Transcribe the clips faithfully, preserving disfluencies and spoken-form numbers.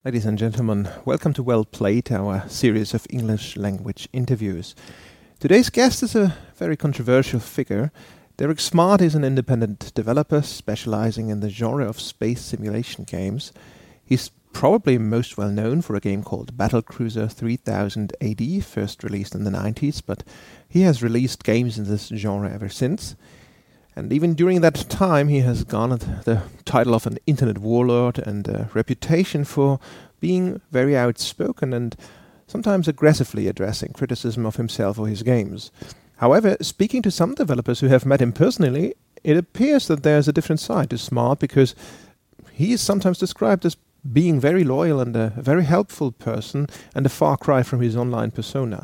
Ladies and gentlemen, welcome to Well Played, our series of English language interviews. Today's guest is a very controversial figure. Derek Smart is an independent developer specializing in the genre of space simulation games. He's probably most well known for a game called Battlecruiser three thousand A D, first released in the nineties, but he has released games in this genre ever since. And even during that time, he has garnered the title of an internet warlord and a reputation for being very outspoken and sometimes aggressively addressing criticism of himself or his games. However, speaking to some developers who have met him personally, it appears that there's a different side to Smart, because he is sometimes described as being very loyal and a very helpful person, and a far cry from his online persona.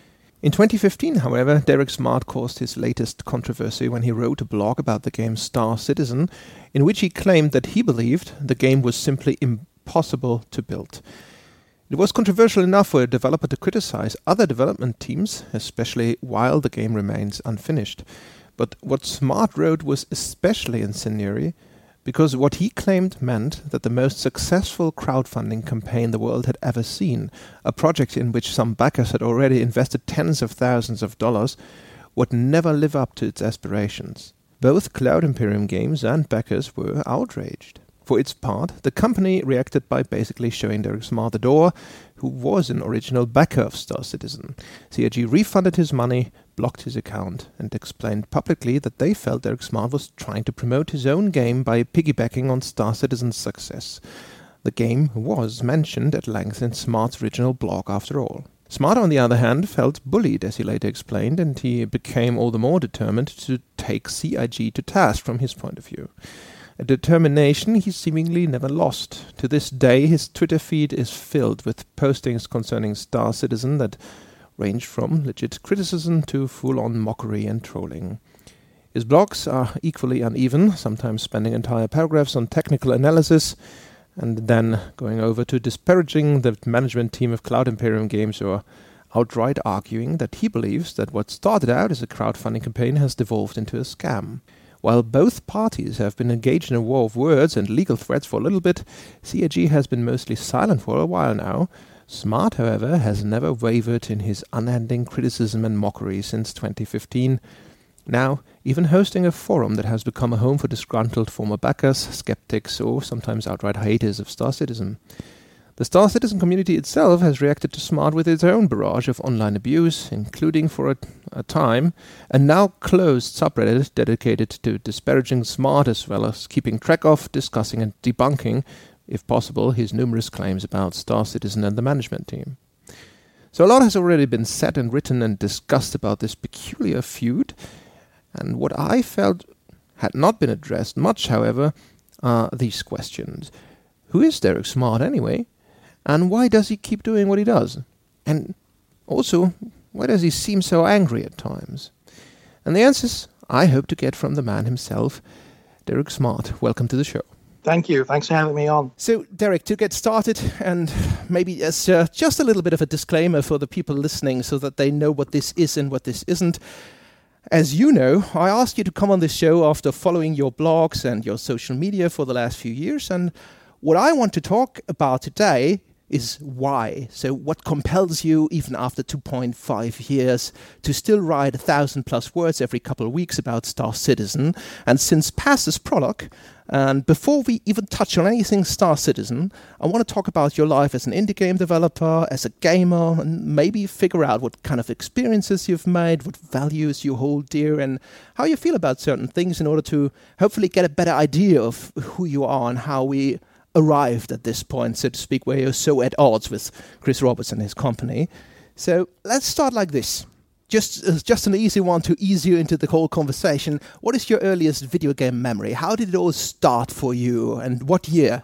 In twenty fifteen, however, Derek Smart caused his latest controversy when he wrote a blog about the game Star Citizen, in which he claimed that he believed the game was simply impossible to build. It was controversial enough for a developer to criticize other development teams, especially while the game remains unfinished. But what Smart wrote was especially incendiary, because what he claimed meant that the most successful crowdfunding campaign the world had ever seen, a project in which some backers had already invested tens of thousands of dollars, would never live up to its aspirations. Both Cloud Imperium Games and backers were outraged. For its part, the company reacted by basically showing Derek Smart the door, who was an original backer of Star Citizen. C I G refunded his money, blocked his account, and explained publicly that they felt Derek Smart was trying to promote his own game by piggybacking on Star Citizen's success. The game was mentioned at length in Smart's original blog, after all. Smart, on the other hand, felt bullied, as he later explained, and he became all the more determined to take C I G to task from his point of view. A determination he seemingly never lost. To this day, his Twitter feed is filled with postings concerning Star Citizen that range from legit criticism to full-on mockery and trolling. His blogs are equally uneven, sometimes spending entire paragraphs on technical analysis, and then going over to disparaging the management team of Cloud Imperium Games, or outright arguing that he believes that what started out as a crowdfunding campaign has devolved into a scam. While both parties have been engaged in a war of words and legal threats for a little bit, C I G has been mostly silent for a while now. Smart, however, has never wavered in his unending criticism and mockery since twenty fifteen, now even hosting a forum that has become a home for disgruntled former backers, skeptics, or sometimes outright haters of Star Citizen. The Star Citizen community itself has reacted to Smart with its own barrage of online abuse, including for a, a time a now closed subreddit dedicated to disparaging Smart, as well as keeping track of, discussing and debunking, if possible, his numerous claims about Star Citizen and the management team. So a lot has already been said and written and discussed about this peculiar feud, and what I felt had not been addressed much, however, are these questions. Who is Derek Smart anyway? And why does he keep doing what he does? And also, why does he seem so angry at times? And the answers I hope to get from the man himself. Derek Smart, welcome to the show. Thank you. Thanks for having me on. So, Derek, to get started, and maybe as uh, just a little bit of a disclaimer for the people listening so that they know what this is and what this isn't. As you know, I asked you to come on this show after following your blogs and your social media for the last few years, and what I want to talk about today is why. So what compels you, even after two point five years, to still write a thousand plus words every couple of weeks about Star Citizen? And since past this prologue, and before we even touch on anything Star Citizen, I want to talk about your life as an indie game developer, as a gamer, and maybe figure out what kind of experiences you've made, what values you hold dear, and how you feel about certain things, in order to hopefully get a better idea of who you are and how we arrived at this point, so to speak, where you're so at odds with Chris Roberts and his company. So let's start like this. Just uh, just an easy one to ease you into the whole conversation. What is your earliest video game memory? How did it all start for you, and what year?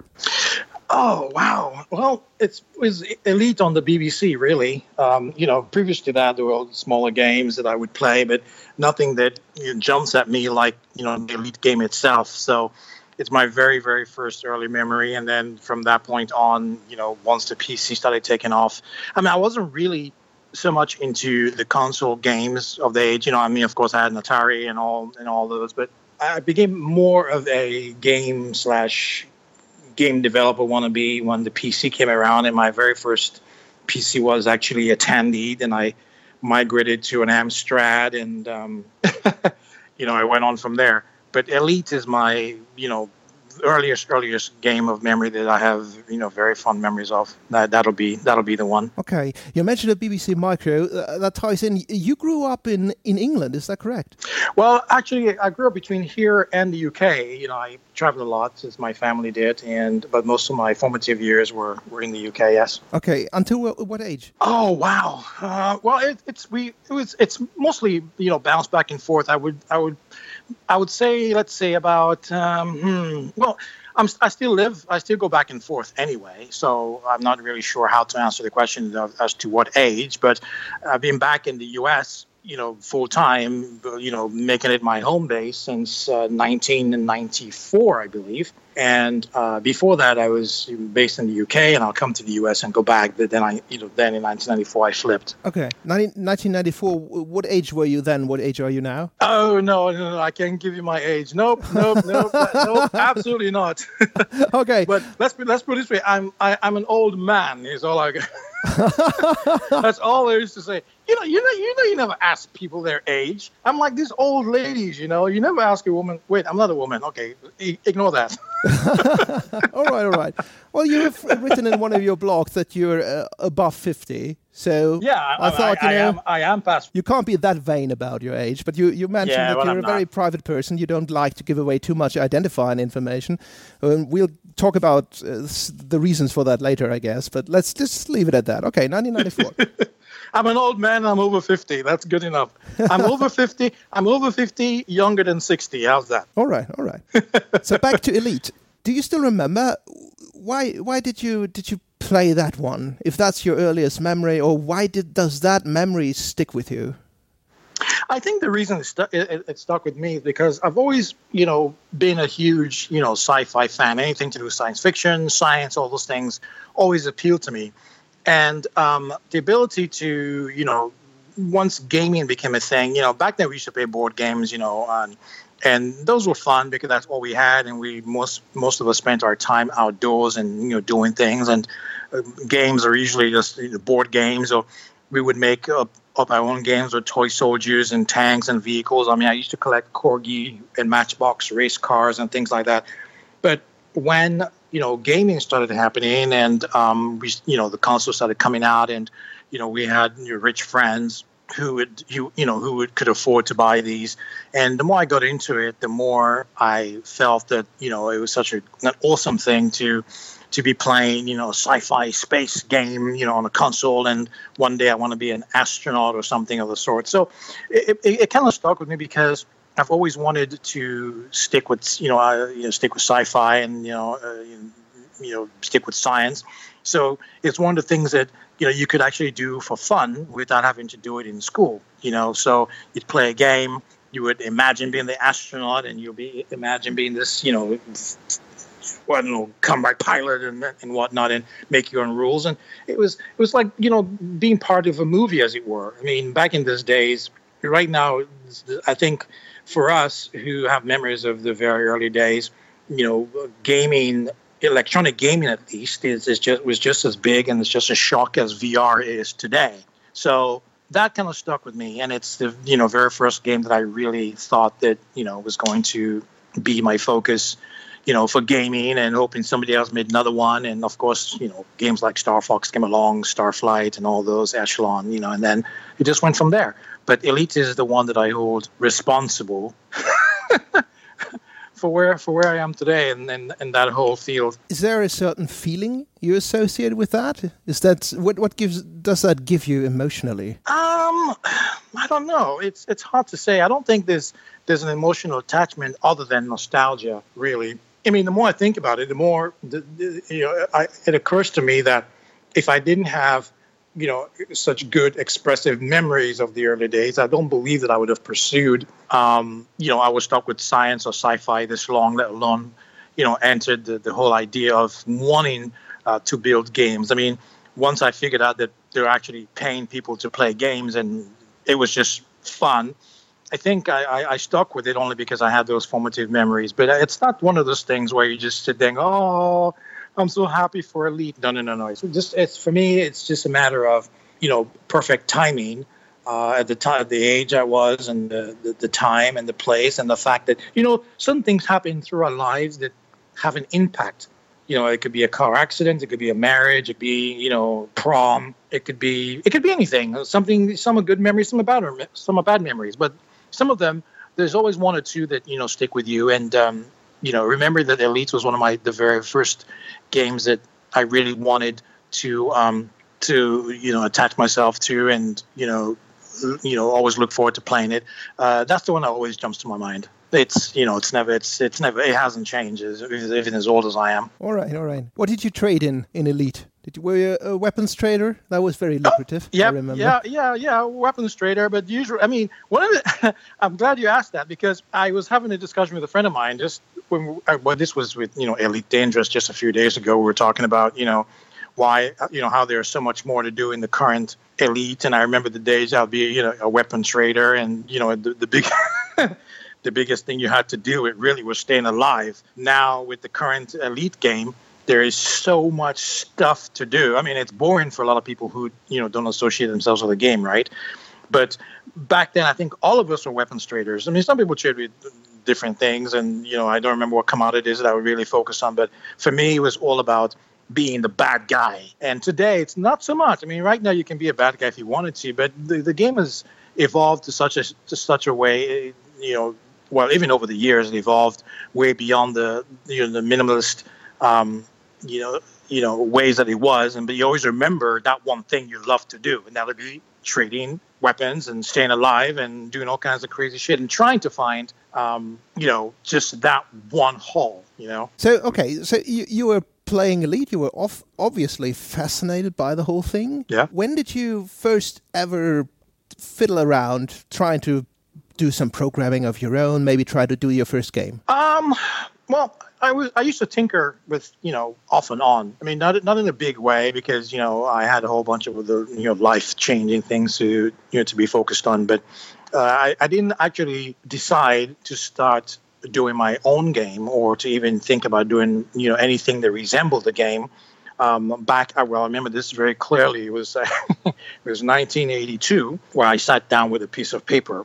Oh, wow. Well, it's, it was Elite on the B B C, really. Um, you know, previous to that, there were smaller games that I would play, but nothing that you know, jumps at me like, you know, the Elite game itself. So it's my very, very first early memory. And then from that point on, you know, once the P C started taking off, I mean, I wasn't really so much into the console games of the age. You know, I mean, of course, I had an Atari and all and all those, but I became more of a game slash game developer wannabe when the P C came around, and my very first P C was actually a Tandy. Then I migrated to an Amstrad, and um, you know, I went on from there. But Elite is my, you know, earliest earliest game of memory that I have, you know, very fond memories of. That that'll be that'll be the one. Okay, you mentioned the B B C Micro. Uh, that ties in. You grew up in, in England, is that correct? Well, actually, I grew up between here and the U K. You know, I traveled a lot, as my family did, and but most of my formative years were, were in the U K. Yes. Okay, until what, what age? Oh wow. Uh, well, it, it's we it was it's mostly, you know, bounce back and forth. I would I would. I would say, let's say about, um, hmm, well, I'm, I still live, I still go back and forth anyway. So I'm not really sure how to answer the question of, as to what age, but I've been back in the U S, you know, full time, you know, making it my home base since uh, nineteen ninety-four, I believe. And uh, before that, I was based in the U K, and I'll come to the U S and go back. But then I, you know, then in nineteen ninety-four, I flipped. Okay, nineteen ninety-four. What age were you then? What age are you now? Oh no, no, no! I can't give you my age. Nope, nope, nope, nope. Absolutely not. Okay, but let's let's put it this way. I'm I, I'm an old man. Is all I. That's all there is to say. You know, you know, you know, you never ask people their age. I'm like these old ladies. You know, you never ask a woman. Wait, I'm not a woman. Okay, I- ignore that. all right, all right. Well, you have written in one of your blogs that you're uh, above fifty. So yeah, I, I thought I, you know I am. I am past. You can't be that vain about your age, but you, you mentioned yeah, that well, you're I'm a very not. private person. You don't like to give away too much identifying information. Um, we'll talk about uh, the reasons for that later, I guess. But let's just leave it at that. Okay, nineteen ninety-four. I'm an old man. I'm over fifty. That's good enough. I'm over fifty. I'm over fifty. Younger than sixty. How's that? All right, all right. So back to Elite. Do you still remember why? Why did you did you play that one? If that's your earliest memory, or why did does that memory stick with you? I think the reason it, stu- it, it stuck with me is because I've always, you know, been a huge, you know, sci-fi fan. Anything to do with science fiction, science, all those things always appealed to me. And um, the ability to, you know, once gaming became a thing, you know, back then we used to play board games, you know, um, and those were fun because that's all we had. And we most most of us spent our time outdoors and, you know, doing things. And uh, games are usually just, you know, board games, or we would make up, up our own games with toy soldiers and tanks and vehicles. I mean, I used to collect Corgi and Matchbox race cars and things like that. But when, you know, gaming started happening and, um, we, you know, the consoles started coming out, and, you know, we had, you know, rich friends who would, who, you know, who would, could afford to buy these. And the more I got into it, the more I felt that, you know, it was such a, an awesome thing to, to be playing, you know, a sci-fi space game, you know, on a console. And one day I want to be an astronaut or something of the sort. So it, it, it kind of stuck with me because I've always wanted to stick with, you know, uh, you know, stick with sci-fi and, you know, uh, you know, stick with science. So it's one of the things that, you know, you could actually do for fun without having to do it in school, you know. So you'd play a game, you would imagine being the astronaut, and you'll be imagine being this, you know, well, I don't know, combat pilot and and whatnot, and make your own rules. And it was it was like, you know, being part of a movie, as it were. I mean, back in those days, right now, I think for us who have memories of the very early days, you know, gaming, electronic gaming at least, is, is just was just as big and it's just a shock as V R is today. So that kind of stuck with me, and it's the, you know, very first game that I really thought that, you know, was going to be my focus, you know, for gaming, and hoping somebody else made another one. And of course, you know, games like Star Fox came along, Starflight, and all those, Echelon, you know, and then it just went from there. But Elite is the one that I hold responsible for where for where I am today, and in, in, in that whole field. Is there a certain feeling you associate with that? Is that what what gives does that give you emotionally? Um, I don't know. It's it's hard to say. I don't think there's there's an emotional attachment other than nostalgia, really. I mean, the more I think about it, the more the, the, you know, I, it occurs to me that if I didn't have, you know, such good expressive memories of the early days, I don't believe that I would have pursued, um, you know, I was stuck with science or sci-fi this long, let alone, you know, entered the, the whole idea of wanting uh, to build games. I mean, once I figured out that they're actually paying people to play games, and it was just fun, I think I, I, I stuck with it only because I had those formative memories. But it's not one of those things where you just sit there and go, oh, I'm so happy for Elite. No, no, no, no. It's just, it's for me, it's just a matter of, you know, perfect timing uh, at the time, the age I was, and the, the the time and the place, and the fact that, you know, some things happen through our lives that have an impact. You know, it could be a car accident, it could be a marriage, it could be, you know, prom, it could be, it could be anything. Something, some are good memories, some are bad, some are bad memories. But some of them, there's always one or two that, you know, stick with you. And, um, you know, remember that Elite was one of my, the very first games that I really wanted to, um, to, you know, attach myself to, and, you know, you know, always look forward to playing it. Uh, that's the one that always jumps to my mind. It's, you know, it's never, it's, it's never, it hasn't changed, even as old as I am. All right, all right. What did you trade in, in Elite? Did you, were you a, a weapons trader? That was very lucrative, oh, yeah, I remember. Yeah, yeah, yeah, weapons trader. But usually, I mean, one of the, I'm glad you asked that, because I was having a discussion with a friend of mine just when, well, this was with, you know, Elite Dangerous just a few days ago. We were talking about, you know, why, you know, how there's so much more to do in the current Elite. And I remember the days I'll be, you know, a weapon trader, and, you know, the, the big... the biggest thing you had to do, it really was staying alive. Now, with the current Elite game, there is so much stuff to do. I mean, it's boring for a lot of people who, you know, don't associate themselves with the game, right? But back then, I think all of us were weapons traders. I mean, some people trade with different things, and, you know, I don't remember what commodities that I would really focus on. But for me, it was all about being the bad guy. And today, it's not so much. I mean, right now, you can be a bad guy if you wanted to, but the, the game has evolved to such a to such a way, you know, well, even over the years, it evolved way beyond the, you know, the minimalist, um, you know, you know, ways that it was. And but you always remember that one thing you love to do, and that would be trading weapons and staying alive and doing all kinds of crazy shit and trying to find, um, you know, just that one haul, you know. So okay, so you you were playing Elite. You were off, obviously fascinated by the whole thing. Yeah. When did you first ever fiddle around trying to do some programming of your own, maybe try to do your first game? Um, well, I was I used to tinker with, you know, off and on. I mean, not not in a big way, because, you know, I had a whole bunch of the, you know, life-changing things to, you know, to be focused on. But uh, I, I didn't actually decide to start doing my own game, or to even think about doing, you know, anything that resembled the game. Um, back, well, I remember this very clearly. It was uh, it was nineteen eighty-two, where I sat down with a piece of paper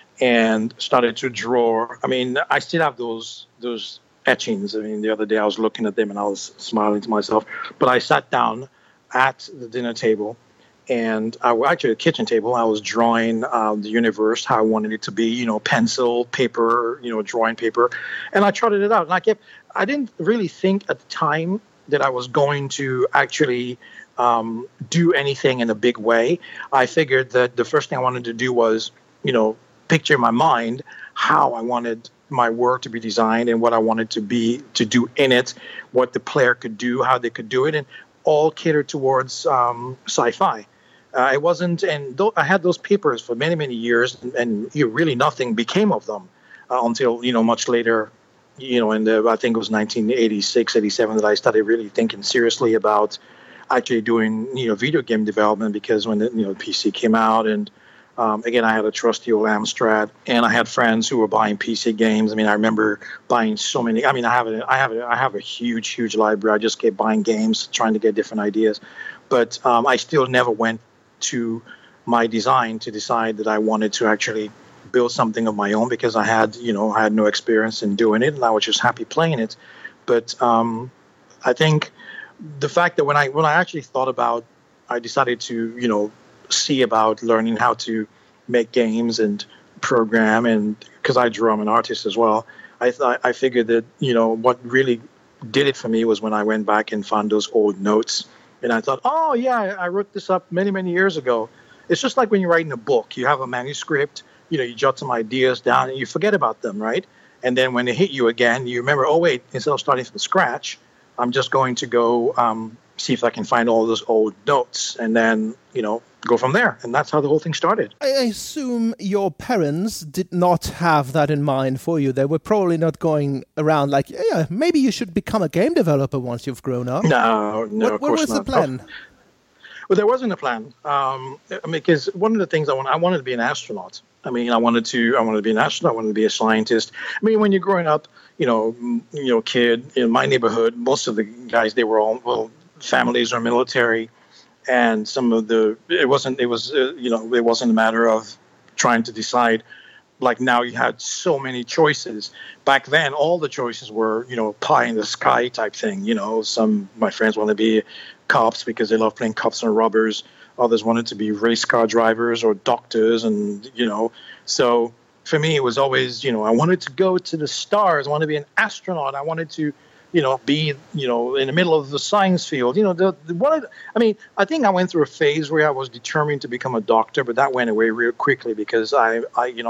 and started to draw. I mean, I still have those those etchings. I mean, the other day I was looking at them and I was smiling to myself. But I sat down at the dinner table, and I was actually at the kitchen table. I was drawing uh, the universe, how I wanted it to be, you know, pencil, paper, you know, drawing paper. And I trotted it out. And I kept, I didn't really think at the time that I was going to actually um, do anything in a big way. I figured that the first thing I wanted to do was, you know, picture in my mind how I wanted my work to be designed and what I wanted to be, to do in it, what the player could do, how they could do it, and all catered towards um, sci-fi. Uh, it wasn't, and th- I had those papers for many, many years, and, and you know, really nothing became of them uh, until, you know, much later, you know, in the, I think it was nineteen eighty-six, eighty-seven that I started really thinking seriously about actually doing, you know, video game development, because when the, you know, P C came out, and um, again, I had a trusty old Amstrad, and I had friends who were buying P C games. I mean, I remember buying so many. I mean, I have a, I have a, I have a huge, huge library. I just kept buying games, trying to get different ideas, but um, I still never went to my design to decide that I wanted to actually build something of my own, because I had, you know, I had no experience in doing it, and I was just happy playing it. But um, I think the fact that when I when I actually thought about, I decided to, you know, see about learning how to make games and program, and because I draw, I'm an artist as well. I th- I figured that, you know, what really did it for me was when I went back and found those old notes, and I thought, oh yeah, I wrote this up many many years ago. It's just like when you're writing a book, you have a manuscript. You know, you jot some ideas down and you forget about them, right? And then when they hit you again, you remember, oh, wait, instead of starting from scratch, I'm just going to go um, see if I can find all those old notes, and then, you know, go from there. And that's how the whole thing started. I assume your parents did not have that in mind for you. They were probably not going around like, yeah, maybe you should become a game developer once you've grown up. No, no, what, of what course was not. the plan? Well, there wasn't a plan. Um, I mean, because one of the things I want, I wanted to be an astronaut. I mean, I wanted to, I wanted to be an astronaut. I wanted to be a scientist. I mean, when you're growing up, you know, you know, kid in my neighborhood, most of the guys, they were all, well, families are military, and some of the, it wasn't, it was, uh, you know, it wasn't a matter of trying to decide. Like now, you had so many choices. Back then, all the choices were, you know, pie in the sky type thing. You know, some my friends wanted to be cops because they love playing cops and robbers. Others wanted to be race car drivers or doctors, and you know, so for me, it was always, you know, I wanted to go to the stars. I wanted to be an astronaut. I wanted to, you know, be, you know, in the middle of the science field. You know, the, the what I, I mean, I think I went through a phase where I was determined to become a doctor, but that went away real quickly because I, I you know,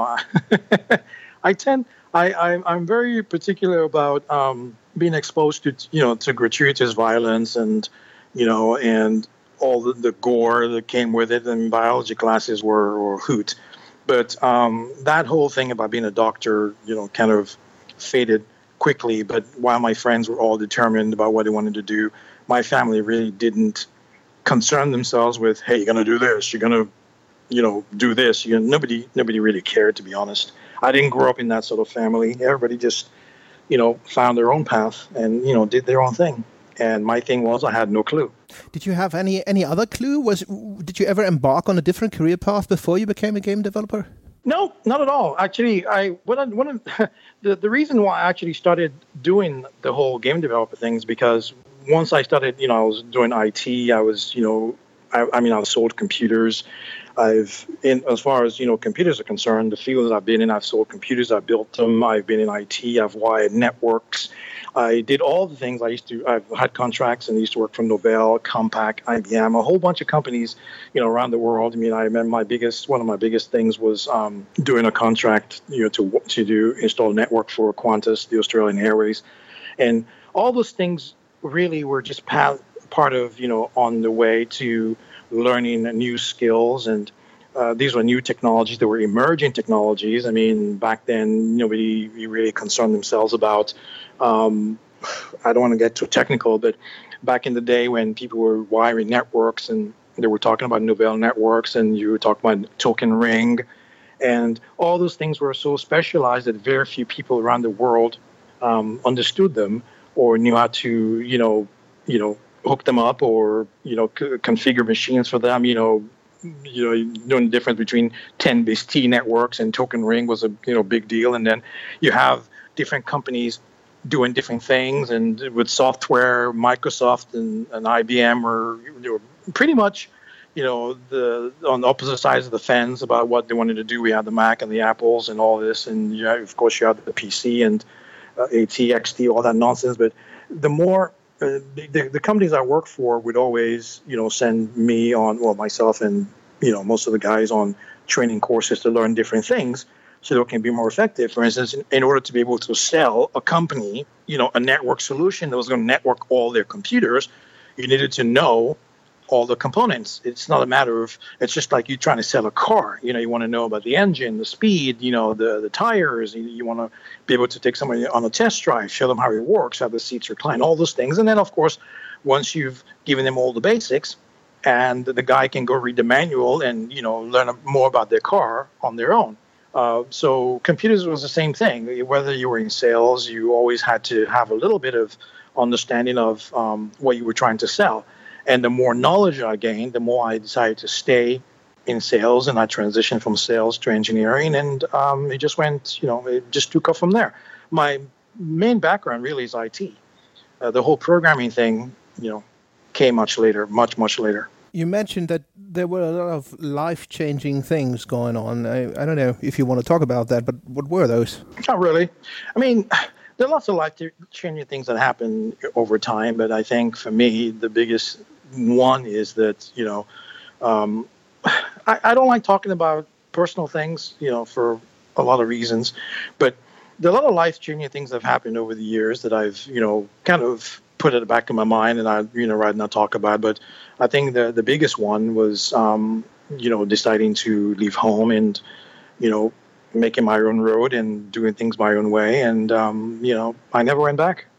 I, I tend, I, I, I'm very particular about um, being exposed to, you know, to gratuitous violence and, you know, and all the, the gore that came with it. And biology classes were, were a hoot. But um, that whole thing about being a doctor, you know, kind of faded quickly. But while my friends were all determined about what they wanted to do, my family really didn't concern themselves with, hey, you're going to do this, you're going to, you know, do this. You know, nobody, nobody really cared, to be honest. I didn't grow up in that sort of family. Everybody just, you know, found their own path and, you know, did their own thing. And my thing was I had no clue. Did you have any any other clue? Was did you ever embark on a different career path before you became a game developer? No, not at all. Actually, I one of, one of the the reason why I actually started doing the whole game developer thing is because once I started, you know, I was doing I T. I was, you know, I, I mean, I've sold computers. I've, in as far as, you know, computers are concerned, the fields I've been in, I've sold computers, I've built them, I've been in I T, I've wired networks. I did all the things I used to. I've had contracts and I used to work for Novell, Compaq, I B M, a whole bunch of companies, you know, around the world. I mean, I remember my biggest, one of my biggest things was um, doing a contract, you know, to to do install a network for Qantas, the Australian Airways, and all those things really were just part part of, you know, on the way to learning new skills. And uh, these were new technologies. They were emerging technologies. I mean, back then, nobody really concerned themselves about, um, I don't want to get too technical, but back in the day when people were wiring networks and they were talking about Novell networks and you were talking about token ring, and all those things were so specialized that very few people around the world um, understood them or knew how to, you know, you know, hook them up or, you know, c- configure machines for them. You know, you know, knowing the difference between ten base T networks and token ring was a, you know, big deal. And then you have different companies doing different things, and with software, Microsoft and, and I B M were, they were pretty much, you know, the on the opposite sides of the fence about what they wanted to do. We had the Mac and the Apples and all this, and yeah, of course you had the P C and uh, AT, X T, all that nonsense. But the more uh, the, the companies I work for would always, you know, send me on, well, myself and, you know, most of the guys on training courses to learn different things so they can be more effective. For instance, in, in order to be able to sell a company, you know, a network solution that was going to network all their computers, you needed to know all the components. It's not a matter of, it's just like you trying to sell a car. You know, you want to know about the engine, the speed, you know, the, the tires. You, you want to be able to take somebody on a test drive, show them how it works, how the seats recline, all those things. And then, of course, once you've given them all the basics, and the guy can go read the manual and, you know, learn more about their car on their own. Uh, so computers was the same thing. Whether you were in sales, you always had to have a little bit of understanding of um, what you were trying to sell. And the more knowledge I gained, the more I decided to stay in sales, and I transitioned from sales to engineering, and um, it just went, you know, it just took off from there. My main background really is I T. Uh, the whole programming thing, you know, came much later, much, much later. You mentioned that there were a lot of life-changing things going on. I, I don't know if you want to talk about that, but what were those? Not really. I mean, there are lots of life-changing things that happen over time, but I think for me, the biggest one is that, you know, um, I, I don't like talking about personal things, you know, for a lot of reasons, but there are a lot of life-changing things that have happened over the years that I've, you know, kind of put at the back of my mind and I, you know, rather not talk about. But I think the, the biggest one was, um, you know, deciding to leave home and, you know, making my own road and doing things my own way. And, um, you know, I never went back.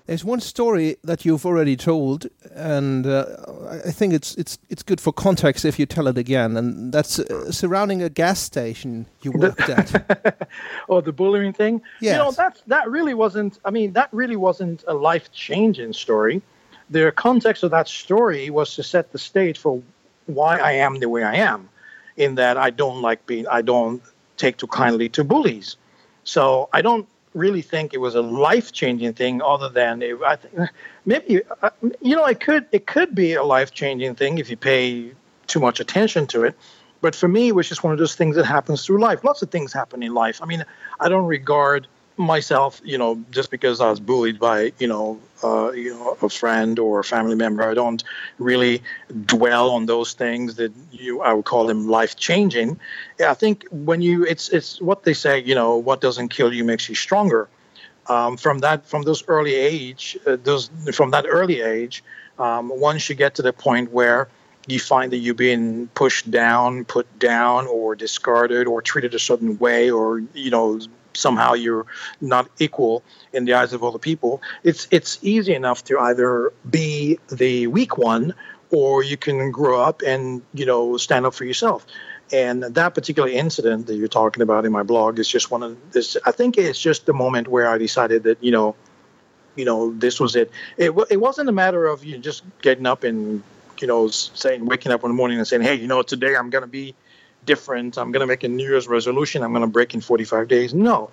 There's one story that you've already told, and uh, I think it's it's it's good for context if you tell it again, and that's uh, surrounding a gas station you worked at. Oh, the bullying thing? Yes. You know, that, that really wasn't, I mean, that really wasn't a life-changing story. The context of that story was to set the stage for why I am the way I am, in that I don't like being, I don't take too kindly to bullies. So I don't really think it was a life-changing thing, other than it, I think maybe uh, you know it could it could be a life-changing thing if you pay too much attention to it. But for me, it was just one of those things that happens through life. Lots of things happen in life. I mean, I don't regard myself, you know, just because I was bullied by, you know, uh, you know, a friend or a family member. I don't really dwell on those things that you, I would call them life-changing. Yeah, I think when you, it's it's what they say, you know, what doesn't kill you makes you stronger. Um, from that, from those early age, uh, those from that early age, um, once you get to the point where you find that you're being pushed down, put down, or discarded, or treated a certain way, or, you know, somehow you're not equal in the eyes of other people, it's it's easy enough to either be the weak one, or you can grow up and, you know, stand up for yourself. And that particular incident that you're talking about in my blog is just one of this. I think it's just the moment where I decided that, you know, you know, this was it. It it wasn't a matter of you just getting up and, you know, saying, waking up in the morning and saying, hey, you know, today I'm going to be different. I'm going to make a New Year's resolution. I'm going to break in forty-five days. No,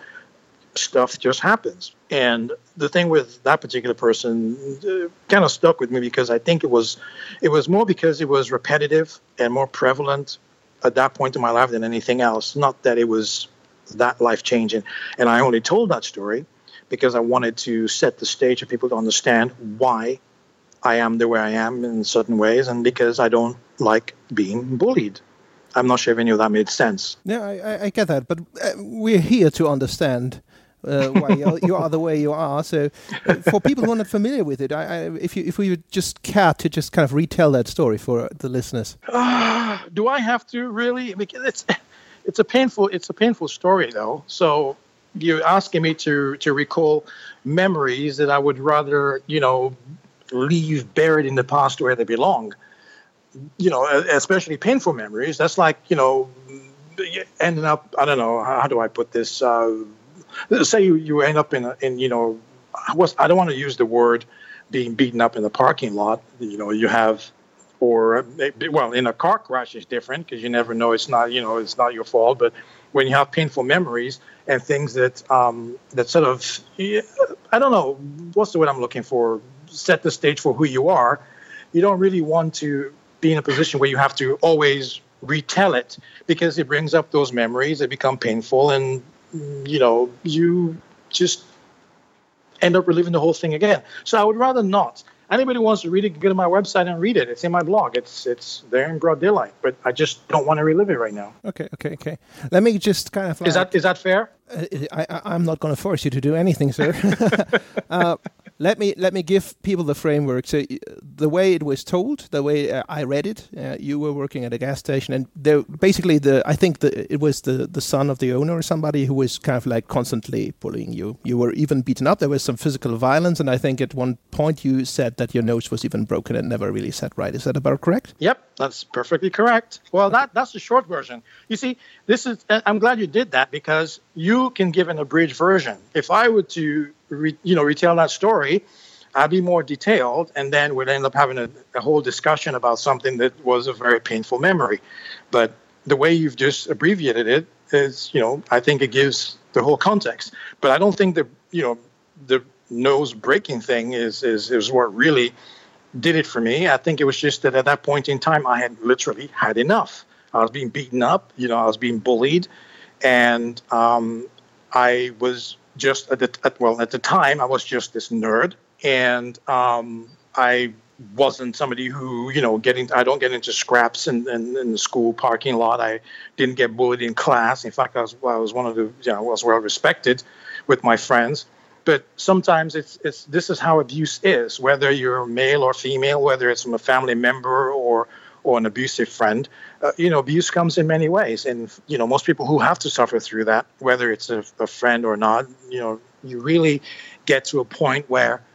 stuff just happens. And the thing with that particular person uh, kind of stuck with me, because I think it was, it was more because it was repetitive and more prevalent at that point in my life than anything else. Not that it was that life-changing. And I only told that story because I wanted to set the stage for people to understand why I am the way I am in certain ways, and because I don't like being bullied. I'm not sure if any of that made sense. Yeah, I, I get that, but uh, we're here to understand uh, why you, you are the way you are. So, uh, for people who are not familiar with it, I, I, if you if we would just care to just kind of retell that story for the listeners. Uh, do I have to really? Because it's it's a painful it's a painful story though. So you're asking me to to recall memories that I would rather, you know, leave buried in the past where they belong. You know, especially painful memories. That's like, you know, ending up, I don't know, how do I put this? Uh, say you, you end up in, a, in, you know, I, was, I don't want to use the word being beaten up in the parking lot. You know, you have, or, well, in a car crash is different because you never know, it's not, you know, it's not your fault. But when you have painful memories and things that, um, that sort of, I don't know, what's the word I'm looking for? Set the stage for who you are. You don't really want to be in a position where you have to always retell it, because it brings up those memories, they become painful, and, you know, you just end up reliving the whole thing again. So I would rather not. Anybody who wants to read it, go to my website and read it. It's in my blog. It's it's there in broad daylight, but I just don't want to relive it right now. Okay, okay, okay. Let me just kind of like, is that is that fair? Uh, I, I I'm not going to force you to do anything, sir. uh, Let me let me give people the framework. So the way it was told, the way uh, I read it, uh, you were working at a gas station, and there basically the I think the, it was the, the son of the owner or somebody who was kind of like constantly bullying you. You were even beaten up. There was some physical violence, and I think at one point you said that your nose was even broken and never really set right. Is that about correct? Yep, that's perfectly correct. Well, that that's the short version. You see, this is. I'm glad you did that, because you can give an abridged version. If I were to Re, you know, retell that story, I'd be more detailed, and then we'd end up having a, a whole discussion about something that was a very painful memory. But the way you've just abbreviated it is, you know, I think it gives the whole context. But I don't think that, you know, the nose breaking thing is, is, is what really did it for me. I think it was just that at that point in time, I had literally had enough. I was being beaten up, you know, I was being bullied, and um, I was just at the at, well at the time I was just this nerd, and um, I wasn't somebody who, you know, getting I don't get into scraps in, in, in the school parking lot. I didn't get bullied in class. In fact, I was I was one of the, you know, I was well respected with my friends. But sometimes it's it's this is how abuse is, whether you're male or female, whether it's from a family member or or an abusive friend. Uh, you know, abuse comes in many ways. And, you know, most people who have to suffer through that, whether it's a, a friend or not, you know, you really get to a point where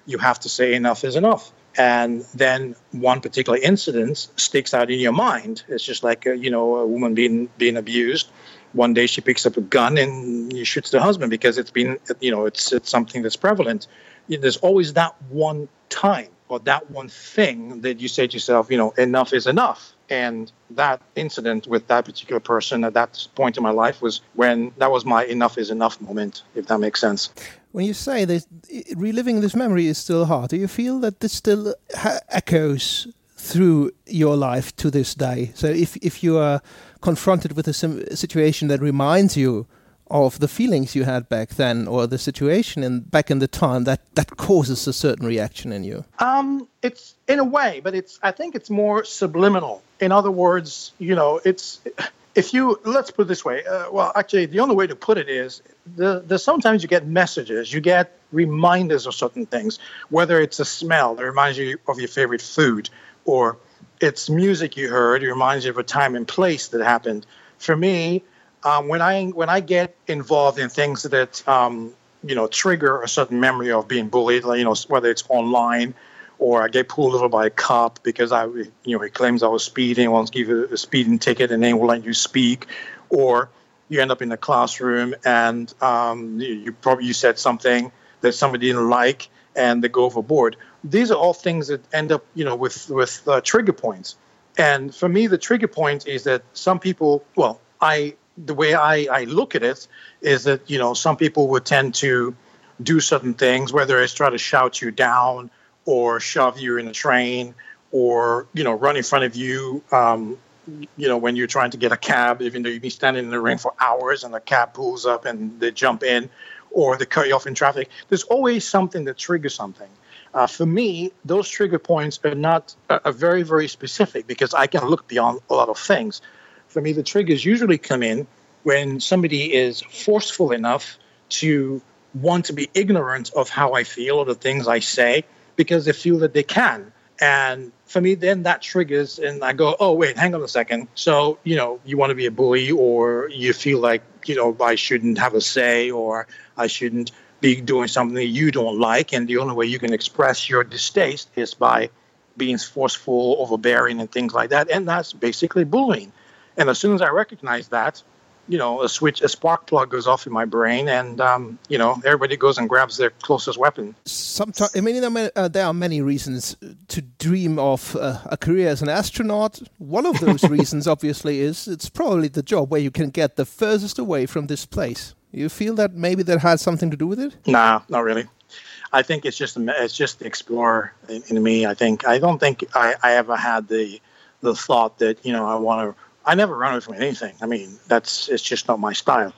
you have to say enough is enough. And then one particular incident sticks out in your mind. It's just like, a, you know, a woman being being abused. One day she picks up a gun and she shoots the husband because it's been, you know, it's it's something that's prevalent. There's always that one time or that one thing that you say to yourself, you know, enough is enough. And that incident with that particular person at that point in my life was when that was my enough is enough moment, if that makes sense. When you say this, reliving this memory is still hard, do you feel that this still ha- echoes through your life to this day? So if if you are confronted with a sim- situation that reminds you of the feelings you had back then, or the situation in back in the time, that that causes a certain reaction in you? Um, it's in a way, but it's I think it's more subliminal. In other words, you know, it's if you let's put it this way. Uh, well, actually, the only way to put it is the, the sometimes you get messages, you get reminders of certain things, whether it's a smell that reminds you of your favorite food, or it's music you heard, it reminds you of a time and place that happened. For me, um, when I when I get involved in things that um, you know trigger a certain memory of being bullied, like, you know, whether it's online, or I get pulled over by a cop because I you know he claims I was speeding, wants to give you a speeding ticket, and they won't let you speak, or you end up in the classroom and um, you, you probably you said something that somebody didn't like, and they go overboard. These are all things that end up, you know, with with uh, trigger points. And for me, the trigger point is that some people, well, I the way I, I look at it is that, you know, some people would tend to do certain things, whether it's try to shout you down or shove you in a train, or, you know, run in front of you, um, you know, when you're trying to get a cab, even though you've been standing in the rain for hours and the cab pulls up and they jump in, or they cut you off in traffic. There's always something that triggers something. Uh, for me, those trigger points are not uh, are very, very specific because I can look beyond a lot of things. For me, the triggers usually come in when somebody is forceful enough to want to be ignorant of how I feel or the things I say because they feel that they can. And for me, then that triggers and I go, oh, wait, hang on a second. So, you know, you want to be a bully, or you feel like, you know, I shouldn't have a say, or I shouldn't be doing something that you don't like. And the only way you can express your distaste is by being forceful, overbearing, and things like that. And that's basically bullying. And as soon as I recognize that, you know, a switch, a spark plug goes off in my brain, and um, you know, everybody goes and grabs their closest weapon. Sometimes, I mean, uh, there are many reasons to dream of uh, a career as an astronaut. One of those reasons, obviously, is it's probably the job where you can get the furthest away from this place. You feel that maybe that has something to do with it? Nah, not really. I think it's just it's just the explorer in, in me. I think I don't think I, I ever had the the thought that, you know, I want to. I never run away from anything. I mean, that's it's just not my style.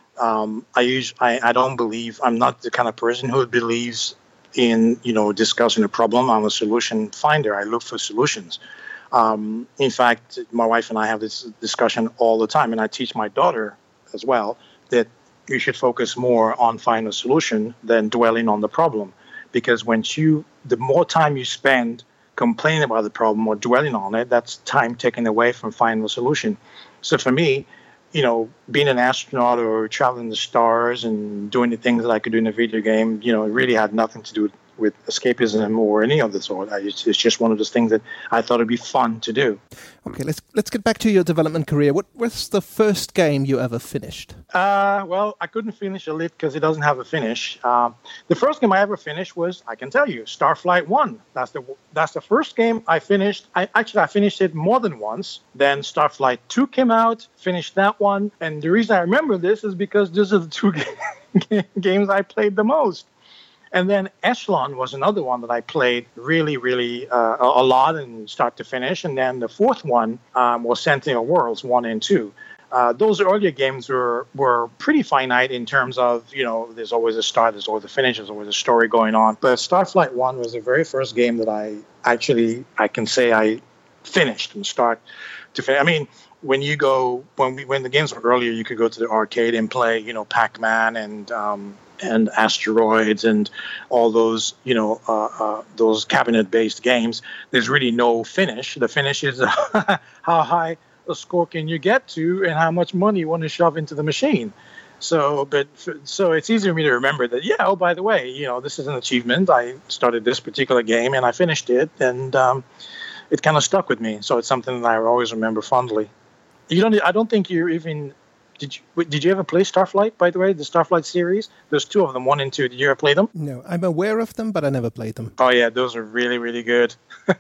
Um, I use I, I don't believe I'm not the kind of person who believes in, you know, discussing a problem. I'm a solution finder. I look for solutions. Um, in fact, my wife and I have this discussion all the time, and I teach my daughter as well that you should focus more on finding a solution than dwelling on the problem, because when you the more time you spend complaining about the problem or dwelling on it, that's time taken away from finding a solution. So for me, you know, being an astronaut or traveling the stars and doing the things that I could do in a video game, you know, it really had nothing to do with, with escapism or any of the sort. I, it's, it's just one of those things that I thought it'd be fun to do. Okay, let's let's get back to your development career. What was the first game you ever finished? Uh, well, I couldn't finish it because it doesn't have a finish. Uh, the first game I ever finished was, I can tell you, Starflight One. That's the that's the first game I finished. I actually I finished it more than once. Then Starflight Two came out, finished that one, and the reason I remember this is because these are the two games I played the most. And then Echelon was another one that I played really, really uh, a lot and start to finish. And then the fourth one um, was Sentinel Worlds one and two. Uh, those earlier games were were pretty finite in terms of, you know, there's always a start, there's always a finish, there's always a story going on. But Starflight one was the very first game that I actually, I can say I finished from start to finish. I mean, when you go, when we when the games were earlier, you could go to the arcade and play, you know, Pac-Man and um, and Asteroids and all those, you know, uh, uh, those cabinet-based games. There's really no finish. The finish is how high a score can you get to and how much money you want to shove into the machine. So, but so it's easy for me to remember that. Yeah. Oh, by the way, you know, this is an achievement. I started this particular game and I finished it, and um, it kind of stuck with me. So it's something that I always remember fondly. You don't. I don't think you even. Did you? Did you ever play Starflight? By the way, the Starflight series. There's two of them, one and two. Did you ever play them? No, I'm aware of them, but I never played them. Oh yeah, those are really, really good.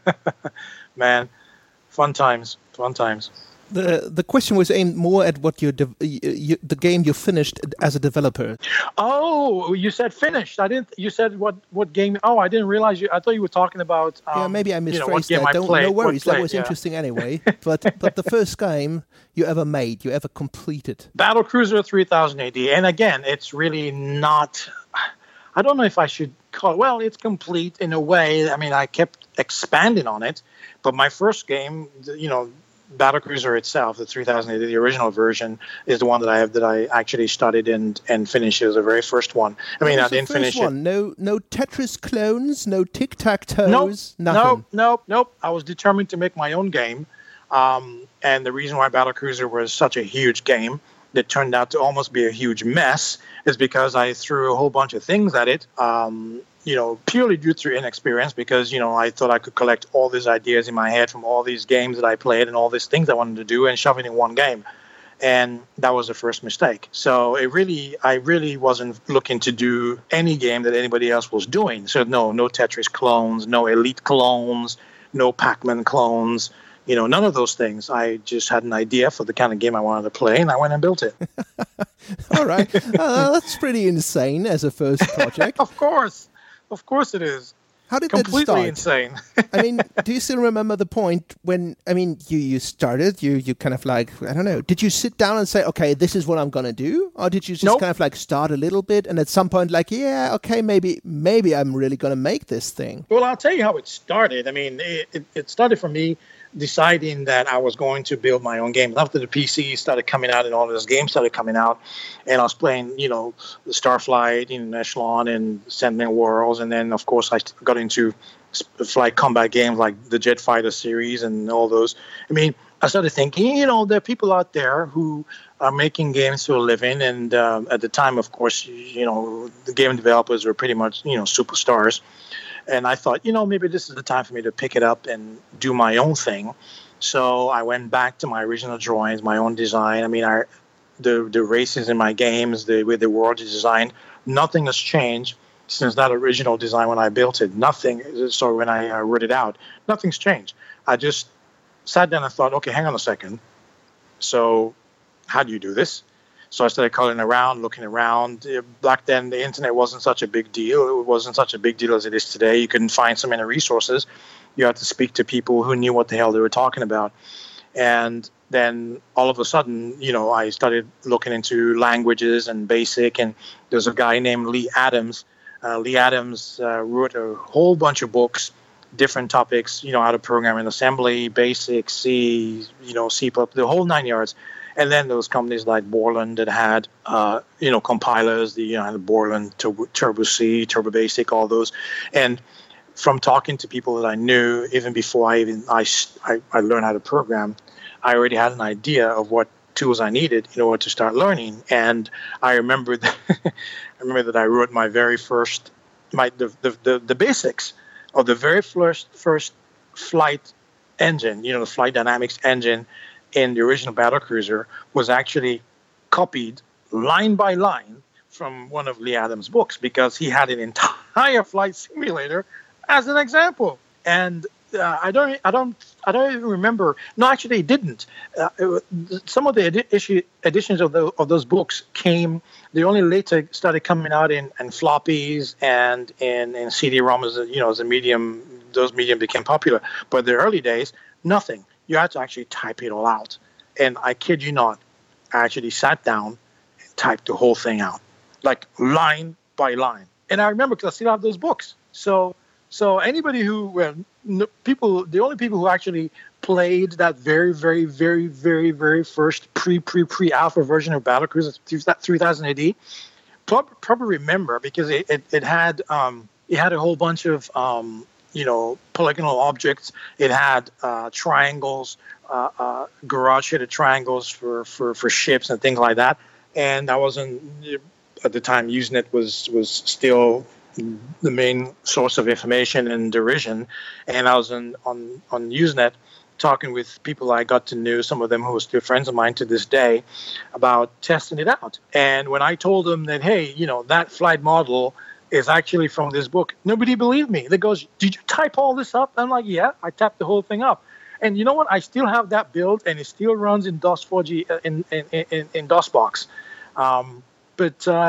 Man, fun times. Fun times. The the question was aimed more at what you, de- you the game you finished as a developer. Oh, you said finished. I didn't. You said what what game? Oh, I didn't realize you. I thought you were talking about. Um, yeah, maybe I misphrased you know, what game that. I Don't, played, no worries. played, that was yeah. interesting anyway. But but the first game you ever made, you ever completed. Battlecruiser three thousand A D, and again, it's really not. I don't know if I should call it. Well, it's complete in a way. I mean, I kept expanding on it, but my first game, you know. Battlecruiser itself, the three thousand A D, the original version, is the one that I have that I actually studied and, and finished. It was the very first one. I mean, I didn't finish one? it. No, no Tetris clones, no tic tac toes, nope, nothing. Nope, nope, nope. I was determined to make my own game, um, and the reason why Battlecruiser was such a huge game that turned out to almost be a huge mess is because I threw a whole bunch of things at it. Um, you know, purely due to inexperience, because, you know, I thought I could collect all these ideas in my head from all these games that I played and all these things I wanted to do and shove it in one game. And that was the first mistake. So it really, I really wasn't looking to do any game that anybody else was doing. So no, no Tetris clones, no Elite clones, no Pac-Man clones, you know, none of those things. I just had an idea for the kind of game I wanted to play, and I went and built it. All right. Uh, that's pretty insane as a first project. Of course. Of course it is. How did Completely that start? Insane. I mean, do you still remember the point when, I mean, you, you started, you, you kind of like, I don't know, did you sit down and say, okay, this is what I'm going to do? Or did you just nope. kind of like start a little bit and at some point like, yeah, okay, maybe maybe I'm really going to make this thing? Well, I'll tell you how it started. I mean, it, it, it started for me deciding that I was going to build my own game. After the P C started coming out and all those games started coming out, and I was playing, you know, Starflight, you know, Echelon and Sentinel Worlds, and then, of course, I got into flight combat games like the Jet Fighter series and all those. I mean, I started thinking, you know, there are people out there who are making games for a living, and um, at the time, of course, you know, the game developers were pretty much, you know, superstars. And I thought, you know, maybe this is the time for me to pick it up and do my own thing. So I went back to my original drawings, my own design. I mean, I, the the races in my games, the way the world is designed, nothing has changed since that original design when I built it. Nothing. So when I uh, wrote it out, nothing's changed. I just sat down and thought, okay, hang on a second. So how do you do this? So I started calling around, looking around. Back then, the internet wasn't such a big deal. It wasn't such a big deal as it is today. You couldn't find so many resources. You had to speak to people who knew what the hell they were talking about. And then all of a sudden, you know, I started looking into languages and BASIC. And there's a guy named Lee Adams. Uh, Lee Adams uh, wrote a whole bunch of books, different topics, you know, how to program in assembly, BASIC, C, you know, C++, the whole nine yards. And then there was companies like Borland that had, uh, you know, compilers, the you know, the Borland, Turbo, Turbo C, Turbo Basic, all those. And from talking to people that I knew, even before I even I, I, I learned how to program, I already had an idea of what tools I needed in order to start learning. And I remember that I remember that I wrote my very first, my the the, the, the basics of the very first first flight engine, you know, the flight dynamics engine in the original Battlecruiser was actually copied line by line from one of Lee Adams' books, because he had an entire flight simulator as an example. And uh, I don't, I don't, I don't even remember. No, actually, he didn't. Uh, it, some of the edi- issue, editions of the of those books came. They only later started coming out in, in floppies and in, in C D-ROM as a, you know, as a medium. Those medium became popular. But in the early days, nothing. You had to actually type it all out. And I kid you not, I actually sat down and typed the whole thing out, like line by line. And I remember because I still have those books. So so anybody who, well, no, people, the only people who actually played that very, very, very, very, very first pre, pre, pre-alpha version of Battlecruiser three thousand A D probably, probably remember, because it, it, it had um, it had a whole bunch of um, you know, polygonal objects. It had uh, triangles, uh, uh, garage-shaded triangles for, for, for ships and things like that. and I wasn't at the time. Usenet was was still the main source of information and derision, and I was on on, on Usenet talking with people I got to know, some of them who are still friends of mine to this day, about testing it out. And when I told them that, hey, you know, that flight model is actually from this book, nobody believed me. They goes, did you type all this up? I'm like, yeah, I typed the whole thing up. And you know what? I still have that build, and it still runs in DOS four G, uh, in, in, in, in DOSBox. Um, but uh,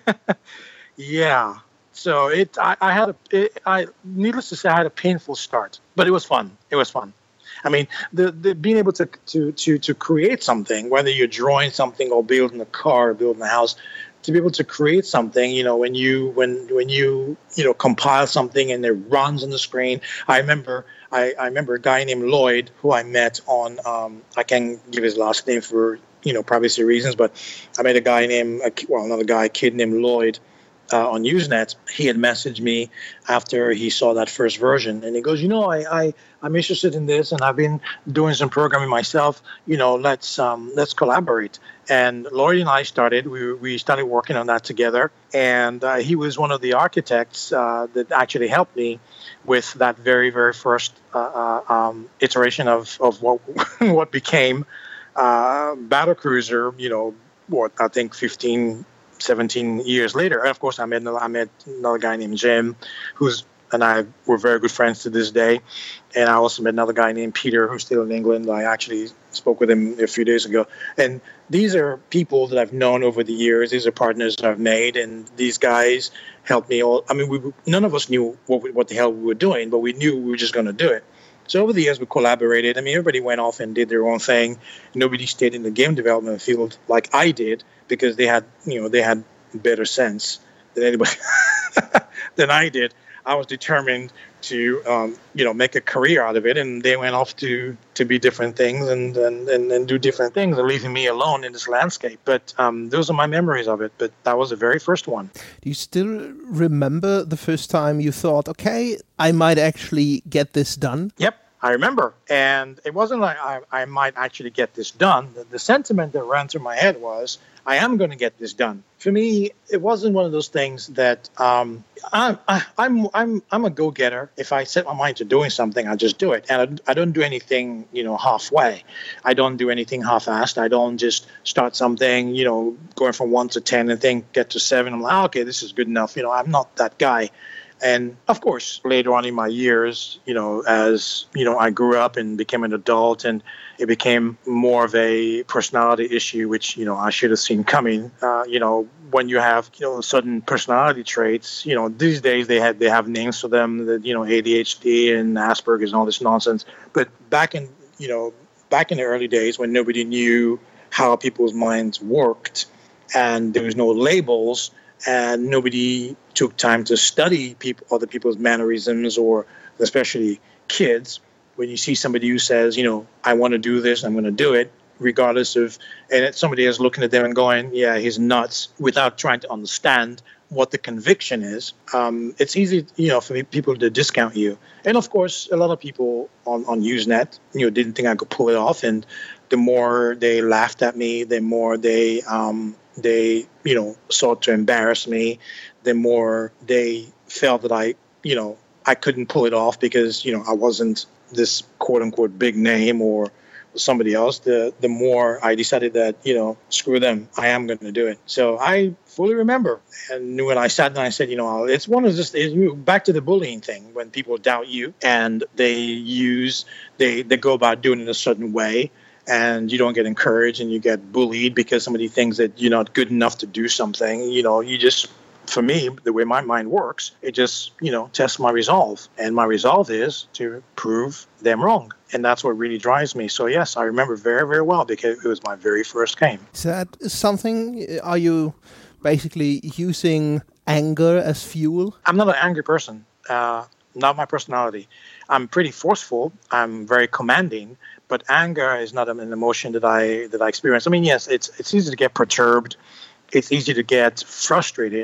yeah, so it. I, I had a. It, I needless to say, I had a painful start, but it was fun. It was fun. I mean, the, the being able to, to to to create something, whether you're drawing something or building a car or building a house, to be able to create something, you know, when you when when you you know compile something and it runs on the screen. I remember I, I remember a guy named Lloyd who I met on. Um, I can't give his last name for you know privacy reasons, but I met a guy named well another guy, a kid named Lloyd. Uh, on Usenet. He had messaged me after he saw that first version, and he goes, you know, I, I I'm interested in this, and I've been doing some programming myself. You know, let's um, let's collaborate. And Lloyd and I started. We we started working on that together, and uh, he was one of the architects uh, that actually helped me with that very very first uh, uh, um, iteration of of what what became uh, Battlecruiser. You know, what I think fifteen. seventeen years later. And of course, I met another, I met another guy named Jim, who's and I were very good friends to this day. And I also met another guy named Peter, who's still in England. I actually spoke with him a few days ago. And these are people that I've known over the years. These are partners that I've made, and these guys helped me all. I mean, we none of us knew what we, what the hell we were doing, but we knew we were just going to do it. So over the years, we collaborated. I mean, everybody went off and did their own thing. Nobody stayed in the game development field like I did, because they had, you know, they had better sense than anybody than I did. I was determined to, um, you know, make a career out of it, and they went off to, to be different things and, and, and, and do different things, and leaving me alone in this landscape. But um, those are my memories of it. But that was the very first one. Do you still remember the first time you thought, okay, I might actually get this done? Yep. I remember. And it wasn't like I, I might actually get this done. The, the sentiment that ran through my head was, I am going to get this done. For me, it wasn't one of those things that um, I'm, I, I'm, I'm, I'm a go-getter. If I set my mind to doing something, I just do it. And I, I don't do anything, you know, halfway. I don't do anything half-assed. I don't just start something, you know, going from one to ten and think get to seven. I'm like, oh, okay, this is good enough. You know, I'm not that guy. And of course, later on in my years, you know, as, you know, I grew up and became an adult, and it became more of a personality issue, which, you know, I should have seen coming. Uh, you know, when you have, you know, certain personality traits, you know, these days they have, they have names for them, that, you know, A D H D and Asperger's and all this nonsense. But back in, you know, back in the early days when nobody knew how people's minds worked and there was no labels, and nobody took time to study people, other people's mannerisms, or especially kids. When you see somebody who says, you know, I want to do this, I'm going to do it, regardless of, and it's somebody is looking at them and going, yeah, he's nuts, without trying to understand what the conviction is, um, it's easy, you know, for people to discount you. And of course, a lot of people on, on Usenet, you know, didn't think I could pull it off. And the more they laughed at me, the more they, um, they, you know, sought to embarrass me, the more they felt that I, you know, I couldn't pull it off because, you know, I wasn't this quote unquote big name or somebody else, the the more I decided that, you know, screw them, I am going to do it. So I fully remember, and when I sat down, I said, you know, it's one of just back to the bullying thing, when people doubt you and they use, they, they go about doing it a certain way, and you don't get encouraged and you get bullied because somebody thinks that you're not good enough to do something. You know, you just, for me, the way my mind works, it just, you know, tests my resolve. And my resolve is to prove them wrong. And that's what really drives me. So, yes, I remember very, very well because it was my very first game. Is that something, are you basically using anger as fuel? I'm not an angry person. Uh, not my personality. I'm pretty forceful. I'm very commanding. But anger is not an emotion that I that I experience. I mean, yes, it's it's easy to get perturbed. It's easy to get frustrated.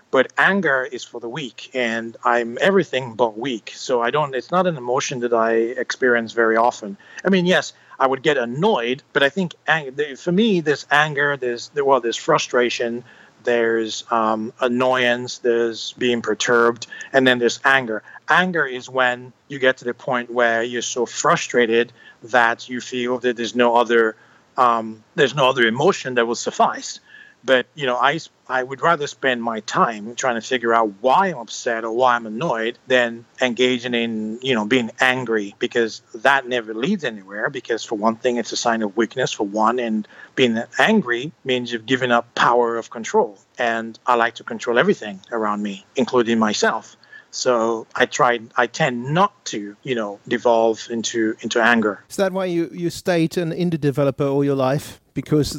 But anger is for the weak, and I'm everything but weak. So I don't, it's not an emotion that I experience very often. I mean, yes, I would get annoyed, but I think ang- for me, there's anger, there's, well, there's frustration, there's um, annoyance, there's being perturbed, and then there's anger. Anger is when you get to the point where you're so frustrated that you feel that there's no other, um, there's no other emotion that will suffice. But, you know, I, I would rather spend my time trying to figure out why I'm upset or why I'm annoyed than engaging in, you know, being angry, because that never leads anywhere. Because for one thing, it's a sign of weakness for one. And being angry means you've given up power of control. And I like to control everything around me, including myself. So I try. I tend not to, you know, devolve into into anger. Is that why you, you stayed an indie developer all your life? Because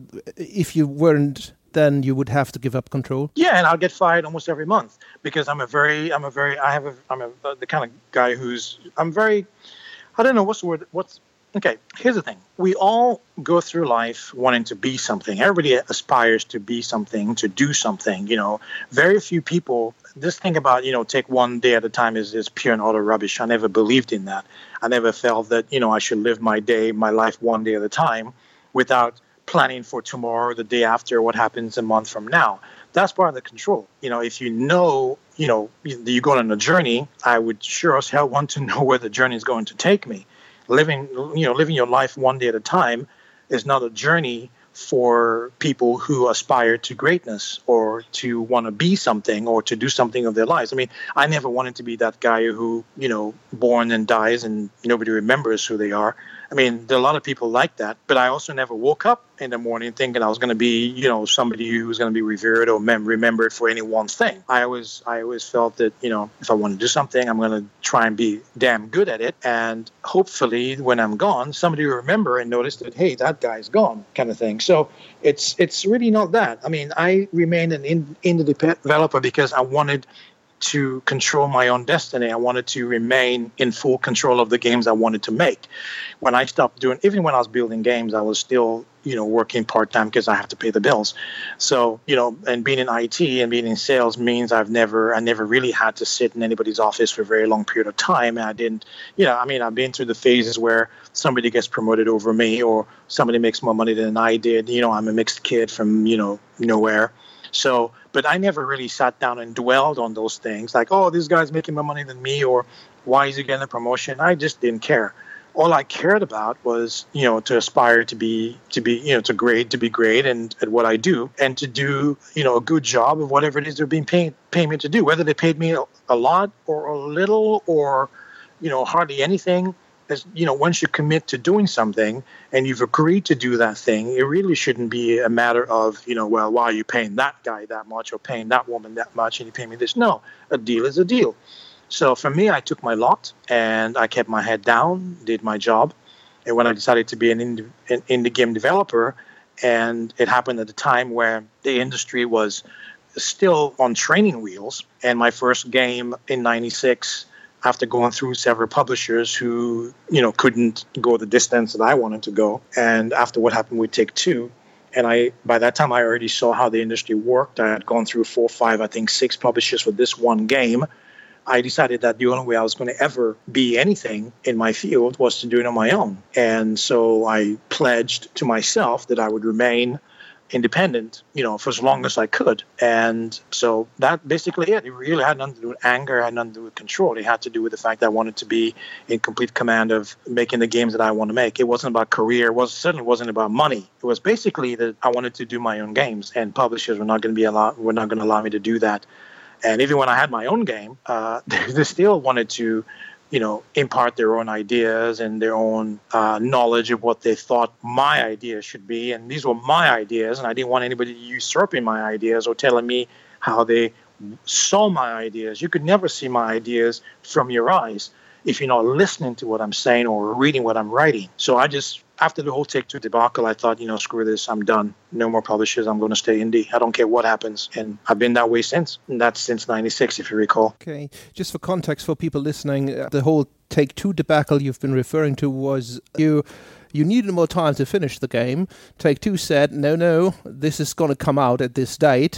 if you weren't, then you would have to give up control. Yeah, and I'll get fired almost every month because I'm a very, I'm a very, I have a, I'm a the kind of guy who's, I'm very, I don't know what's the word. What's okay? Here's the thing: we all go through life wanting to be something. Everybody aspires to be something, to do something. You know, very few people. This thing about, you know, take one day at a time is, is pure and utter rubbish. I never believed in that. I never felt that, you know, I should live my day, my life one day at a time without planning for tomorrow, the day after, what happens a month from now. That's part of the control. You know, if you know, you know, you're going on a journey, I would sure as hell want to know where the journey is going to take me. Living, you know, living your life one day at a time is not a journey for people who aspire to greatness or to want to be something or to do something of their lives. I mean, I never wanted to be that guy who, you know, born and dies and nobody remembers who they are. I mean, there are a lot of people like that, but I also never woke up in the morning thinking I was going to be, you know, somebody who's going to be revered or mem- remembered for any one thing. I always, I always felt that, you know, if I want to do something, I'm going to try and be damn good at it. And hopefully when I'm gone, somebody will remember and notice that, hey, that guy's gone, kind of thing. So it's, it's really not that. I mean, I remained an indie developer because I wanted to control my own destiny. I wanted to remain in full control of the games I wanted to make. When I stopped doing, even when I was building games, I was still, you know, working part-time because I have to pay the bills. So, you know, and being in I T and being in sales means I've never, I never really had to sit in anybody's office for a very long period of time. And I didn't, you know, I mean, I've been through the phases where somebody gets promoted over me or somebody makes more money than I did. You know, I'm a mixed kid from, you know, nowhere. So, but I never really sat down and dwelled on those things like, oh, this guy's making more money than me, or why is he getting a promotion? I just didn't care. All I cared about was, you know, to aspire to be, to be, you know, to grade, to be great and at what I do, and to do, you know, a good job of whatever it is they're being paid, paying me to do, whether they paid me a lot or a little or, you know, hardly anything. As, you know, once you commit to doing something and you've agreed to do that thing, it really shouldn't be a matter of, you know, well, why are you paying that guy that much or paying that woman that much and you pay me this? No, a deal is a deal. So for me, I took my lot and I kept my head down, did my job. And when I decided to be an indie, an indie game developer, and it happened at a time where the industry was still on training wheels, and my first game in ninety-six, after going through several publishers who, you know, couldn't go the distance that I wanted to go. And after what happened with Take-Two, and I, by that time, I already saw how the industry worked. I had gone through four, five, I think six publishers for this one game. I decided that the only way I was going to ever be anything in my field was to do it on my own. And so I pledged to myself that I would remain independent, you know, for as long as I could. And so that basically it. It really had nothing to do with anger, it had nothing to do with control. It had to do with the fact that I wanted to be in complete command of making the games that I want to make. It wasn't about career. It was certainly wasn't about money. It was basically that I wanted to do my own games, and publishers were not going to be allow were not going to allow me to do that. And even when I had my own game, uh, they still wanted to, you know, impart their own ideas and their own uh, knowledge of what they thought my ideas should be. And these were my ideas, and I didn't want anybody usurping my ideas or telling me how they saw my ideas. You could never see my ideas from your eyes if you're not listening to what I'm saying or reading what I'm writing. So I just, after the whole Take-Two debacle, I thought, you know, screw this, I'm done. No more publishers, I'm going to stay indie. I don't care what happens. And I've been that way since. And that's since ninety-six, if you recall. Okay. Just for context for people listening, uh, the whole Take-Two debacle you've been referring to was you you needed more time to finish the game. Take-Two said, no, no, this is going to come out at this date.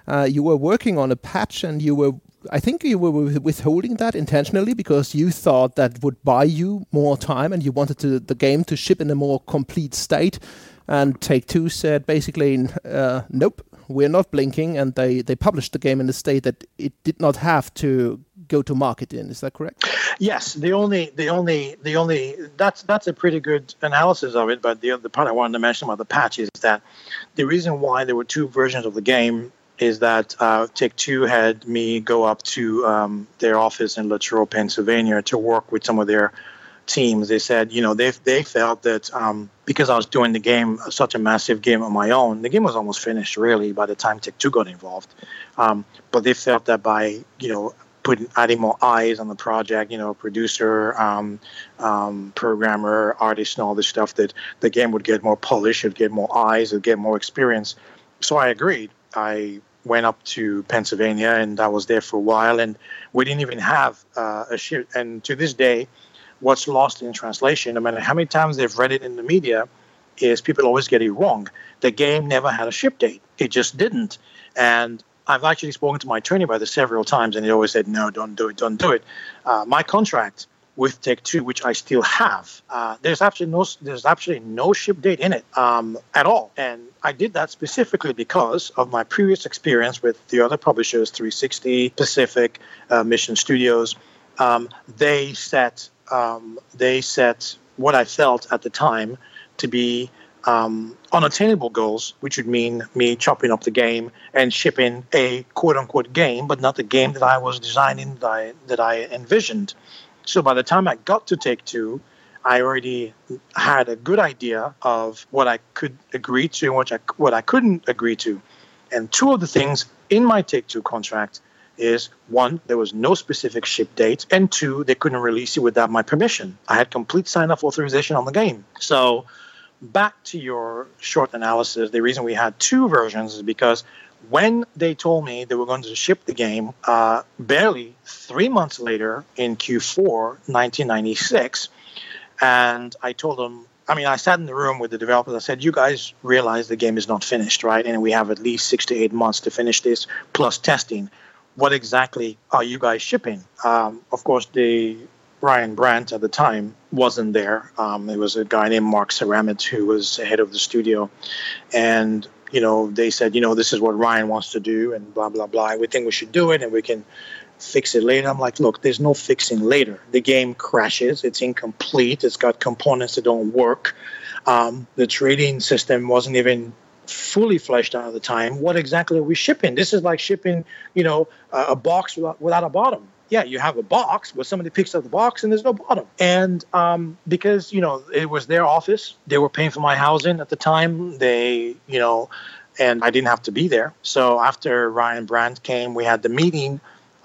uh, you were working on a patch, and you were, I think you were withholding that intentionally because you thought that would buy you more time, and you wanted to, the game to ship in a more complete state. And Take-Two said basically, uh, nope, we're not blinking, and they, they published the game in a state that it did not have to go to market in. Is that correct? Yes, the only, the only, the only that's that's a pretty good analysis of it. But the other part I wanted to mention about the patch is that the reason why there were two versions of the game is that uh, Take-Two had me go up to um, their office in Latrobe, Pennsylvania, to work with some of their teams. They said, you know, they they felt that um, because I was doing the game, such a massive game on my own, the game was almost finished really by the time Take-Two got involved. Um, but they felt that by, you know, putting adding more eyes on the project, you know, producer, um, um, programmer, artist, and all this stuff, that the game would get more polish, it'd get more eyes, it'd get more experience. So I agreed. I went up to Pennsylvania, and I was there for a while, and we didn't even have uh, a ship. And to this day, what's lost in translation, no matter how many times they've read it in the media, is people always get it wrong. The game never had a ship date. It just didn't. And I've actually spoken to my attorney about this several times, and he always said, no, don't do it, don't do it. Uh, my contract with Take-Two, which I still have, uh, there's absolutely no there's absolutely no ship date in it um, at all. And I did that specifically because of my previous experience with the other publishers, three sixty, Pacific, uh, Mission Studios. Um, they set um, they set what I felt at the time to be Um, unattainable goals, which would mean me chopping up the game and shipping a quote-unquote game, but not the game that I was designing, that I, that I envisioned. So by the time I got to Take-Two, I already had a good idea of what I could agree to and what I, what I couldn't agree to. And two of the things in my Take-Two contract is, one, there was no specific ship date, and two, they couldn't release it without my permission. I had complete sign-off authorization on the game. So back to your short analysis, the reason we had two versions is because when they told me they were going to ship the game, uh, barely three months later in Q four nineteen ninety-six, and I told them, I mean, I sat in the room with the developers. I said, you guys realize the game is not finished, right? And we have at least six to eight months to finish this, plus testing. What exactly are you guys shipping? Um, of course, the Ryan Brandt at the time wasn't there. Um, there was a guy named Mark Ceramit who was head of the studio. And, you know, they said, you know, this is what Ryan wants to do and blah, blah, blah. We think we should do it and we can fix it later. I'm like, look, there's no fixing later. The game crashes. It's incomplete. It's got components that don't work. Um, the trading system wasn't even fully fleshed out at the time. What exactly are we shipping? This is like shipping, you know, a, a box without, without a bottom. Yeah, you have a box, but somebody picks up the box and there's no bottom. And um, because, you know, it was their office, they were paying for my housing at the time. They, you know, and I didn't have to be there. So after Ryan Brandt came, we had the meeting.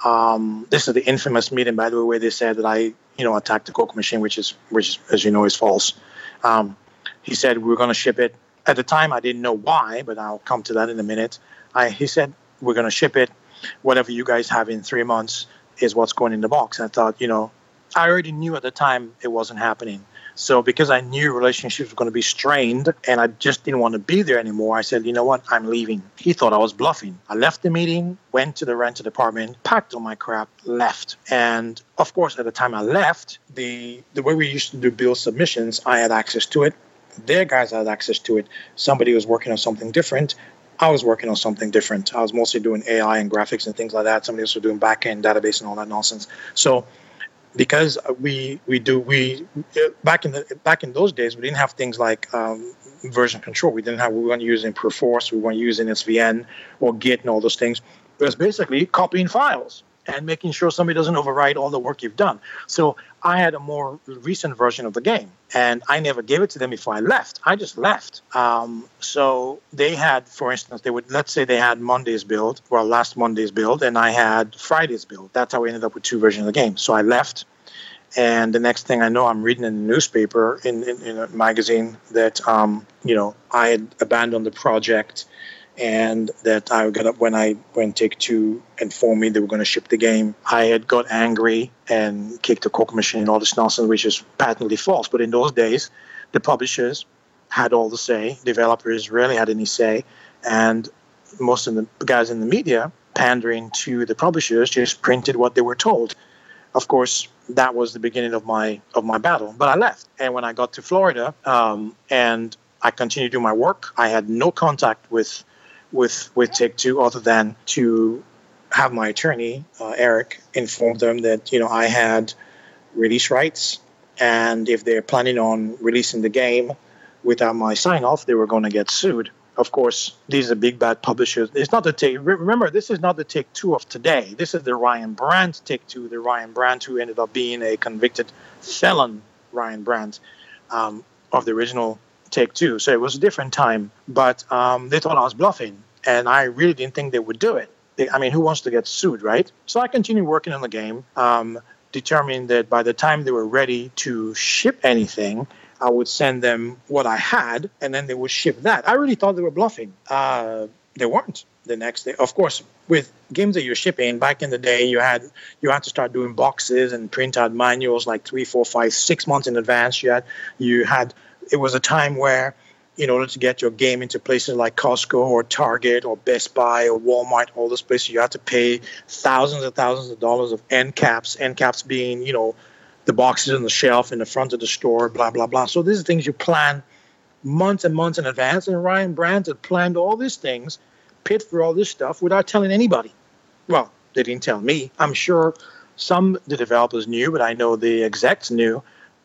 Um, this is the infamous meeting, by the way, where they said that I, you know, attacked the Coke machine, which is, which, as you know, is false. Um, he said we were going to ship it. At the time, I didn't know why, but I'll come to that in a minute. I, he said, we're going to ship it. Whatever you guys have in three months is what's going in the box. And I thought, you know, I already knew at the time it wasn't happening. So because I knew relationships were going to be strained and I just didn't want to be there anymore, I said, you know what, I'm leaving. He thought I was bluffing. I left the meeting, went to the rented apartment, packed all my crap, left. And of course, at the time I left, the, the way we used to do bill submissions, I had access to it. Their guys had access to it. Somebody was working on something different. I was working on something different. I was mostly doing A I and graphics and things like that. Somebody else was doing back-end database and all that nonsense. So because we we do we back in the back in those days, we didn't have things like um, version control. We didn't have we weren't using Perforce, we weren't using S V N or Git and all those things. It was basically copying files and making sure somebody doesn't overwrite all the work you've done. So I had a more recent version of the game, and I never gave it to them before I left. I just left. Um, so they had, for instance, they would, let's say they had Monday's build, well, last Monday's build, and I had Friday's build. That's how we ended up with two versions of the game. So I left, and the next thing I know, I'm reading in the newspaper, in, in, in a magazine, that, um, you know, I had abandoned the project, and that I got up when I when Take-Two informed me they were going to ship the game. I had got angry and kicked the Coke machine and all this nonsense, which is patently false. But in those days, the publishers had all the say. Developers rarely had any say. And most of the guys in the media, pandering to the publishers, just printed what they were told. Of course, that was the beginning of my of my battle. But I left, and when I got to Florida, um, and I continued to do my work, I had no contact with with with Take-Two other than to have my attorney, uh, Eric, inform them that, you know, I had release rights, and if they're planning on releasing the game without my sign-off, they were going to get sued. Of course, these are big bad publishers. It's not the take. Remember, this is not the Take-Two of today. This is the Ryan Brandt Take-Two, the Ryan Brandt who ended up being a convicted felon, Ryan Brandt, um, of the original Take-Two. So it was a different time. But um, they thought I was bluffing, and I really didn't think they would do it. They, I mean, who wants to get sued, right? So I continued working on the game, um, determined that by the time they were ready to ship anything, I would send them what I had, and then they would ship that. I really thought they were bluffing. Uh, they weren't. The next day, of course, with games that you're shipping, back in the day, you had you had to start doing boxes and print out manuals like three, four, five, six months in advance. You had you had. It was a time where, in order to get your game into places like Costco or Target or Best Buy or Walmart, all those places, you had to pay thousands and thousands of dollars of end caps. End caps being, you know, the boxes on the shelf in the front of the store, blah, blah, blah. So these are things you plan months and months in advance. And Ryan Brandt had planned all these things, paid for all this stuff without telling anybody. Well, they didn't tell me. I'm sure some of the developers knew, but I know the execs knew.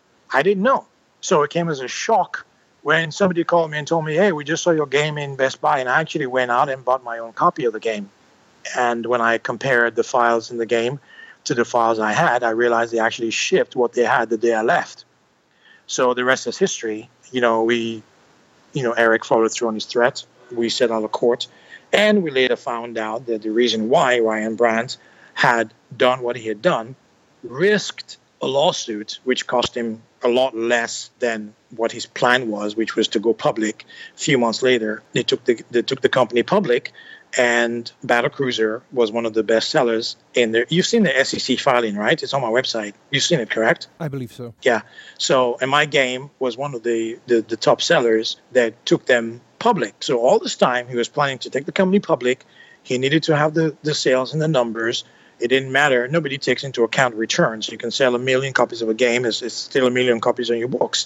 I didn't know. So it came as a shock when somebody called me and told me, hey, we just saw your game in Best Buy. And I actually went out and bought my own copy of the game. And when I compared the files in the game to the files I had, I realized they actually shipped what they had the day I left. So the rest is history. You know, we, you know, Eric followed through on his threat. We set out of court. And we later found out that the reason why Ryan Brandt had done what he had done, risked a lawsuit, which cost him a lot less than what his plan was, which was to go public. A few months later, they took the they took the company public, and Battlecruiser was one of the best sellers in there. You've seen the S E C filing, right? It's on my website. You've seen it, correct? I believe so. Yeah. So, and my game was one of the, the, the top sellers that took them public. So all this time, he was planning to take the company public. He needed to have the, the sales and the numbers. It didn't matter. Nobody takes into account returns. You can sell a million copies of a game. It's, it's still a million copies on your books.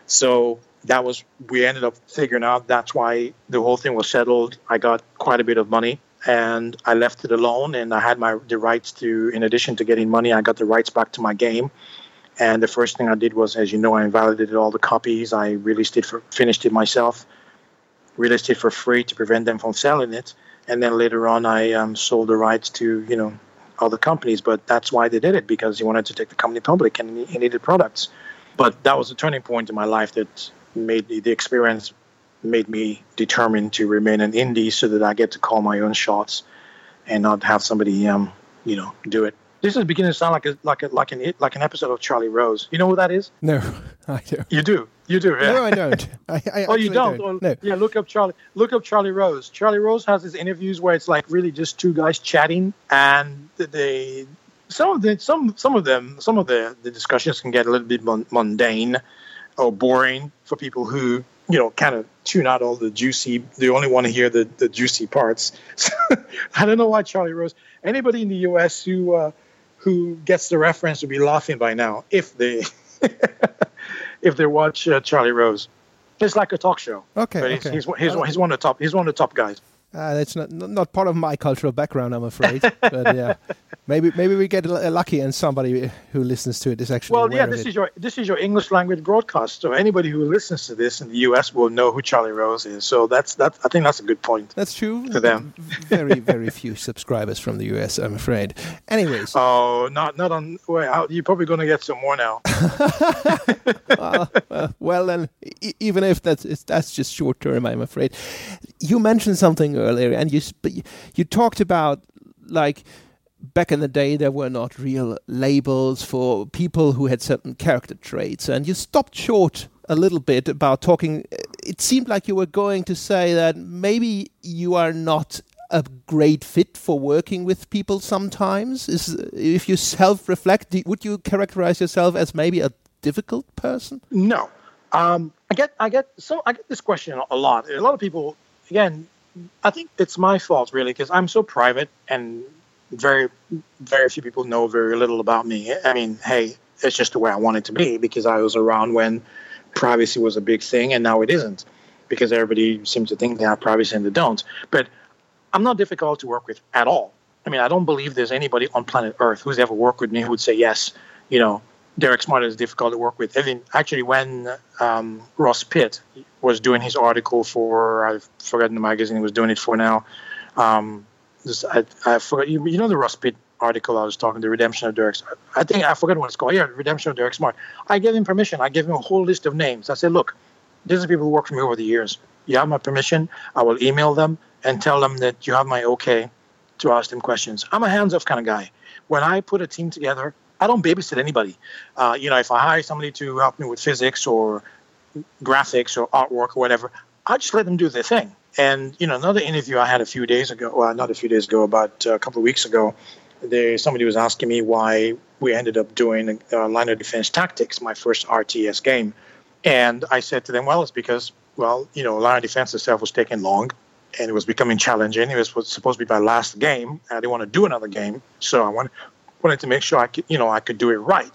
So that was, we ended up figuring out that's why the whole thing was settled. I got quite a bit of money, and I left it alone, and I had my the rights to, in addition to getting money, I got the rights back to my game. And the first thing I did was, as you know, I invalidated all the copies. I released it, for, finished it myself, released it for free to prevent them from selling it. And then later on, I um, sold the rights to, you know, other companies. But that's why they did it, because he wanted to take the company public and he needed products. But that was a turning point in my life that made the, the experience made me determined to remain an indie so that I get to call my own shots and not have somebody, um, you know, do it. This is beginning to sound like a like a like an like an episode of Charlie Rose. You know who that is? No, I don't. You do. You do. Yeah. No, I don't. I, I oh, you don't? don't. Well, no. Yeah, look up Charlie. Look up Charlie Rose. Charlie Rose has his interviews where it's like really just two guys chatting, and they some of the some some of them some of the, the discussions can get a little bit mundane or boring for people who, you know, kind of tune out all the juicy. They only want to hear the, the juicy parts. I don't know why Charlie Rose. Anybody in the U S who uh, who gets the reference will be laughing by now if they if they watch uh, Charlie Rose. It's like a talk show. Okay, but okay. He's, he's, he's, he's one of the top. He's one of the top guys. Uh, that's not not part of my cultural background, I'm afraid. But yeah, maybe maybe we get l- lucky and somebody who listens to it is actually well. aware Yeah, of this it. is your this is your English language broadcast. So anybody who listens to this in the U S will know who Charlie Rose is. So that's that. I think that's a good point. That's true. To them. very very few subscribers from the U S, I'm afraid. Anyways. Oh, not not on. Well, you're probably going to get some more now. uh, uh, well, then, e- even if that's it's, that's just short term, I'm afraid. You mentioned something earlier, and you sp- you talked about like back in the day there were not real labels for people who had certain character traits, and you stopped short a little bit about talking. It seemed like you were going to say that maybe you are not a great fit for working with people sometimes. Is if you self-reflect, would you characterize yourself as maybe a difficult person? No, um, I get I get so I get this question a lot. A lot of people, again, I think it's my fault, really, because I'm so private and very, very few people know very little about me. I mean, hey, it's just the way I want it to be because I was around when privacy was a big thing and now it isn't because everybody seems to think they have privacy and they don't. But I'm not difficult to work with at all. I mean, I don't believe there's anybody on planet Earth who's ever worked with me who would say, yes, you know, Derek Smart is difficult to work with. I mean, actually, when um, Ross Pitt was doing his article for, I've forgotten the magazine he was doing it for now. Um, this, I, I forgot, you, you know the Ross Pitt article I was talking, The Redemption of Derek Smart. I think, I forgot what it's called. Yeah, Redemption of Derek Smart. I gave him permission. I gave him a whole list of names. I said, look, these are people who worked for me over the years. You have my permission. I will email them and tell them that you have my okay to ask them questions. I'm a hands-off kind of guy. When I put a team together, I don't babysit anybody. Uh, you know, if I hire somebody to help me with physics or graphics or artwork or whatever, I just let them do their thing. And, you know, another interview I had a few days ago, well, not a few days ago, about a couple of weeks ago, there somebody was asking me why we ended up doing uh, Line of Defense Tactics, my first R T S game. And I said to them, well, it's because, well, you know, Line of Defense itself was taking long. And it was becoming challenging. It was, was supposed to be my last game. I didn't want to do another game, so I wanted, wanted to make sure I could, you know, I could do it right.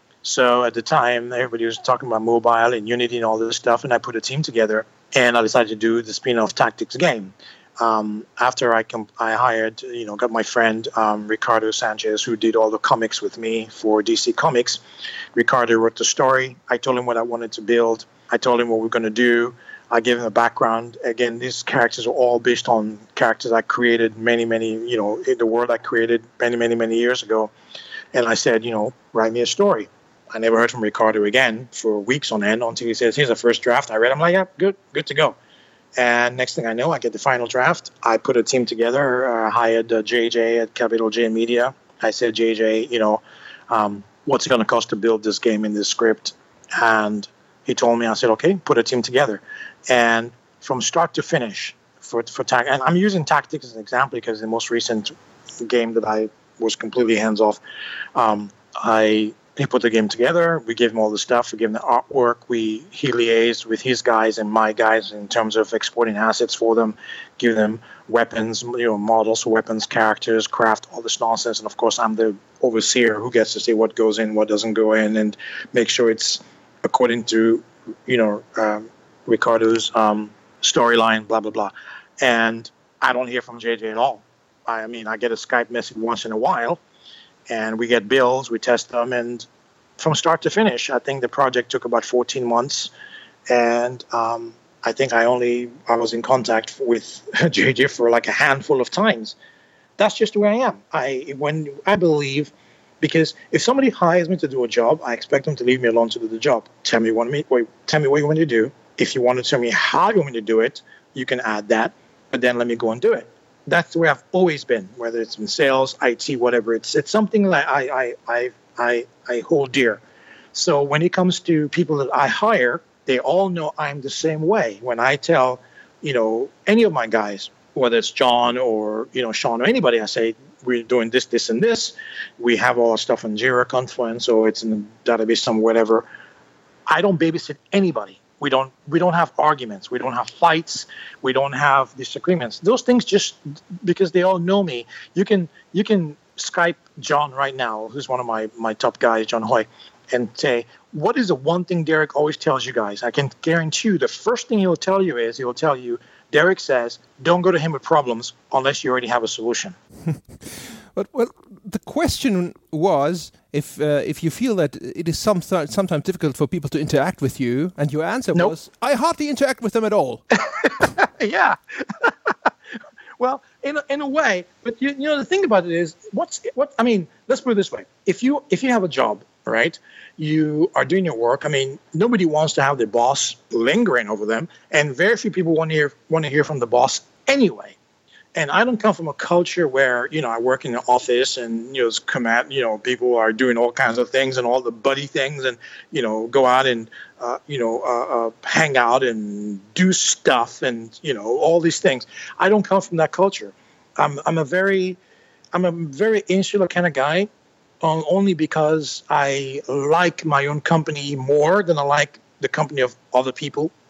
So at the time, everybody was talking about mobile and Unity and all this stuff, and I put a team together, and I decided to do the spin-off Tactics game. Um, after I comp- I hired, you know, got my friend um, Ricardo Sanchez, who did all the comics with me for D C Comics. Ricardo wrote the story. I told him what I wanted to build. I told him what we we're going to do. I gave him a background. Again, these characters are all based on characters I created many, many, you know, in the world I created many, many, many years ago. And I said, you know, write me a story. I never heard from Ricardo again for weeks on end until he says, here's a first draft. I read it. I'm like, yeah, good, good to go. And next thing I know, I get the final draft. I put a team together, uh, hired uh, J J at Capital J Media. I said, J J, you know, um, what's it going to cost to build this game in this script? And he told me, I said, okay, put a team together. And from start to finish, for for tac- and I'm using Tactics as an example because the most recent game that I was completely hands off, um, I he put the game together. We gave him all the stuff. We gave him the artwork. We he liaised with his guys and my guys in terms of exporting assets for them, give them weapons, you know, models, weapons, characters, craft, all this nonsense. And of course, I'm the overseer who gets to say what goes in, what doesn't go in, and make sure it's according to, you know. Um, Ricardo's um, storyline, blah, blah, blah. And I don't hear from J J at all. I mean, I get a Skype message once in a while, and we get bills, we test them, and from start to finish, I think the project took about fourteen months, and um, I think I only, I was in contact with J J for like a handful of times. That's just the way I am. I, when I believe, because if somebody hires me to do a job, I expect them to leave me alone to do the job. Tell me what, wait, tell me what you want to do. If you want to tell me how you want me to do it, you can add that, but then let me go and do it. That's the way I've always been, whether it's in sales, I T, whatever. It's it's something that I I I I, I hold dear. So when it comes to people that I hire, they all know I'm the same way. When I tell, you know, any of my guys, whether it's John or, you know, Sean or anybody, I say, we're doing this, this, and this. We have all our stuff in Jira, Confluence, or it's in the database somewhere, whatever. I don't babysit anybody. We don't we don't have arguments. We don't have fights. We don't have disagreements. Those things just because they all know me. You can you can Skype John right now, who's one of my, my top guys, John Hoy, and say, what is the one thing Derek always tells you guys? I can guarantee you the first thing he'll tell you is he'll tell you, Derek says, don't go to him with problems unless you already have a solution. But well, the question was if uh, if you feel that it is some, sometimes difficult for people to interact with you, and your answer nope. was, I hardly interact with them at all. Yeah. Well, in a, in a way, but you, you know the thing about it is, what's what? I mean, let's put it this way: if you if you have a job, right, you are doing your work. I mean, nobody wants to have their boss lingering over them, and very few people want to hear want to hear from the boss anyway. And I don't come from a culture where, you know, I work in an office and, you know, command, you know, people are doing all kinds of things and all the buddy things and, you know, go out and, uh, you know, uh, uh, hang out and do stuff and, you know, all these things. I don't come from that culture. I'm I'm a very, I'm a very insular kind of guy, um, only because I like my own company more than I like the company of other people.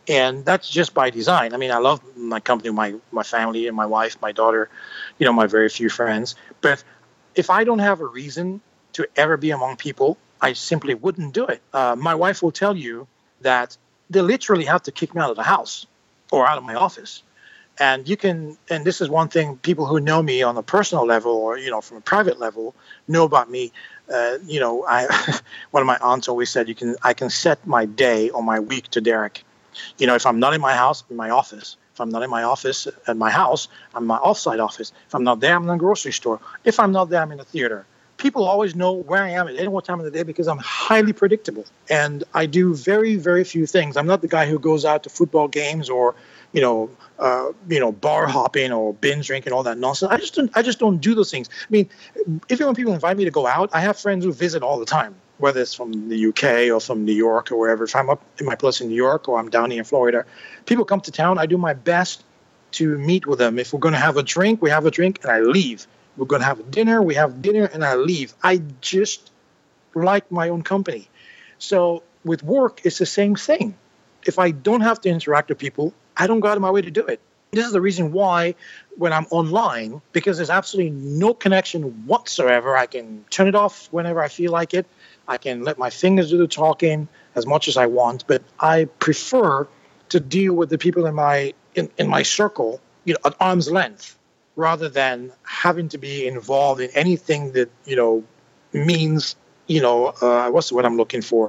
And that's just by design. I mean, I love my company, my my family, and my wife, my daughter, you know, my very few friends. But if I don't have a reason to ever be among people, I simply wouldn't do it. Uh, my wife will tell you that they literally have to kick me out of the house or out of my office. And you can, and this is one thing people who know me on a personal level or, you know, from a private level know about me. Uh, you know, I one of my aunts always said, you can, I can set my day or my week to Derek. You know, if I'm not in my house, in my office. If I'm not in my office at my house, I'm in my offsite office. If I'm not there, I'm in the grocery store. If I'm not there, I'm in the theater. People always know where I am at any one time of the day because I'm highly predictable. And I do very, very few things. I'm not the guy who goes out to football games or, you know, uh, you know, bar hopping or binge drinking, all that nonsense. I just don't, I just don't do those things. I mean, even when people invite me to go out, I have friends who visit all the time, whether it's from the U K or from New York or wherever. If I'm up in my place in New York or I'm down here in Florida, people come to town. I do my best to meet with them. If we're going to have a drink, we have a drink and I leave. We're going to have a dinner, we have dinner, and I leave. I just like my own company. So with work, it's the same thing. If I don't have to interact with people, I don't go out of my way to do it. This is the reason why when I'm online, because there's absolutely no connection whatsoever, I can turn it off whenever I feel like it. I can let my fingers do the talking as much as I want, but I prefer to deal with the people in my in, in my circle, you know, at arm's length, rather than having to be involved in anything that, you know, means, you know, uh, what's the word I'm looking for?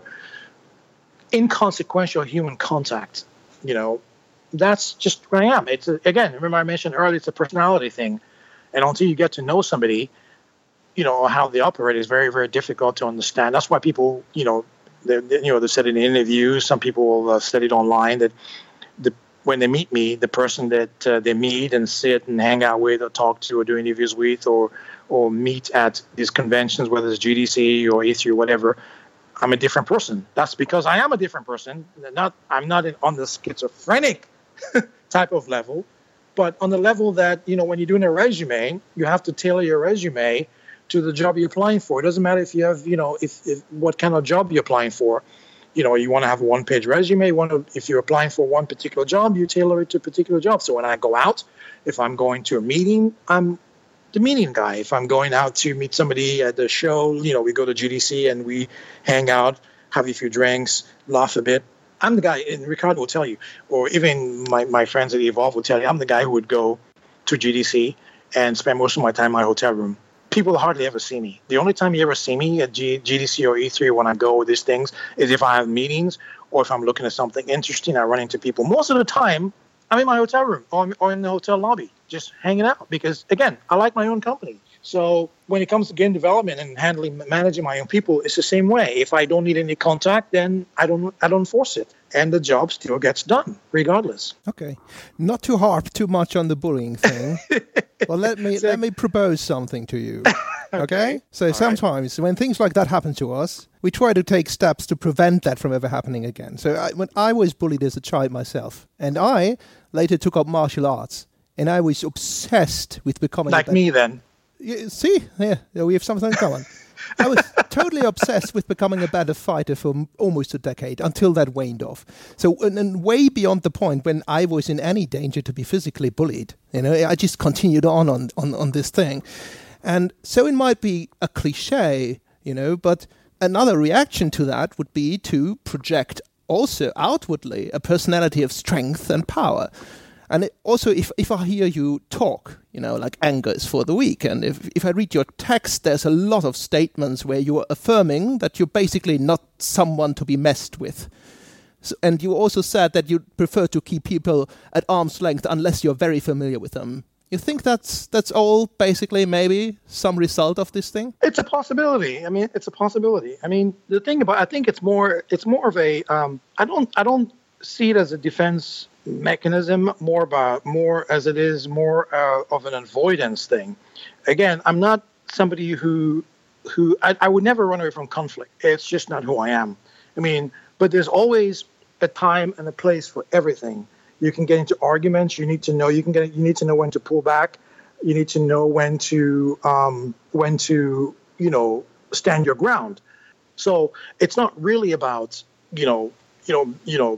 Inconsequential human contact. You know, that's just where I am. It's, a, again, remember I mentioned earlier, it's a personality thing. And until you get to know somebody, you know, how they operate is very, very difficult to understand. That's why people, you know, they, they, you know, they said in interviews, some people have said it online that the when they meet me, the person that uh, they meet and sit and hang out with or talk to or do interviews with or or meet at these conventions, whether it's G D C or E three or whatever, I'm a different person. That's because I am a different person. Not I'm not in, on the schizophrenic type of level, but on the level that, you know, when you're doing a resume, you have to tailor your resume to the job you're applying for. It doesn't matter if you have, you know, if, if what kind of job you're applying for. You know, you want to have a one-page resume. You want to, if you're applying for one particular job, you tailor it to a particular job. So when I go out, if I'm going to a meeting, I'm the meeting guy. If I'm going out to meet somebody at the show, you know, we go to G D C and we hang out, have a few drinks, laugh a bit. I'm the guy, and Ricardo will tell you, or even my, my friends at Evolve will tell you, I'm the guy who would go to G D C and spend most of my time in my hotel room. People hardly ever see me. The only time you ever see me at G- GDC or E three when I go with these things is if I have meetings or if I'm looking at something interesting, I run into people. Most of the time, I'm in my hotel room or, or in the hotel lobby, just hanging out because, again, I like my own company. So when it comes to game development and handling, managing my own people, it's the same way. If I don't need any contact, then I don't, I don't force it, and the job still gets done, regardless. Okay, not to harp too much on the bullying thing. Well, let me let me propose something to you. Okay, okay? So All sometimes right. when things like that happen to us, we try to take steps to prevent that from ever happening again. So I, when I was bullied as a child myself, and I later took up martial arts, and I was obsessed with becoming like a me then. You see, yeah, we have something in common. I was totally obsessed with becoming a better fighter for m- almost a decade until that waned off. So, and, and way beyond the point when I was in any danger to be physically bullied, you know, I just continued on on, on, on this thing. And so it might be a cliche, you know, but another reaction to that would be to project also outwardly a personality of strength and power. And it also, if, if I hear you talk, you know, like anger is for the weak, and if, if I read your text, there's a lot of statements where you are affirming that you're basically not someone to be messed with. So, and you also said that you prefer to keep people at arm's length unless you're very familiar with them. You think that's that's all basically maybe some result of this thing? It's a possibility. I mean, it's a possibility. I mean, the thing about, I think it's more, it's more of a, um, I don't, I don't see it as a defense mechanism, more about more as it is more uh, of an avoidance thing. Again, I'm not somebody who who I, I would never run away from conflict. It's just not who I am. I mean, but there's always a time and a place for everything. You can get into arguments. You need to know. You can get. You need to know when to pull back. You need to know when to um, when to you know stand your ground. So it's not really about you know you know you know.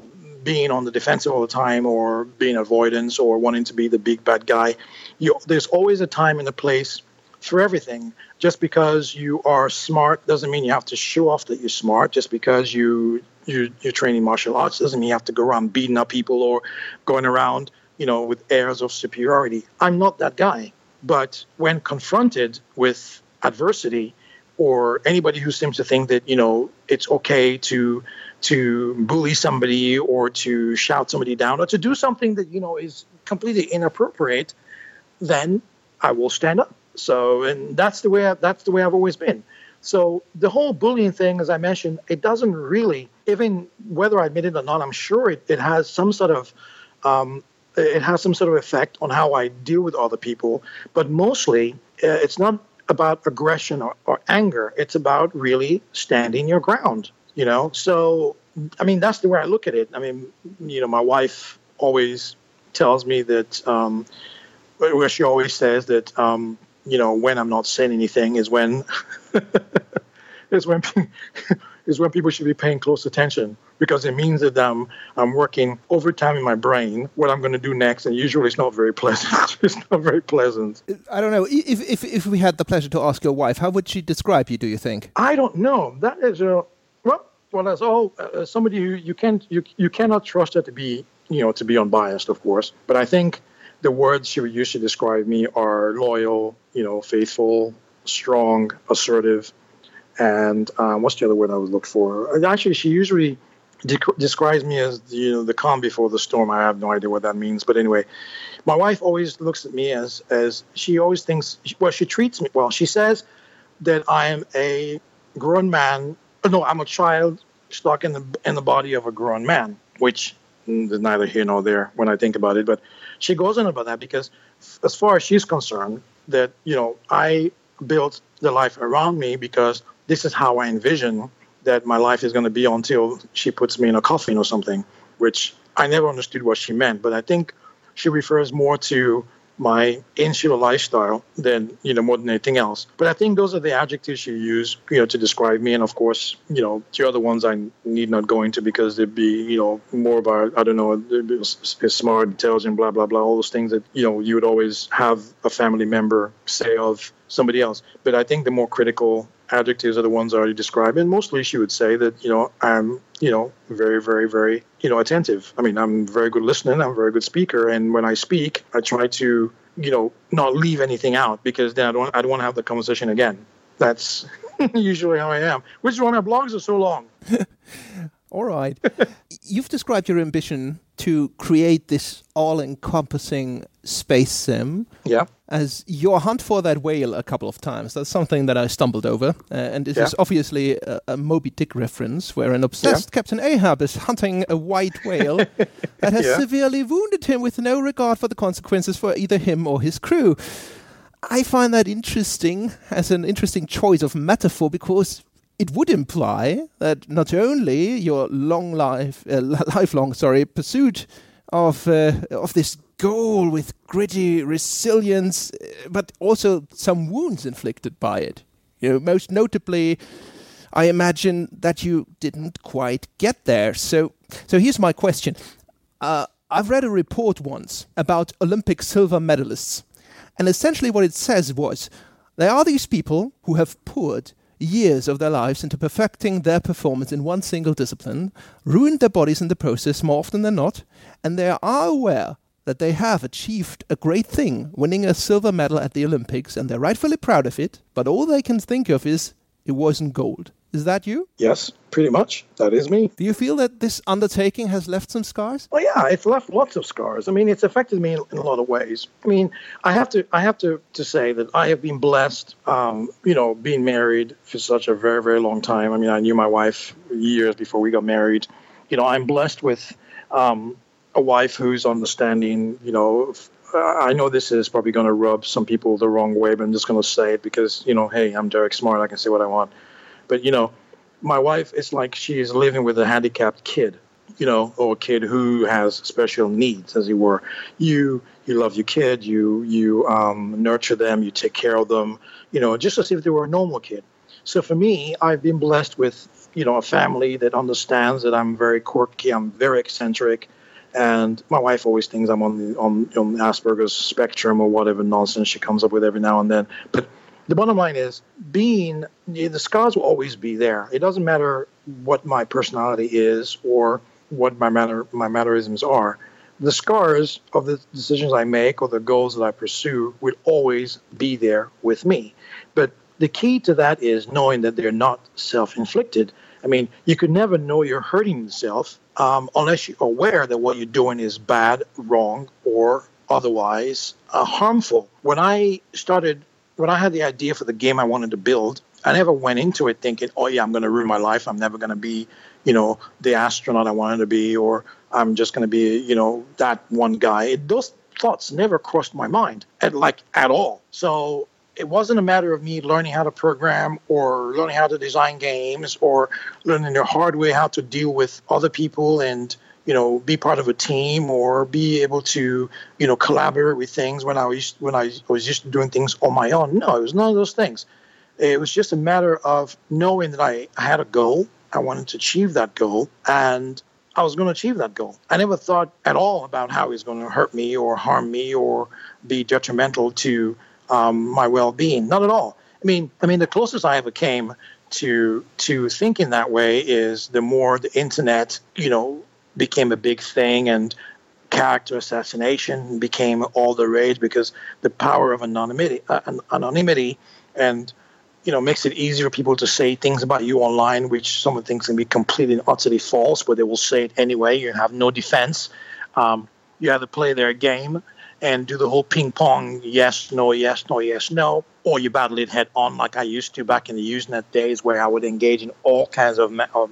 being on the defensive all the time or being avoidance or wanting to be the big bad guy. You, there's always a time and a place for everything. Just because you are smart doesn't mean you have to show off that you're smart. Just because you, you, you're training martial arts doesn't mean you have to go around beating up people or going around, you know, with airs of superiority. I'm not that guy. But when confronted with adversity, or anybody who seems to think that, you know, it's okay to to bully somebody or to shout somebody down or to do something that, you know, is completely inappropriate, then I will stand up. So, and that's the way I, that's the way I've always been. So the whole bullying thing, as I mentioned, it doesn't really, even whether I admit it or not, I'm sure it, it has some sort of um, it has some sort of effect on how I deal with other people. But mostly, uh, it's not about aggression or, or anger. It's about really standing your ground, you know? So, I mean, that's the way I look at it. I mean, you know, my wife always tells me that, um, where she always says that, um, you know, when I'm not saying anything is when, is when, is when people should be paying close attention, because it means that um, I'm working overtime in my brain what I'm going to do next, and usually it's not very pleasant. It's not very pleasant. I don't know. If, if if we had the pleasure to ask your wife, how would she describe you, do you think? I don't know. That is a, well, well, as all, uh, somebody who you can't, you, you cannot trust her to be, you know, to be unbiased, of course. But I think the words she would use to describe me are loyal, you know, faithful, strong, assertive, and um, what's the other word I would look for? And actually, she usually de- describes me as, you know, the calm before the storm. I have no idea what that means, but anyway, my wife always looks at me as as she always thinks. Well, she treats me well. She says that I am a grown man. No, I'm a child stuck in the in the body of a grown man, which is neither here nor there when I think about it. But she goes on about that because, as far as she's concerned, that, you know, I built the life around me because this is how I envision that my life is going to be until she puts me in a coffin or something, which I never understood what she meant. But I think she refers more to my insular lifestyle than, you know, more than anything else. But I think those are the adjectives she used, you know, to describe me. And of course, you know, the other ones I need not go into because they'd be, you know, more about, I don't know, smart, intelligent, blah, blah, blah, all those things that, you know, you would always have a family member say of somebody else. But I think the more critical adjectives are the ones I already described. And mostly she would say that, you know, I'm, you know, very, very, very, you know, attentive. I mean, I'm very good listening. I'm a very good speaker. And when I speak, I try to, you know, not leave anything out because then I don't, I don't want to have the conversation again. That's usually how I am, which is why my blogs are so long. All right. You've described your ambition to create this all-encompassing space sim. Yeah. As your hunt for that whale a couple of times. That's something that I stumbled over. Uh, and this yeah. is obviously a, a Moby Dick reference where an obsessed yeah. Captain Ahab is hunting a white whale that has yeah. severely wounded him with no regard for the consequences for either him or his crew. I find that interesting as an interesting choice of metaphor because it would imply that not only your long life, uh, lifelong, sorry, pursuit of uh, of this goal with gritty resilience, but also some wounds inflicted by it. You know, most notably, I imagine that you didn't quite get there. So, so here's my question: uh, I've read a report once about Olympic silver medalists, and essentially what it says was, there are these people who have poured years of their lives into perfecting their performance in one single discipline, ruined their bodies in the process more often than not, and they are aware that they have achieved a great thing, winning a silver medal at the Olympics, and they're rightfully proud of it, but all they can think of is, it wasn't gold. Is that you? Yes, pretty much. That is me. Do you feel that this undertaking has left some scars? Well, yeah, it's left lots of scars. I mean, it's affected me in, in a lot of ways. I mean, I have to I have to, to say that I have been blessed, um, you know, being married for such a very, very long time. I mean, I knew my wife years before we got married. You know, I'm blessed with um, a wife who's understanding, you know. I know this is probably going to rub some people the wrong way, but I'm just going to say it because, you know, hey, I'm Derek Smart. I can say what I want. But, you know, my wife, it's like she's living with a handicapped kid, you know, or a kid who has special needs, as it were. You you love your kid, you you um, nurture them, you take care of them, you know, just as if they were a normal kid. So for me, I've been blessed with you know, a family that understands that I'm very quirky, I'm very eccentric, and my wife always thinks I'm on the on, on Asperger's spectrum or whatever nonsense she comes up with every now and then. But the bottom line is, being the scars will always be there. It doesn't matter what my personality is or what my manner my mannerisms are. The scars of the decisions I make or the goals that I pursue will always be there with me. But the key to that is knowing that they're not self-inflicted. I mean, you could never know you're hurting yourself um, unless you're aware that what you're doing is bad, wrong, or otherwise uh, harmful. When I started, when I had the idea for the game I wanted to build, I never went into it thinking, oh yeah, I'm going to ruin my life. I'm never going to be, you know, the astronaut I wanted to be, or I'm just going to be, you know, that one guy. It, those thoughts never crossed my mind, at, like at all. So it wasn't a matter of me learning how to program or learning how to design games or learning the hard way how to deal with other people and, you know, be part of a team or be able to, you know, collaborate with things when I was when I was used to doing things on my own. No, it was none of those things. It was just a matter of knowing that I had a goal. I wanted to achieve that goal, and I was going to achieve that goal. I never thought at all about how it was going to hurt me or harm me or be detrimental to um, my well-being. Not at all. I mean, I mean, the closest I ever came to to thinking that way is the more the internet, you know, became a big thing and character assassination became all the rage because the power of anonymity, uh, anonymity, and you know, makes it easier for people to say things about you online, which some of the things can be completely and utterly false, but they will say it anyway. You have no defense. Um, you have to play their game and do the whole ping pong, yes, no, yes, no, yes, no, or you battle it head on like I used to back in the Usenet days where I would engage in all kinds of, of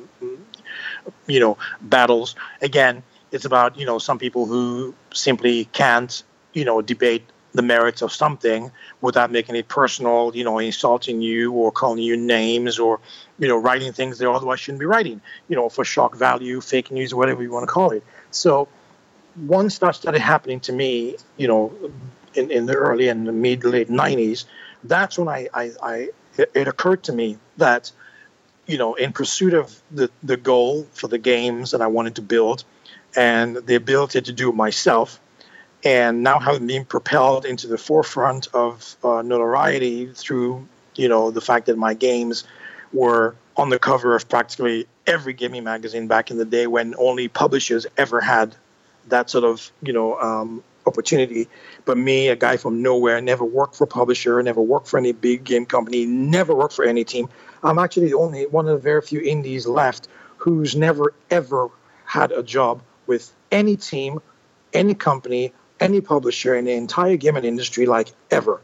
you know, battles. Again, it's about, you know, some people who simply can't, you know, debate the merits of something without making it personal, you know, insulting you or calling you names or, you know, writing things they otherwise shouldn't be writing, you know, for shock value, fake news, whatever you want to call it. So once that started happening to me, you know, in, in the early and the mid late nineties, that's when I, I, I it, it occurred to me that, you know, in pursuit of the, the goal for the games that I wanted to build and the ability to do it myself, and now having been propelled into the forefront of uh, notoriety through, you know, the fact that my games were on the cover of practically every gaming magazine back in the day when only publishers ever had that sort of, you know, um, opportunity. But me, a guy from nowhere, never worked for a publisher, never worked for any big game company, never worked for any team. I'm actually the only one of the very few indies left who's never, ever had a job with any team, any company, any publisher in the entire gaming industry, like ever.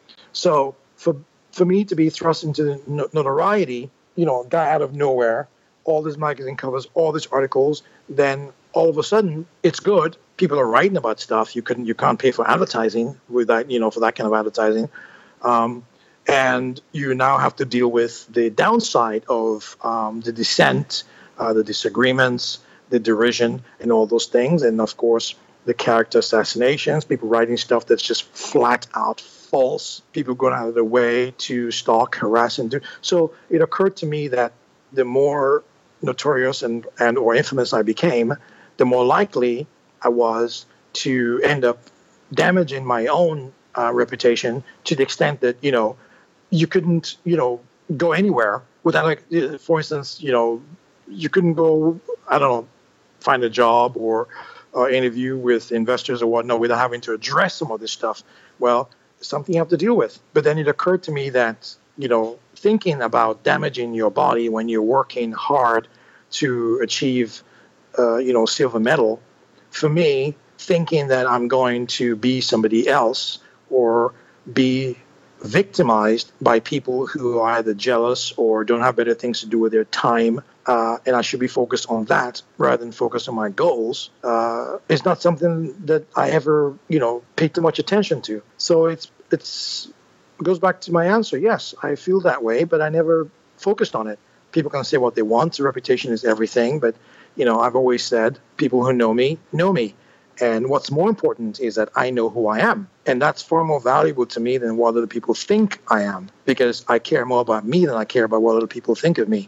So for for me to be thrust into notoriety, you know, a guy out of nowhere, all these magazine covers, all these articles, then all of a sudden it's good. People are writing about stuff. You couldn't, you can't pay for advertising with that, you know, for that kind of advertising. Um, and you now have to deal with the downside of um, the dissent, uh, the disagreements, the derision, and all those things. And of course, the character assassinations, people writing stuff that's just flat out false, people going out of their way to stalk, harass, and do. So it occurred to me that the more notorious and, and or infamous I became, the more likely I was to end up damaging my own uh, reputation to the extent that, you know, you couldn't, you know, go anywhere without, like, for instance, you know, you couldn't go, I don't know, find a job or Uh, interview with investors or whatnot without having to address some of this stuff. Well, it's something you have to deal with. But then it occurred to me that, you know, thinking about damaging your body when you're working hard to achieve, uh, you know, silver medal, for me, thinking that I'm going to be somebody else or be victimized by people who are either jealous or don't have better things to do with their time, uh, and I should be focused on that rather than focus on my goals, uh, is not something that I ever, you know, paid too much attention to. So it's it's it goes back to my answer. Yes, I feel that way, but I never focused on it. People can say what they want. The reputation is everything, but, you know, I've always said people who know me know me. And what's more important is that I know who I am. And that's far more valuable to me than what other people think I am, because I care more about me than I care about what other people think of me.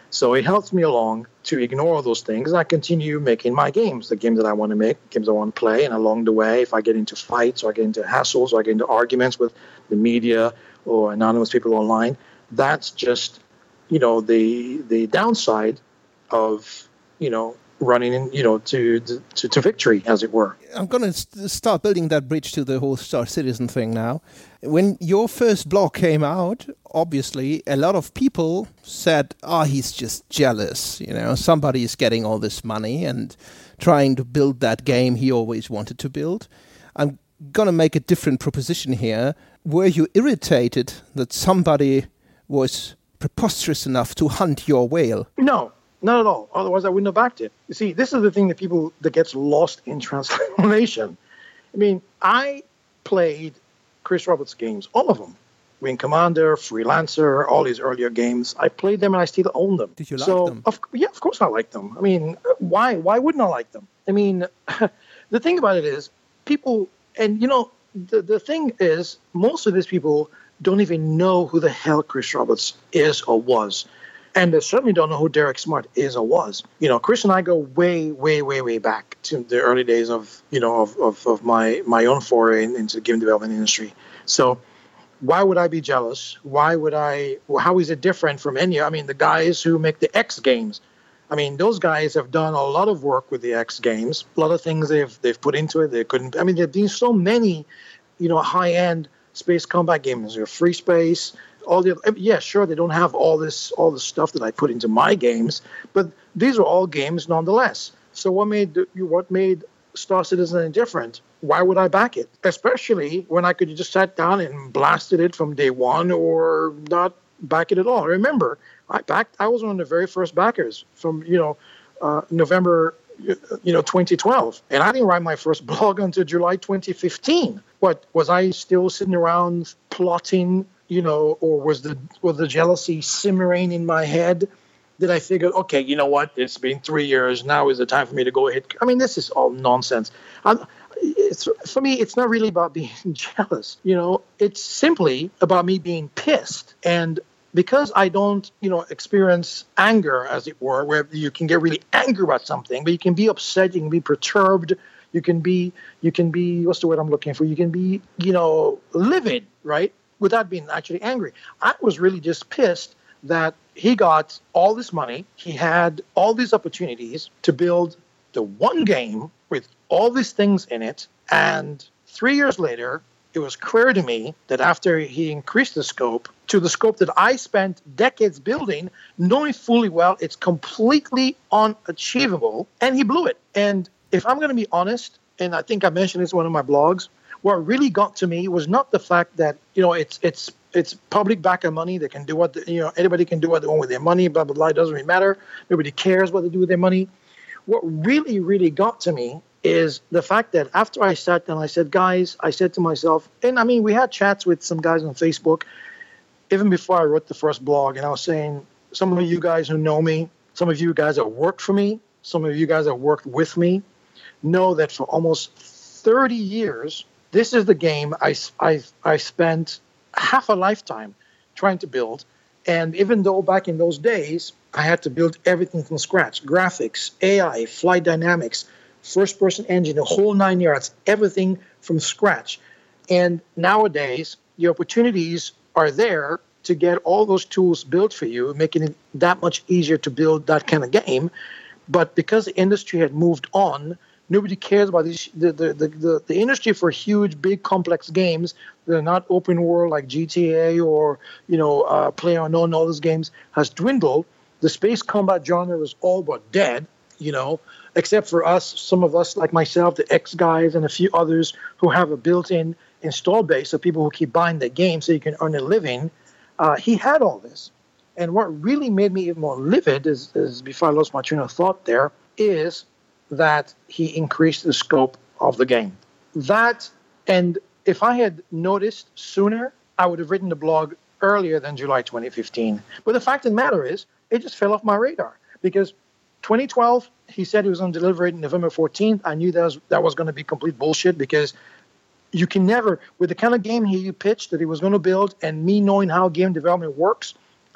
So it helps me along to ignore all those things. I continue making my games, the games that I want to make, games I want to play. And along the way, if I get into fights or I get into hassles or I get into arguments with the media or anonymous people online, that's just, you know, the the downside of, you know, running in, you know, to, to to victory, as it were. I'm going to st- start building that bridge to the whole Star Citizen thing now. When your first blog came out, obviously a lot of people said, oh, he's just jealous. You know, somebody is getting all this money and trying to build that game he always wanted to build. I'm going to make a different proposition here. Were you irritated that somebody was preposterous enough to hunt your whale? No. Not at all. Otherwise, I wouldn't have backed it. You see, this is the thing that people that gets lost in translation. I mean, I played Chris Roberts games, all of them. Wing Commander, Freelancer, all these earlier games. I played them and I still own them. Did you like so, them? Of, yeah, of course I like them. I mean, why? Why wouldn't I like them? I mean, the thing about it is, people, and you know, the, the thing is, most of these people don't even know who the hell Chris Roberts is or was. And they certainly don't know who Derek Smart is or was. You know, Chris and I go way, way, way, way back to the early days of, you know, of, of, of my, my own foray into the game development industry. So why would I be jealous? Why would I, how is it different from any, I mean, the guys who make the X games, I mean, those guys have done a lot of work with the X games, a lot of things they've, they've put into it. They couldn't, I mean, there've been so many, you know, high-end space combat games, you know, Free Space, all the yeah, sure, they don't have all this all the stuff that I put into my games, but these are all games nonetheless. So what made what made Star Citizen different? Why would I back it? Especially when I could have just sat down and blasted it from day one or not back it at all. Remember, I backed. I was one of the very first backers from you know uh, November you know twenty twelve, and I didn't write my first blog until July twenty fifteen. What was I still sitting around plotting? You know, or was the was the jealousy simmering in my head? Did I figure, okay, you know what? It's been three years. Now is the time for me to go ahead. I mean, this is all nonsense. I'm, it's for me. It's not really about being jealous. You know, it's simply about me being pissed. And because I don't, you know, experience anger, as it were, where you can get really angry about something, but you can be upset, you can be perturbed, you can be, you can be. What's the word I'm looking for? You can be, you know, livid, right? Without being actually angry. I was really just pissed that he got all this money. He had all these opportunities to build the one game with all these things in it. And three years later, it was clear to me that after he increased the scope to the scope that I spent decades building, knowing fully well it's completely unachievable, and he blew it. And if I'm going to be honest, and I think I mentioned this in one of my blogs, what really got to me was not the fact that, you know, it's it's it's public backer money. They can do what, the, you know, anybody can do what they want with their money, blah, blah, blah. It doesn't really matter. Nobody cares what they do with their money. What really, really got to me is the fact that after I sat down, I said, guys, I said to myself, and I mean, we had chats with some guys on Facebook, even before I wrote the first blog, and I was saying, some of you guys who know me, some of you guys that worked for me, some of you guys that worked with me, know that for almost thirty years, this is the game I, I, I spent half a lifetime trying to build. And even though back in those days, I had to build everything from scratch, graphics, A I, flight dynamics, first-person engine, the whole nine yards, everything from scratch. And nowadays, the opportunities are there to get all those tools built for you, making it that much easier to build that kind of game. But because the industry had moved on, nobody cares about this, the, the, the, the, the industry for huge, big, complex games that are not open world like G T A or, you know, uh, PlayerUnknown, all those games has dwindled. The space combat genre was all but dead, you know, except for us, some of us like myself, the X guys and a few others who have a built-in install base of people who keep buying the game so you can earn a living. Uh, he had all this. And what really made me even more livid is, is before I lost my train of thought there, is that he increased the scope of the game. That, and if I had noticed sooner, I would have written the blog earlier than July twenty fifteen. But the fact of the matter is, it just fell off my radar. Because twenty twelve, he said he was going to deliver it November fourteenth. I knew that was, that was going to be complete bullshit, because you can never, with the kind of game he pitched that he was going to build, and me knowing how game development works,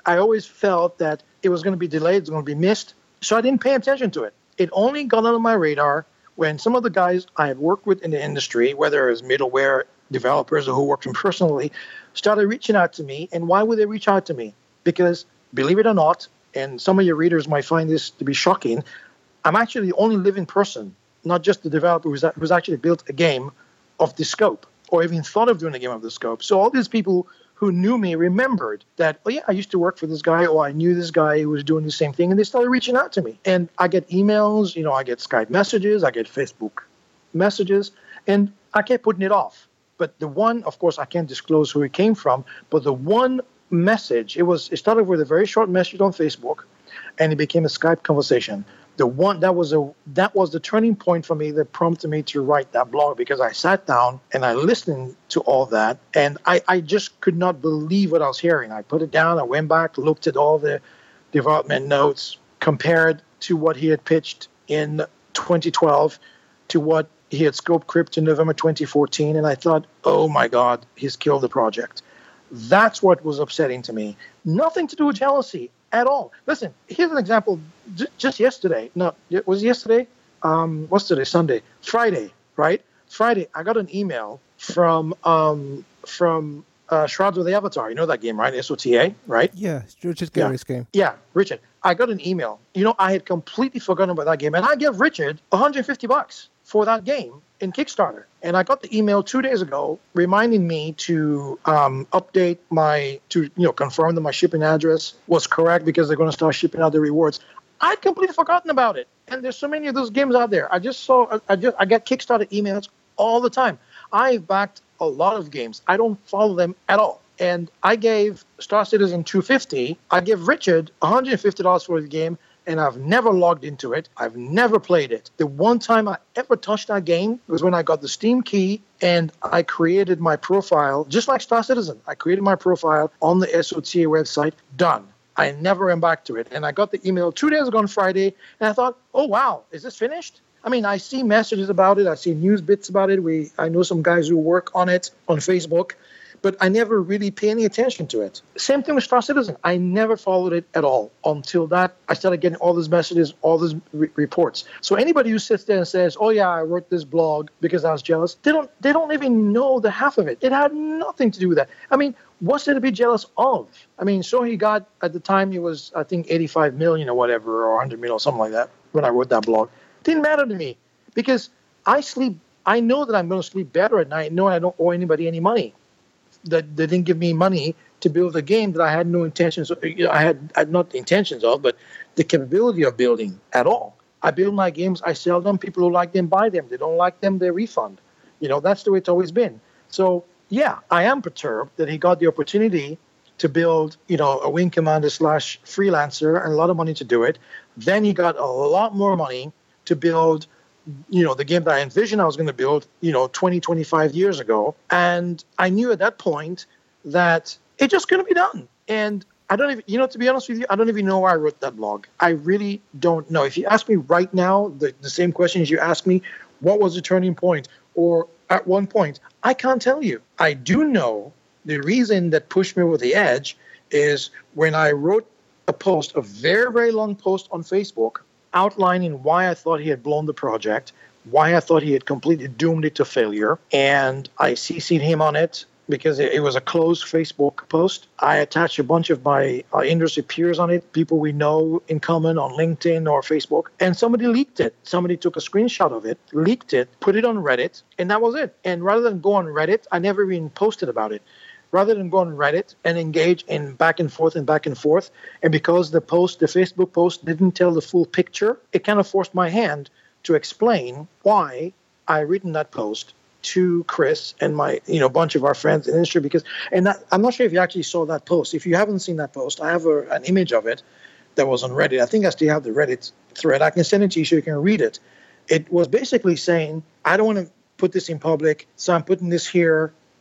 I always felt that it was going to be delayed, it was going to be missed, so I didn't pay attention to it. It only got on my radar when some of the guys I had worked with in the industry, whether it was middleware developers or who worked with them personally, started reaching out to me. And why would they reach out to me? Because, believe it or not, and some of your readers might find this to be shocking, I'm actually the only living person, not just the developer who's, who's actually built a game of this scope or even thought of doing a game of this scope. So all these people who knew me remembered that, oh yeah, I used to work for this guy, or I knew this guy who was doing the same thing, and they started reaching out to me. And I get emails, you know, I get Skype messages, I get Facebook messages, and I kept putting it off. But the one, of course, I can't disclose who it came from, but the one message, it was it started with a very short message on Facebook, and it became a Skype conversation. The one that was a that was the turning point for me that prompted me to write that blog, because I sat down and I listened to all that, and I, I just could not believe what I was hearing. I put it down, I went back, looked at all the development notes, compared to what he had pitched in twenty twelve to what he had scoped crypt in November twenty fourteen, and I thought, oh my God, he's killed the project. That's what was upsetting to me. Nothing to do with jealousy at all. Listen, here's an example. J- just yesterday, no, it was yesterday. Um, what's today? Sunday, Friday, right? Friday, I got an email from um, from uh, Shrouds of the Avatar. You know that game, right? S O T A, right? Yeah, it's Richard Gary's yeah. game. Yeah, Richard. I got an email. You know, I had completely forgotten about that game, and I gave Richard one hundred fifty bucks for that game in Kickstarter. And I got the email two days ago reminding me to um, update my, to, you know, confirm that my shipping address was correct, because they're going to start shipping out the rewards. I'd completely forgotten about it. And there's so many of those games out there. I just saw, I just, I get Kickstarter emails all the time. I've backed a lot of games. I don't follow them at all. And I gave Star Citizen two hundred fifty dollars. I gave Richard one hundred fifty dollars for the game, and I've never logged into it. I've never played it. The one time I ever touched that game was when I got the Steam key and I created my profile, just like Star Citizen. I created my profile on the S O T A website. Done. I never went back to it. And I got the email two days ago on Friday, and I thought, oh, wow, is this finished? I mean, I see messages about it. I see news bits about it. We, I know some guys who work on it on Facebook, but I never really pay any attention to it. Same thing with Star Citizen. I never followed it at all until that I started getting all these messages, all these re- reports. So anybody who sits there and says, "Oh yeah, I wrote this blog because I was jealous," they don't they don't even know the half of it. It had nothing to do with that. I mean, what's there to be jealous of? I mean, so he got, at the time, he was, I think, eighty-five million or whatever, or one hundred million or something like that when I wrote that blog. It didn't matter to me, because I sleep. I know that I'm going to sleep better at night, knowing I don't owe anybody any money. That they didn't give me money to build a game that I had no intentions of, I had, I had not the intentions of, but the capability of building at all. I build my games, I sell them, people who like them buy them. They don't like them, they refund. You know, that's the way it's always been. So, yeah, I am perturbed that he got the opportunity to build, you know, a wing commander slash freelancer and a lot of money to do it. Then he got a lot more money to build, you know, the game that I envisioned I was going to build, you know, twenty, twenty-five years ago. And I knew at that point that it just couldn't be done. And I don't even, you know, to be honest with you, I don't even know why I wrote that blog. I really don't know. If you ask me right now, the, the same questions you asked me, what was the turning point? Or at one point, I can't tell you. I do know the reason that pushed me over the edge is when I wrote a post, a very, very long post on Facebook, outlining why I thought he had blown the project, why I thought he had completely doomed it to failure. And I C C'd him on it because it, it was a closed Facebook post. I attached a bunch of my uh, industry peers on it, people we know in common on LinkedIn or Facebook. And somebody leaked it. Somebody took a screenshot of it, leaked it, put it on Reddit, and that was it. And rather than go on Reddit, I never even posted about it. Rather than go on Reddit and engage in back and forth and back and forth, and because the post, the Facebook post didn't tell the full picture, it kind of forced my hand to explain why I written that post to Chris and my, you know, bunch of our friends in the industry. Because, and that, I'm not sure if you actually saw that post. If you haven't seen that post, I have a, an image of it that was on Reddit. I think I still have the Reddit thread. I can send it to you so you can read it. It was basically saying, I don't want to put this in public, so I'm putting this here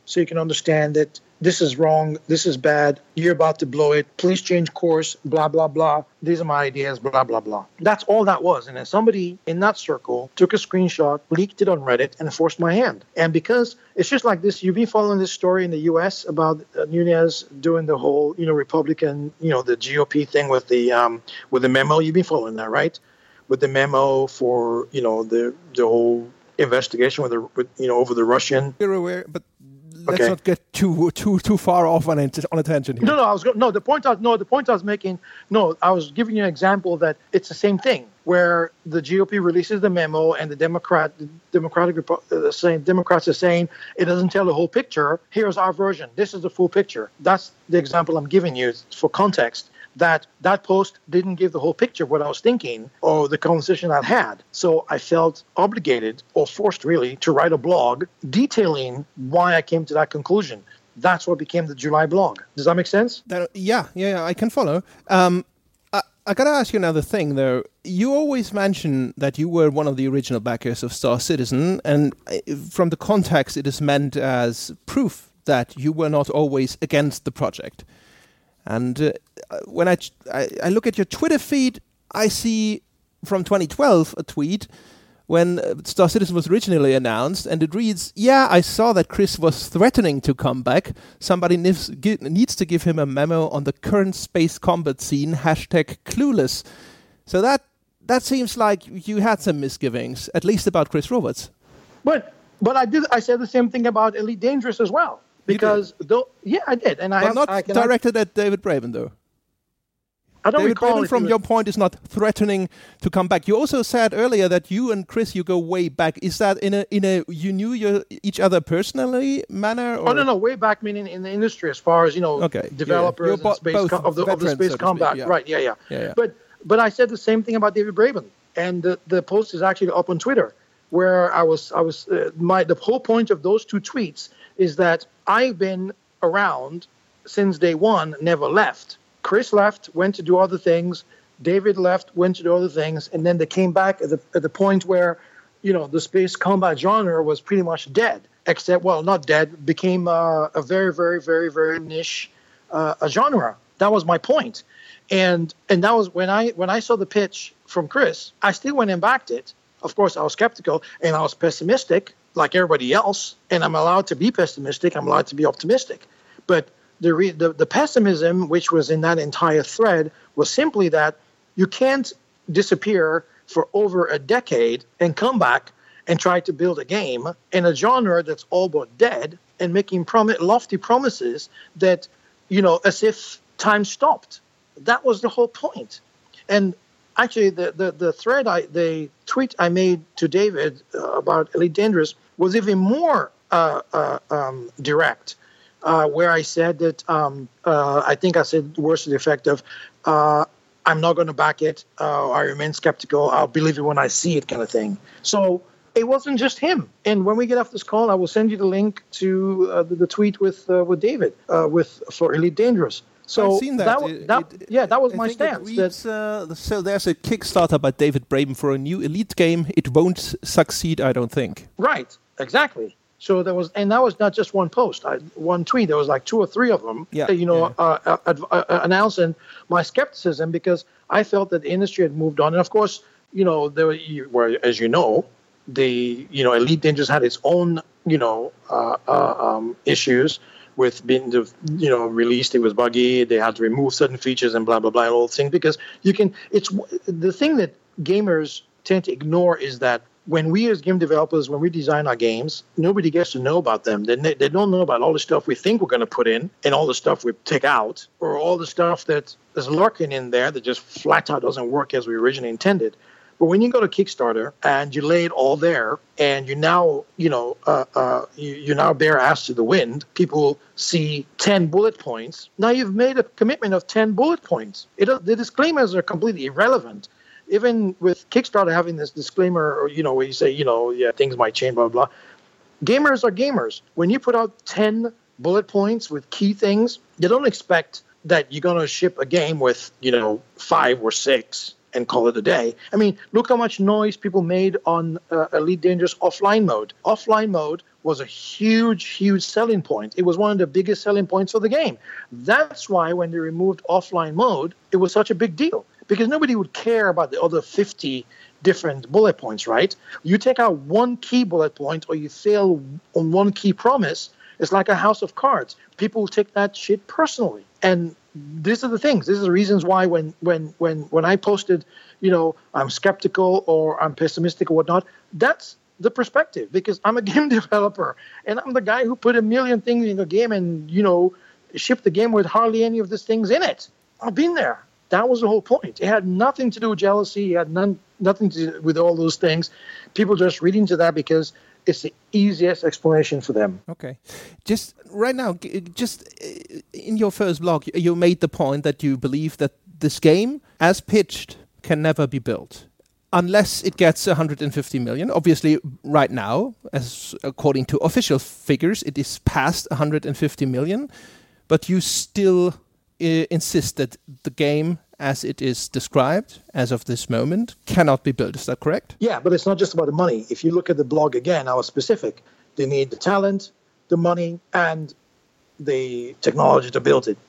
so you can understand that this is wrong, this is bad, you're about to blow it, please change course, blah, blah, blah. These are my ideas, blah, blah, blah. That's all that was. And then somebody in that circle took a screenshot, leaked it on Reddit, and forced my hand. And because it's just like this, you've been following this story in the U S about uh, Nunes doing the whole, you know, Republican, you know, the G O P thing with the um, with the memo. You've been following that, right? With the memo for, you know, the the whole investigation with the, with, you know, over the Russian. You're aware, but let's Okay. not get too too too far off on it, on a tangent here. No, no, I was go- no. The point I was no. The point I was making. No, I was giving you an example that it's the same thing where the G O P releases the memo and the Democrat, the Democratic Repo- uh, saying Democrats are saying it doesn't tell the whole picture. Here's our version. This is the full picture. That's the example I'm giving you for context. That that post didn't give the whole picture of what I was thinking or the conversation I had. So I felt obligated or forced really to write a blog detailing why I came to that conclusion. That's what became the July blog. Does that make sense? That, yeah, yeah, yeah, I can follow. Um, I, I gotta ask you another thing, though. You always mention that you were one of the original backers of Star Citizen, and from the context, it is meant as proof that you were not always against the project. And uh, when I, I I look at your Twitter feed, I see from twenty twelve a tweet when uh, Star Citizen was originally announced, and it reads, "Yeah, I saw that Chris was threatening to come back. Somebody needs, gi- needs to give him a memo on the current space combat scene, hashtag clueless." So that that seems like you had some misgivings, at least about Chris Roberts. But but I did. I said the same thing about Elite Dangerous as well. Because though, yeah, I did, and I But have not I can, directed at David Braben, though. I don't David recall Braben, if from he your was- point, is not threatening to come back. You also said earlier that you and Chris, you go way back. Is that in a in a you knew your, each other personally manner? Or? Oh no, no, way back meaning in the industry as far as you know, Okay, yeah, developers you're and bo- space both com- of the of the veterans, space so to combat, speak, yeah. right? Yeah, yeah, Yeah, yeah. But but I said the same thing about David Braben, and the, the post is actually up on Twitter, where I was I was uh, my the whole point of those two tweets is that I've been around since day one, never left. Chris left, went to do other things. David left, went to do other things, and then they came back at the at the point where, you know, the space combat genre was pretty much dead. Except, well, not dead, became uh, a very, very, very, very niche uh, a genre. That was my point, and and that was when I when I saw the pitch from Chris, I still went and backed it. Of course, I was skeptical and I was pessimistic, like everybody else. And I'm allowed to be pessimistic. I'm allowed to be optimistic, but the, re- the the pessimism, which was in that entire thread, was simply that you can't disappear for over a decade and come back and try to build a game in a genre that's all but dead and making prom- lofty promises that, you know, as if time stopped. That was the whole point. And actually, the the, the thread, I the tweet I made to David uh, about Elite Dangerous was even more uh, uh, um, direct. Uh, where I said that um, uh, I think I said words to the effect of, uh, I'm not going to back it. Uh, I remain skeptical. I'll believe it when I see it, kind of thing. So it wasn't just him. And when we get off this call, I will send you the link to uh, the, the tweet with uh, with David uh, with for Elite Dangerous. So I've seen that. that, wa- It- that it- yeah, that was I my think it stance. That, reads, uh, so there's a Kickstarter by David Braben for a new Elite game. It won't s- succeed, I don't think. right, exactly. So there was, and that was not just one post, I, one tweet. There was like two or three of them, Yeah, uh, you know, yeah. uh, uh, uh, announcing my skepticism because I felt that the industry had moved on. And of course, you know, there were, you- were as you know, the you know Elite Dangerous had its own, you know, uh, uh, um, issues with being the you know released. It was buggy. They had to remove certain features and blah blah blah and all those things because you can. It's the thing that gamers tend to ignore is that. When we as game developers, when we design our games, nobody gets to know about them. They, they don't know about all the stuff we think we're going to put in and all the stuff we take out or all the stuff that is lurking in there that just flat out doesn't work as we originally intended. But when you go to Kickstarter and you lay it all there and you now, you know, uh, uh, you, you now bear ass to the wind, people see ten bullet points. Now you've made a commitment of ten bullet points. It, the disclaimers are completely irrelevant. Even with Kickstarter having this disclaimer, or, you know, where you say, you know, yeah, things might change, blah, blah, blah. Gamers are gamers. When you put out ten bullet points with key things, you don't expect that you're going to ship a game with, you know, five or six and call it a day. I mean, look how much noise people made on uh, Elite Dangerous offline mode. Offline mode was a huge, huge selling point. It was one of the biggest selling points for the game. That's why when they removed offline mode, it was such a big deal, because nobody would care about the other fifty different bullet points, right? You take out one key bullet point or you fail on one key promise, it's like a house of cards. People will take that shit personally. And these are the things. These are the reasons why when when when when I posted, you know, I'm skeptical or I'm pessimistic or whatnot, that's the perspective, because I'm a game developer and I'm the guy who put a million things in a game and, you know, shipped the game with hardly any of these things in it. I've been there. That was the whole point. It had nothing to do with jealousy. It had none, nothing to do with all those things. People just read into that because it's the easiest explanation for them. Okay. Just right now, just in your first blog, you made the point that you believe that this game, as pitched, can never be built unless it gets one hundred fifty million. Obviously, right now, as according to official figures, it is past one hundred fifty million, but you still uh, insist that the game, as it is described as of this moment, cannot be built. Is that correct? Yeah, but it's not just about the money. If you look at the blog again, I was specific. They need the talent, the money, and the technology to build it.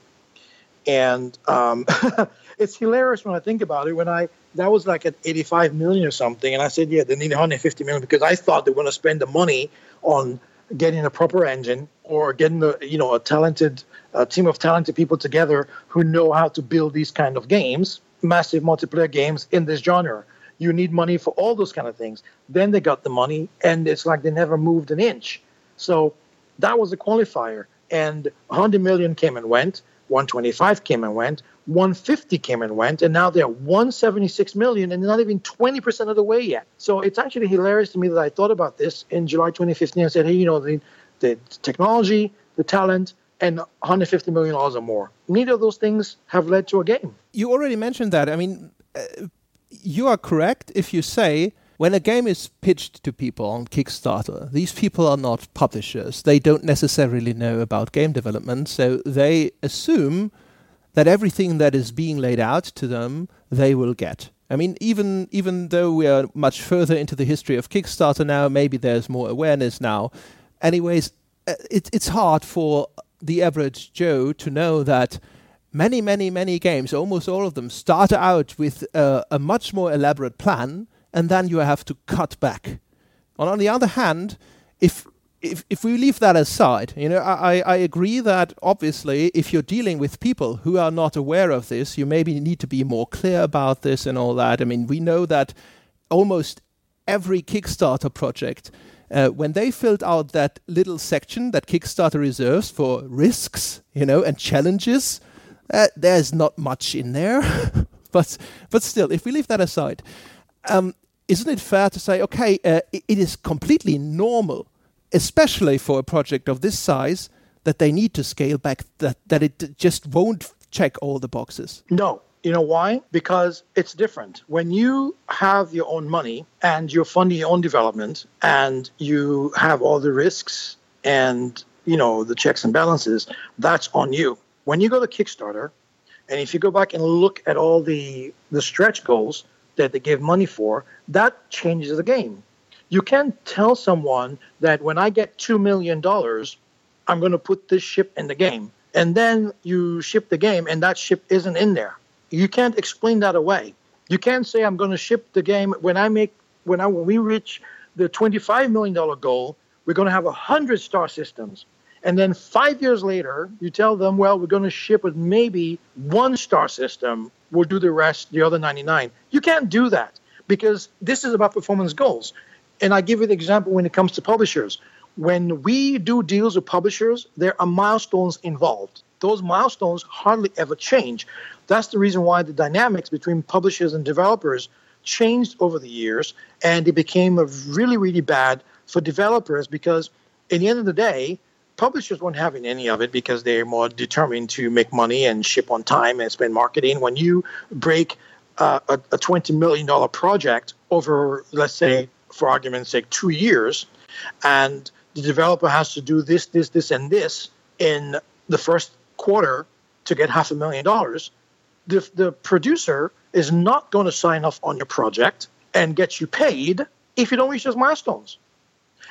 And um, it's hilarious when I think about it. When I that was like at eighty-five million or something, and I said, yeah, they need one hundred fifty million because I thought they were going to spend the money on getting a proper engine or getting the you know a talented a team of talented people together who know how to build these kind of games, massive multiplayer games in this genre. You need money for all those kind of things. Then they got the money, and it's like they never moved an inch. So that was a qualifier. And one hundred million came and went, one twenty-five came and went, one fifty came and went, and now they're one seventy-six million, and they're not even twenty percent of the way yet. So it's actually hilarious to me that I thought about this in July twenty fifteen and said, hey, you know, the, the technology, the talent, and one hundred fifty million dollars or more. Neither of those things have led to a game. You already mentioned that. I mean, uh, you are correct if you say when a game is pitched to people on Kickstarter, these people are not publishers. They don't necessarily know about game development, so they assume that everything that is being laid out to them, they will get. I mean, even even though we are much further into the history of Kickstarter now, maybe there's more awareness now. Anyways, it, it's hard for the average Joe to know that many, many, many games, almost all of them, start out with uh, a much more elaborate plan, and then you have to cut back. And on the other hand, if if if we leave that aside, you know, I, I agree that obviously if you're dealing with people who are not aware of this, you maybe need to be more clear about this and all that. I mean, we know that almost every Kickstarter project, Uh, when they filled out that little section that Kickstarter reserves for risks, you know, and challenges, uh, there's not much in there. but but still, if we leave that aside, um, isn't it fair to say, okay, uh, it, it is completely normal, especially for a project of this size, that they need to scale back, that, that it just won't check all the boxes? No. You know why? Because it's different. When you have your own money and you're funding your own development and you have all the risks and, you know, the checks and balances, that's on you. When you go to Kickstarter, and if you go back and look at all the, the stretch goals that they give money for, that changes the game. You can't tell someone that when I get two million dollars, I'm going to put this ship in the game. And then you ship the game and that ship isn't in there. You can't explain that away. You can't say I'm going to ship the game when I make when I when we reach the twenty-five million dollars goal, we're going to have one hundred star systems. And then five years later, you tell them, well, we're going to ship with maybe one star system. We'll do the rest, the other ninety-nine. You can't do that because this is about performance goals. And I give you the example when it comes to publishers. When we do deals with publishers, there are milestones involved. Those milestones hardly ever change. That's the reason why the dynamics between publishers and developers changed over the years, and it became really, really bad for developers because at the end of the day, publishers weren't having any of it because they're more determined to make money and ship on time and spend marketing. When you break uh, a, a twenty million dollars project over, let's say, for argument's sake, two years, and the developer has to do this, this, this, and this in the first quarter to get half a million dollars, the, the producer is not going to sign off on your project and get you paid if you don't reach those milestones.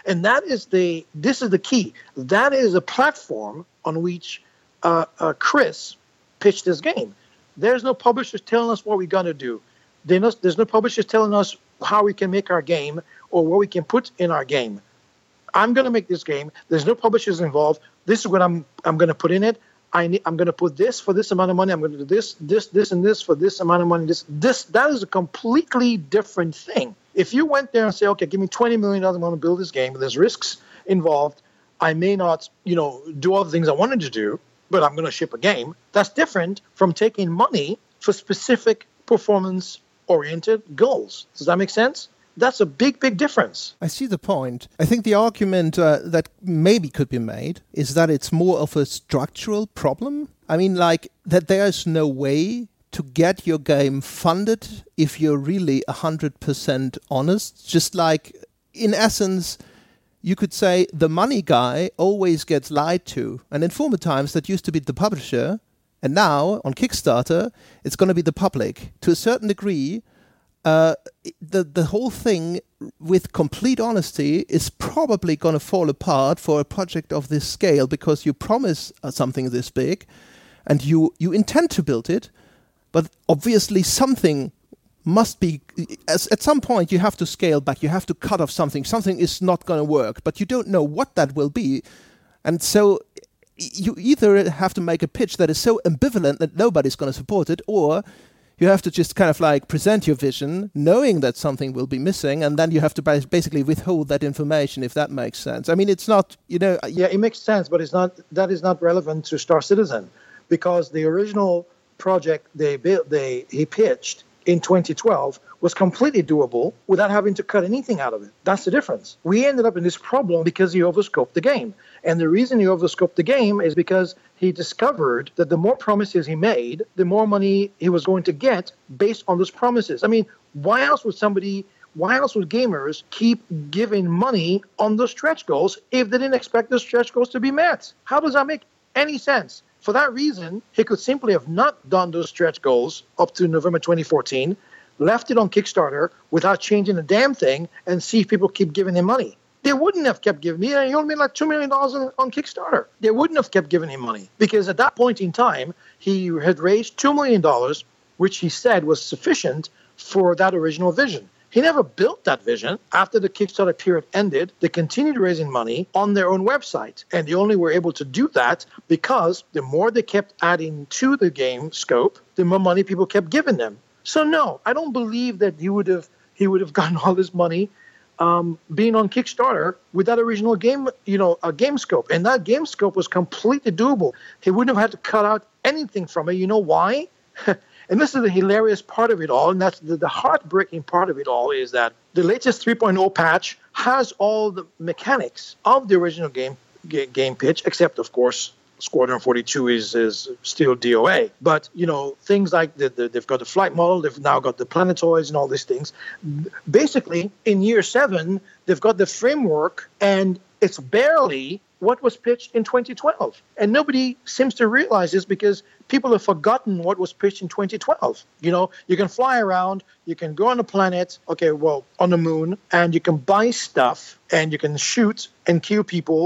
And that is the, this is the key. That is a platform on which uh, uh, Chris pitched this game. There's no publishers telling us what we're going to do. There's no publishers telling us how we can make our game or what we can put in our game. I'm going to make this game. There's no publishers involved. This is what I'm I'm going to put in it. I need, I'm going to put this for this amount of money. I'm going to do this, this, this, and this for this amount of money. This, this, that is a completely different thing. If you went there and say, okay, give me twenty million dollars, I'm going to build this game, but there's risks involved. I may not, you know, do all the things I wanted to do, but I'm going to ship a game. That's different from taking money for specific performance-oriented goals. Does that make sense? That's a big, big difference. I see the point. I think the argument uh, that maybe could be made is that it's more of a structural problem. I mean, like, that there's no way to get your game funded if you're really one hundred percent honest. Just like, in essence, you could say the money guy always gets lied to. And in former times, that used to be the publisher. And now, on Kickstarter, it's going to be the public. To a certain degree, Uh, the the whole thing, with complete honesty, is probably going to fall apart for a project of this scale, because you promise uh, something this big and you, you intend to build it, but obviously something must be, as, at some point you have to scale back, you have to cut off something, something is not going to work, but you don't know what that will be. And so you either have to make a pitch that is so ambivalent that nobody's going to support it, or you have to just kind of like present your vision, knowing that something will be missing, and then you have to basically withhold that information, if that makes sense. I mean, it's not, you know... Yeah, it makes sense, but it's not. That is not relevant to Star Citizen, because the original project they built, they he pitched in twenty twelve was completely doable without having to cut anything out of it. That's the difference. We ended up in this problem because he overscoped the game. And the reason he overscoped the game is because he discovered that the more promises he made, the more money he was going to get based on those promises. I mean, why else would somebody, why else would gamers keep giving money on those stretch goals if they didn't expect those stretch goals to be met? How does that make any sense? For that reason, he could simply have not done those stretch goals up to November twenty fourteen, left it on Kickstarter without changing a damn thing, and see if people keep giving him money. They wouldn't have kept giving me. He only made like two million dollars on, on Kickstarter. They wouldn't have kept giving him money, because at that point in time, he had raised two million dollars, which he said was sufficient for that original vision. He never built that vision. After the Kickstarter period ended, they continued raising money on their own website. And they only were able to do that because the more they kept adding to the game scope, the more money people kept giving them. So no, I don't believe that he would have he would have gotten all this money um, being on Kickstarter with that original game, you know, a game scope. And that game scope was completely doable. He wouldn't have had to cut out anything from it. You know why? And this is the hilarious part of it all, and that's the, the heartbreaking part of it all, is that the latest three point oh patch has all the mechanics of the original game g- game pitch, except, of course, Squadron forty-two is, is still D O A. But, you know, things like the, the, they've got the flight model, they've now got the planetoids and all these things. Basically, in year seven, they've got the framework, and it's barely what was pitched in twenty twelve. And nobody seems to realize this, because people have forgotten what was pitched in twenty twelve. You know, you can fly around, you can go on a planet, okay, well, on the moon, and you can buy stuff, and you can shoot and kill people,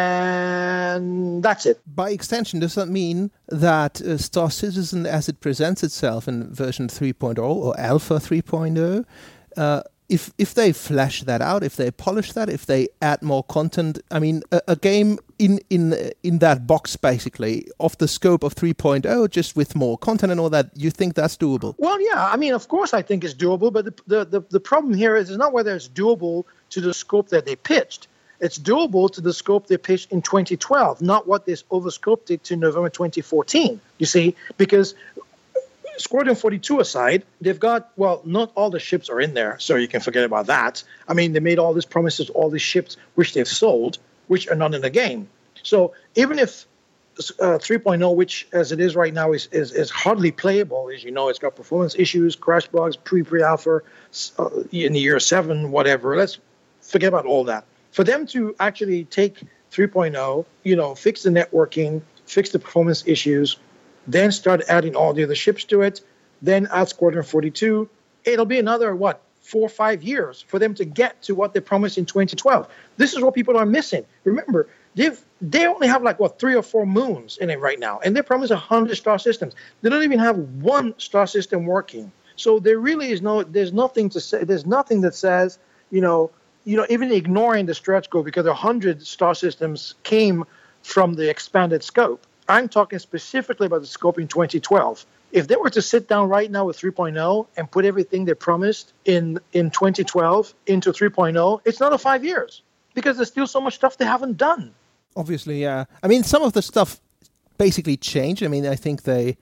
and that's it. By extension, does that mean that uh, Star Citizen, as it presents itself in version three point oh or Alpha three point oh, uh, if if they flesh that out, if they polish that, if they add more content, I mean, a, a game in in in that box, basically, of the scope of three point oh, just with more content and all that, you think that's doable? Well, yeah, I mean, of course I think it's doable, but the the, the, the problem here is it's not whether it's doable to the scope that they pitched. It's doable to the scope they pitched in twenty twelve, not what they overscoped it to November twenty fourteen, you see, because Squadron forty-two aside, they've got, well, not all the ships are in there, so you can forget about that. I mean, they made all these promises, all these ships, which they've sold, which are not in the game. So even if uh, three point oh, which as it is right now, is, is, is hardly playable, as you know, it's got performance issues, crash bugs, pre-pre-alpha, uh, in the year seven, whatever. Let's forget about all that. For them to actually take three point oh, you know, fix the networking, fix the performance issues, then start adding all the other ships to it, then add Squadron forty-two, it'll be another, what, four or five years for them to get to what they promised in twenty twelve. This is what people are missing. Remember, they've they only have like what three or four moons in it right now, and they promise a hundred star systems. They don't even have one star system working. So there really is no, there's nothing to say. There's nothing that says, you know, you know, even ignoring the stretch goal, because a hundred star systems came from the expanded scope. I'm talking specifically about the scope in twenty twelve. If they were to sit down right now with three point oh and put everything they promised in, in twenty twelve into three point oh, it's not a five years, because there's still so much stuff they haven't done. Obviously, yeah. I mean, some of the stuff basically changed. I mean, I think they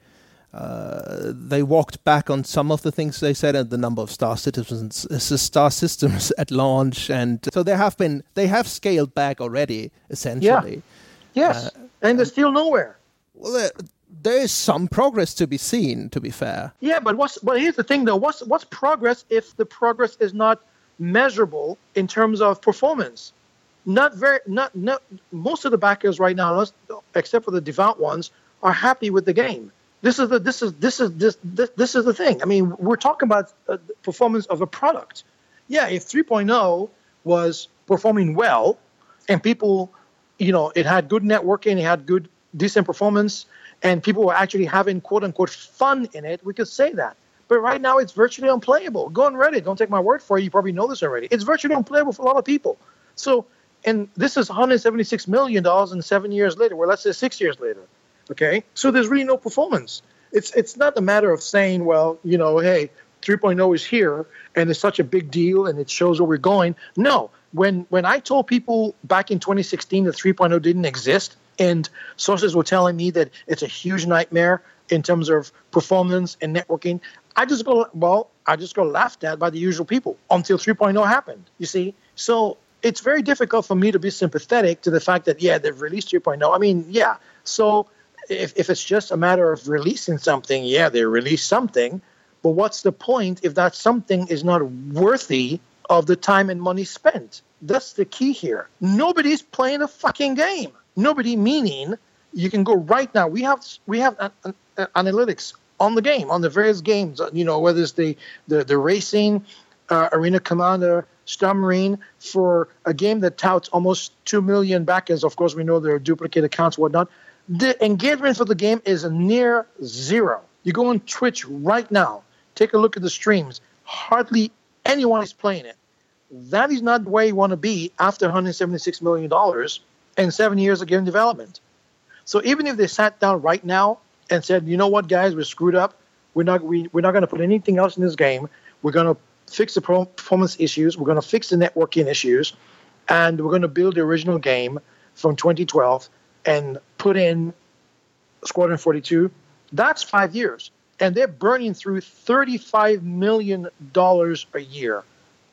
uh, they walked back on some of the things they said, and the number of star systems, star systems at launch, and so they have been they have scaled back already, essentially. Yeah. Yes, uh, and they're still nowhere. Well, there, there is some progress to be seen, to be fair. Yeah, but what's but here's the thing, though. What's what's progress if the progress is not measurable in terms of performance? Not very, not, not, most of the backers right now, except for the devout ones, are happy with the game. This is the, this is, this is, this, this, this is the thing. I mean, we're talking about uh, the performance of a product. Yeah, if three point oh was performing well, and people, you know, it had good networking, it had good, decent performance, and people were actually having quote unquote fun in it, we could say that. But right now, it's virtually unplayable. Go on Reddit. Don't take my word for it. You probably know this already. It's virtually unplayable for a lot of people. So. And this is one hundred seventy-six million dollars and seven years later, well, let's say six years later, okay? So there's really no performance. It's it's not a matter of saying, well, you know, hey, three point oh is here, and it's such a big deal, and it shows where we're going. No, when when I told people back in twenty sixteen that three point oh didn't exist, and sources were telling me that it's a huge nightmare in terms of performance and networking, I just go, well, I just got laughed at by the usual people until three point oh happened, you see? So it's very difficult for me to be sympathetic to the fact that, yeah, they've released three point oh. I mean, yeah. So if, if it's just a matter of releasing something, yeah, they release something. But what's the point if that something is not worthy of the time and money spent? That's the key here. Nobody's playing a fucking game. Nobody, meaning you can go right now. We have we have an, an, an analytics on the game, on the various games, you know, whether it's the, the, the racing, uh, Arena Commander, Star Marine, for a game that touts almost two million backers. Of course, we know there are duplicate accounts, whatnot. The engagement for the game is near zero. You go on Twitch right now, take a look at the streams. Hardly anyone is playing it. That is not where you want to be after one hundred seventy-six million dollars and seven years of game development. So even if they sat down right now and said, you know what, guys, we're screwed up. We're not, we, we're not going to put anything else in this game. We're going to fix the performance issues. We're going to fix the networking issues. And we're going to build the original game from twenty twelve and put in Squadron forty-two. That's five years. And they're burning through thirty-five million dollars a year.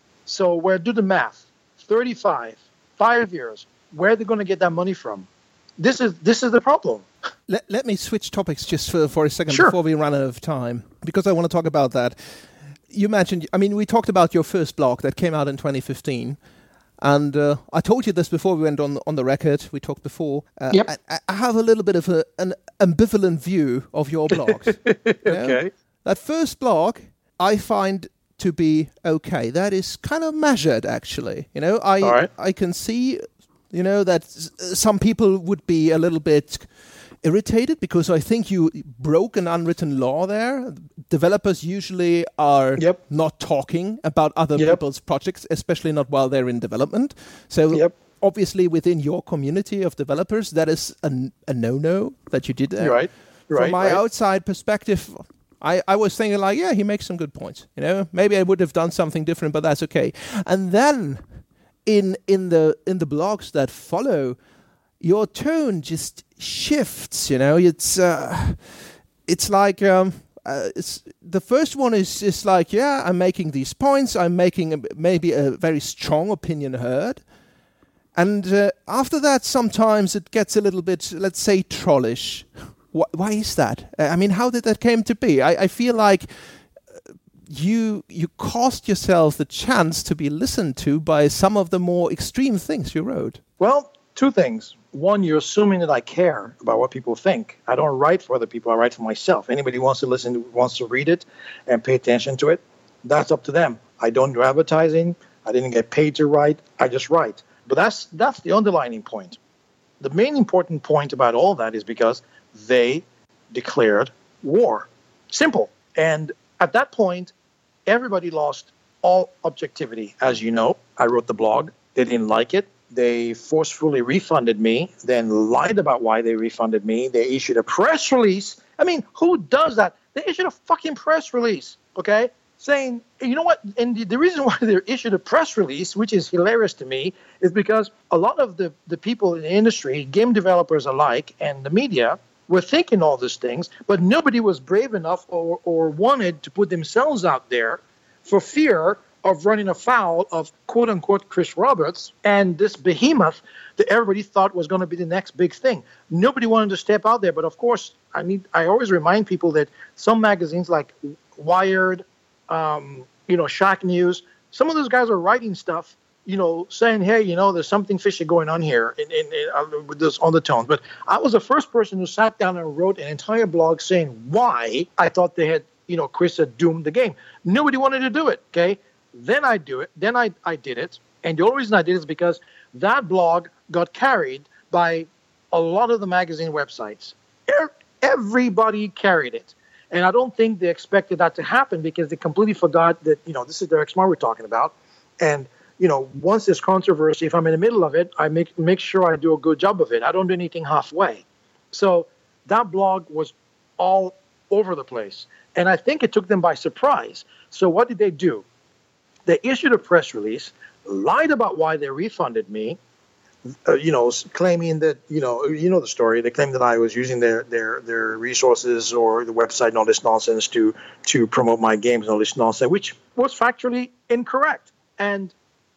So where do the math? thirty-five, five years. Where are they going to get that money from? This is this is the problem. Let, let me switch topics just for, for a second sure. before we run out of time, because I want to talk about that. You mentioned, I mean, we talked about your first blog that came out in twenty fifteen. And uh, I told you this before we went on on the record. We talked before. Uh, yep. I, I have a little bit of a, an ambivalent view of your blogs. Okay. Know? That first blog, I find to be okay. That is kind of measured, actually. You know, I All right. I can see, you know, that some people would be a little bit irritated because I think you broke an unwritten law there. Developers usually are yep. not talking about other yep. people's projects, especially not while they're in development. So yep. obviously within your community of developers, that is a, a no-no that you did there. You're right. You're From right, my right. outside perspective, I, I was thinking like, yeah, he makes some good points. You know, maybe I would have done something different, but that's okay. And then in in the in the blogs that follow, your tone just shifts. You know, it's uh, it's like um, uh, it's the first one is is like, yeah, I'm making these points. I'm making a, maybe a very strong opinion heard, and uh, after that, sometimes it gets a little bit, let's say, trollish. Why, why is that? I mean, how did that came to be? I, I feel like you you cost yourself the chance to be listened to by some of the more extreme things you wrote. Well, two things. One, you're assuming that I care about what people think. I don't write for other people. I write for myself. Anybody who wants to listen, wants to read it and pay attention to it, that's up to them. I don't do advertising. I didn't get paid to write. I just write. But that's that's the underlining point. The main important point about all that is because they declared war. Simple. And at that point, everybody lost all objectivity. As you know, I wrote the blog. They didn't like it. They forcefully refunded me, then lied about why they refunded me. They issued a press release. I mean, who does that? They issued a fucking press release, okay, saying, you know what? And the, the reason why they issued a press release, which is hilarious to me, is because a lot of the, the people in the industry, game developers alike, and the media, were thinking all these things, but nobody was brave enough or, or wanted to put themselves out there for fear of running afoul of quote-unquote Chris Roberts and this behemoth that everybody thought was going to be the next big thing. Nobody wanted to step out there, but of course, I need. I always remind people that some magazines like Wired, um, you know, Shack News, some of those guys are writing stuff, you know, saying, hey, you know, there's something fishy going on here in, in, in, uh, with this undertones. But I was the first person who sat down and wrote an entire blog saying why I thought they had, you know, Chris had doomed the game. Nobody wanted to do it, okay? Then I do it. Then I, I did it. And the only reason I did it is because that blog got carried by a lot of the magazine websites. Everybody carried it. And I don't think they expected that to happen because they completely forgot that, you know, this is Derek Smart we're talking about. And, you know, once there's controversy, if I'm in the middle of it, I make make sure I do a good job of it. I don't do anything halfway. So that blog was all over the place. And I think it took them by surprise. So what did they do? They issued a press release, lied about why they refunded me, uh, you know, claiming that, you know, you know the story. They claimed that I was using their their their resources or the website and all this nonsense to to promote my games and all this nonsense, which was factually incorrect. And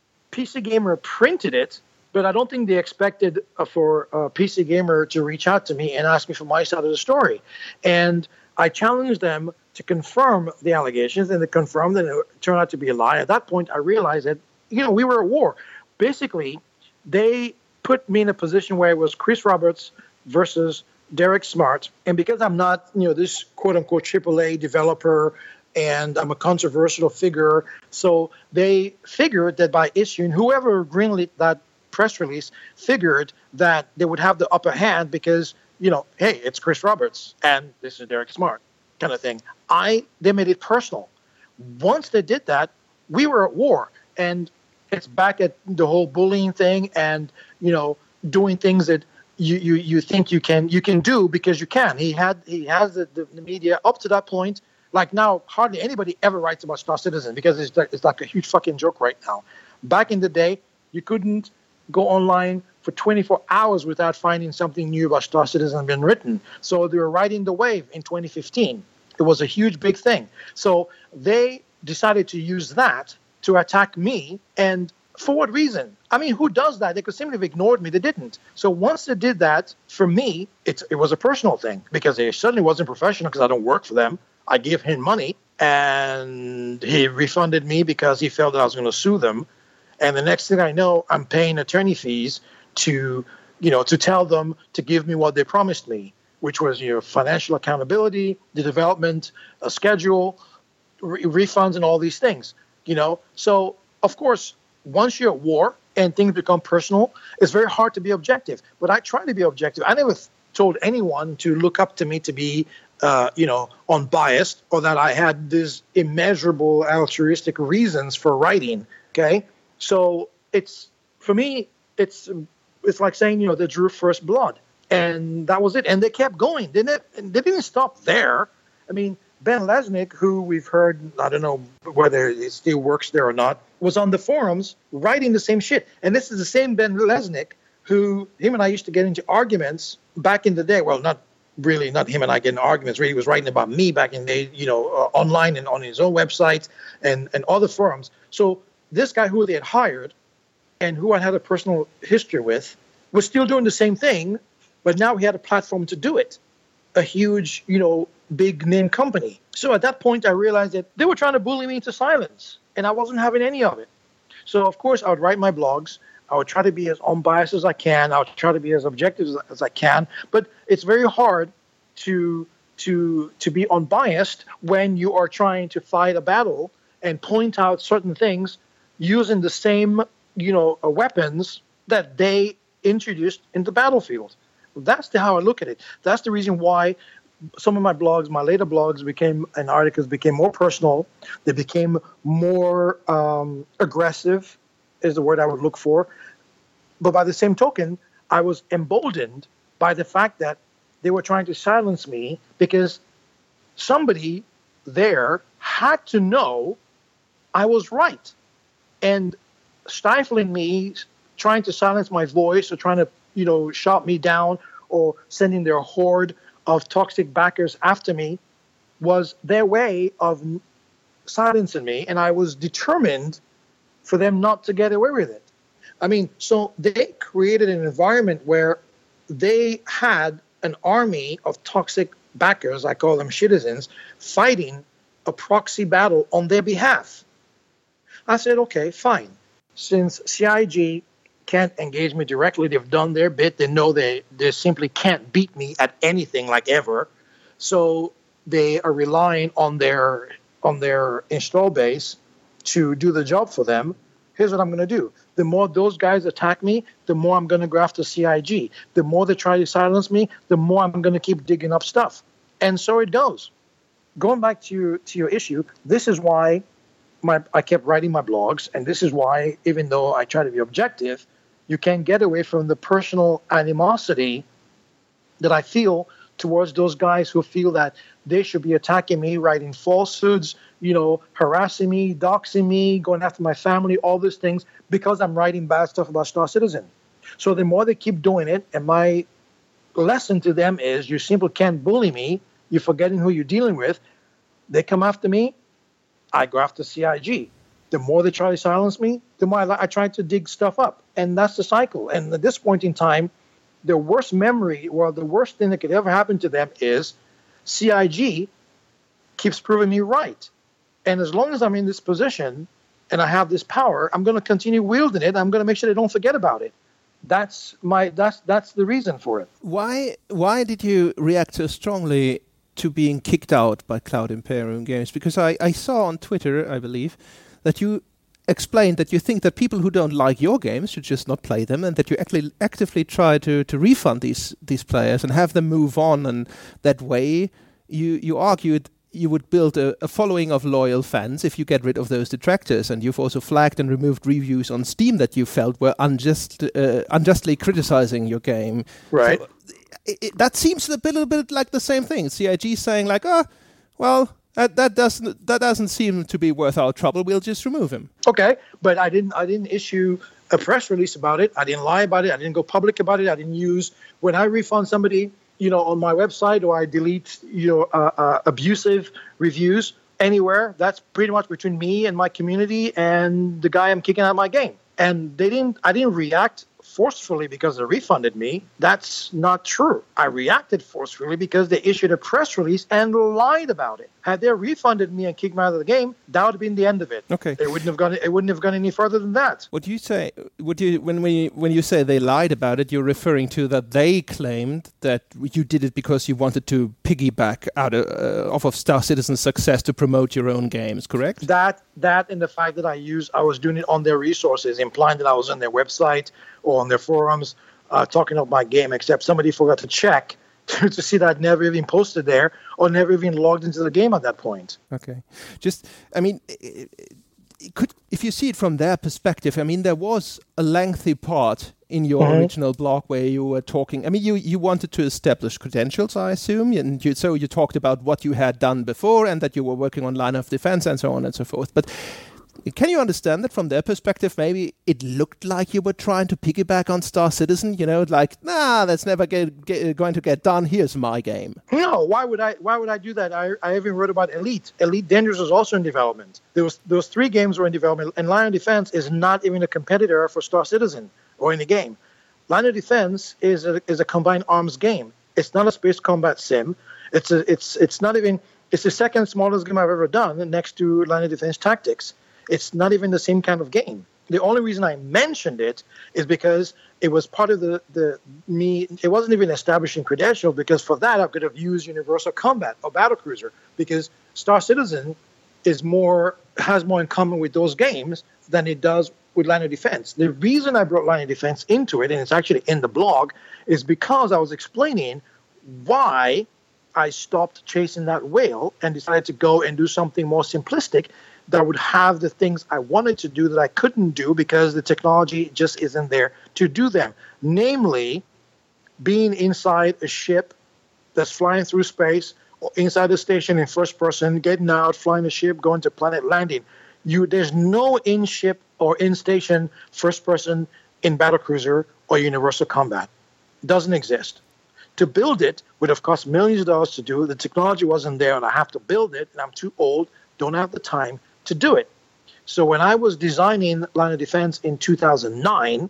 P C Gamer printed it, but I don't think they expected uh, for uh, P C Gamer to reach out to me and ask me for my side of the story. And I challenged them to confirm the allegations, and they confirmed that it turned out to be a lie. At that point, I realized that, you know, we were at war. Basically, they put me in a position where it was Chris Roberts versus Derek Smart. And because I'm not, you know, this quote-unquote triple A developer and I'm a controversial figure, so they figured that by issuing, whoever greenlit that press release figured that they would have the upper hand because, you know, hey, it's Chris Roberts and this is Derek Smart kind of thing. I they made it personal. Once they did that, we were at war. And it's back at the whole bullying thing and, you know, doing things that you, you, you think you can you can do because you can. He had he has the, the, the media up to that point. Like now, hardly anybody ever writes about Star Citizen because it's like, it's like a huge fucking joke right now. Back in the day, you couldn't go online for twenty-four hours without finding something new about Star Citizen being written. So they were riding the wave in twenty fifteen. It was a huge, big thing. So they decided to use that to attack me. And for what reason? I mean, who does that? They could simply have ignored me. They didn't. So once they did that, for me, it's, it was a personal thing because it certainly wasn't professional because I don't work for them. I gave him money, and he refunded me because he felt that I was going to sue them. And the next thing I know, I'm paying attorney fees to, you know, to tell them to give me what they promised me, which was, you know, financial accountability, the development, a schedule, re- refunds, and all these things, you know. So, of course, once you're at war and things become personal, it's very hard to be objective. But I try to be objective. I never th- told anyone to look up to me to be, uh, you know, unbiased or that I had these immeasurable altruistic reasons for writing, okay? So it's, for me, it's it's like saying, you know, they drew first blood. And that was it. And they kept going. They didn't, they didn't stop there. I mean, Ben Lesnick, who we've heard, I don't know whether he still works there or not, was on the forums writing the same shit. And this is the same Ben Lesnick who, him and I used to get into arguments back in the day. Well, not really, not him and I getting arguments. Really, he was writing about me back in the, you know, uh, online and on his own website and, and other forums. So this guy who they had hired and who I had a personal history with was still doing the same thing, but now he had a platform to do it. A huge, you know, big name company. So at that point, I realized that they were trying to bully me into silence, and I wasn't having any of it. So, of course, I would write my blogs. I would try to be as unbiased as I can. I would try to be as objective as, as I can. But it's very hard to to to be unbiased when you are trying to fight a battle and point out certain things using the same, you know, uh, weapons that they introduced in the battlefield. That's the, how I look at it. That's the reason why some of my blogs, my later blogs, became and articles became more personal. They became more um, aggressive, is the word I would look for. But by the same token, I was emboldened by the fact that they were trying to silence me because somebody there had to know I was right. And stifling me, trying to silence my voice or trying to, you know, shout me down or sending their horde of toxic backers after me was their way of silencing me. And I was determined for them not to get away with it. I mean, so they created an environment where they had an army of toxic backers, I call them citizens, fighting a proxy battle on their behalf. I said, okay, fine. Since C I G can't engage me directly, they've done their bit. They know they, they simply can't beat me at anything like ever. So they are relying on their on their install base to do the job for them. Here's what I'm going to do. The more those guys attack me, the more I'm going to go after C I G. The more they try to silence me, the more I'm going to keep digging up stuff. And so it goes. Going back to your, to your issue, this is why my I kept writing my blogs, and this is why, even though I try to be objective, you can't get away from the personal animosity that I feel towards those guys who feel that they should be attacking me, writing falsehoods, you know, harassing me, doxing me, going after my family, all these things, because I'm writing bad stuff about Star Citizen. So the more they keep doing it, and my lesson to them is you simply can't bully me, you're forgetting who you're dealing with. They come after me, I go after C I G. The more they try to silence me, the more I, I try to dig stuff up. And that's the cycle. And at this point in time, the worst memory, or the worst thing that could ever happen to them is C I G keeps proving me right. And as long as I'm in this position and I have this power, I'm going to continue wielding it. I'm going to make sure they don't forget about it. That's my that's that's the reason for it. Why why did you react so strongly to being kicked out by Cloud Imperium Games? Because I, I saw on Twitter, I believe, that you explained that you think that people who don't like your games should just not play them, and that you actually actively try to, to refund these these players and have them move on, and that way you you argued you would build a, a following of loyal fans if you get rid of those detractors. And you've also flagged and removed reviews on Steam that you felt were unjust, uh, unjustly criticizing your game. Right. So it, it, that seems a bit, a bit like the same thing. C I G saying like, oh, well, That, that doesn't that doesn't seem to be worth our trouble. We'll just remove him. Okay, but I didn't I didn't issue a press release about it. I didn't lie about it. I didn't go public about it. I didn't use when I refund somebody, you know, on my website, or I delete, you know, uh, uh, abusive reviews anywhere. That's pretty much between me and my community and the guy I'm kicking out of my game. And they didn't. I didn't react forcefully because they refunded me. That's not true. I reacted forcefully because they issued a press release and lied about it. Had they refunded me and kicked me out of the game, that would have been the end of it. Okay. It wouldn't have gone. It wouldn't have gone any further than that. What you say? Would you when we when you say they lied about it, you're referring to that they claimed that you did it because you wanted to piggyback out of, uh, off of Star Citizen's success to promote your own games, correct? That that and the fact that I used, I was doing it on their resources, implying that I was on their website or on their forums uh, talking about my game, except somebody forgot to check to, to see that I'd never even posted there or never even logged into the game at that point. Okay. Just, I mean, it, it could if you see it from their perspective, I mean, there was a lengthy part in your mm-hmm. original blog where you were talking, I mean, you, you wanted to establish credentials, I assume, and you, so you talked about what you had done before and that you were working on line of defense and so on and so forth. But can you understand that from their perspective, maybe it looked like you were trying to piggyback on Star Citizen, you know, like, nah, that's never get, get, going to get done. Here's my game. No, why would I Why would I do that? I, I even wrote about Elite. Elite Dangerous was also in development. There was Those three games were in development, and Line of Defense is not even a competitor for Star Citizen or any game. Line of Defense is a, is a combined arms game. It's not a space combat sim. It's a, it's it's not even, it's the second smallest game I've ever done next to Line of Defense Tactics. It's not even the same kind of game. The only reason I mentioned it is because it was part of the, the me. It wasn't even establishing credentials, because for that I could have used Universal Combat or Battlecruiser, because Star Citizen is more has more in common with those games than it does with Line of Defense. The reason I brought Line of Defense into it, and it's actually in the blog, is because I was explaining why I stopped chasing that whale and decided to go and do something more simplistic that would have the things I wanted to do that I couldn't do because the technology just isn't there to do them. Namely, being inside a ship that's flying through space, or inside a station in first person, getting out, flying a ship, going to planet, landing. You, there's no in-ship or in-station first person in Battlecruiser or Universal Combat. It doesn't exist. To build it would have cost millions of dollars to do. The technology wasn't there, and I have to build it, and I'm too old, don't have the time to do it. So when I was designing Line of Defense in two thousand nine,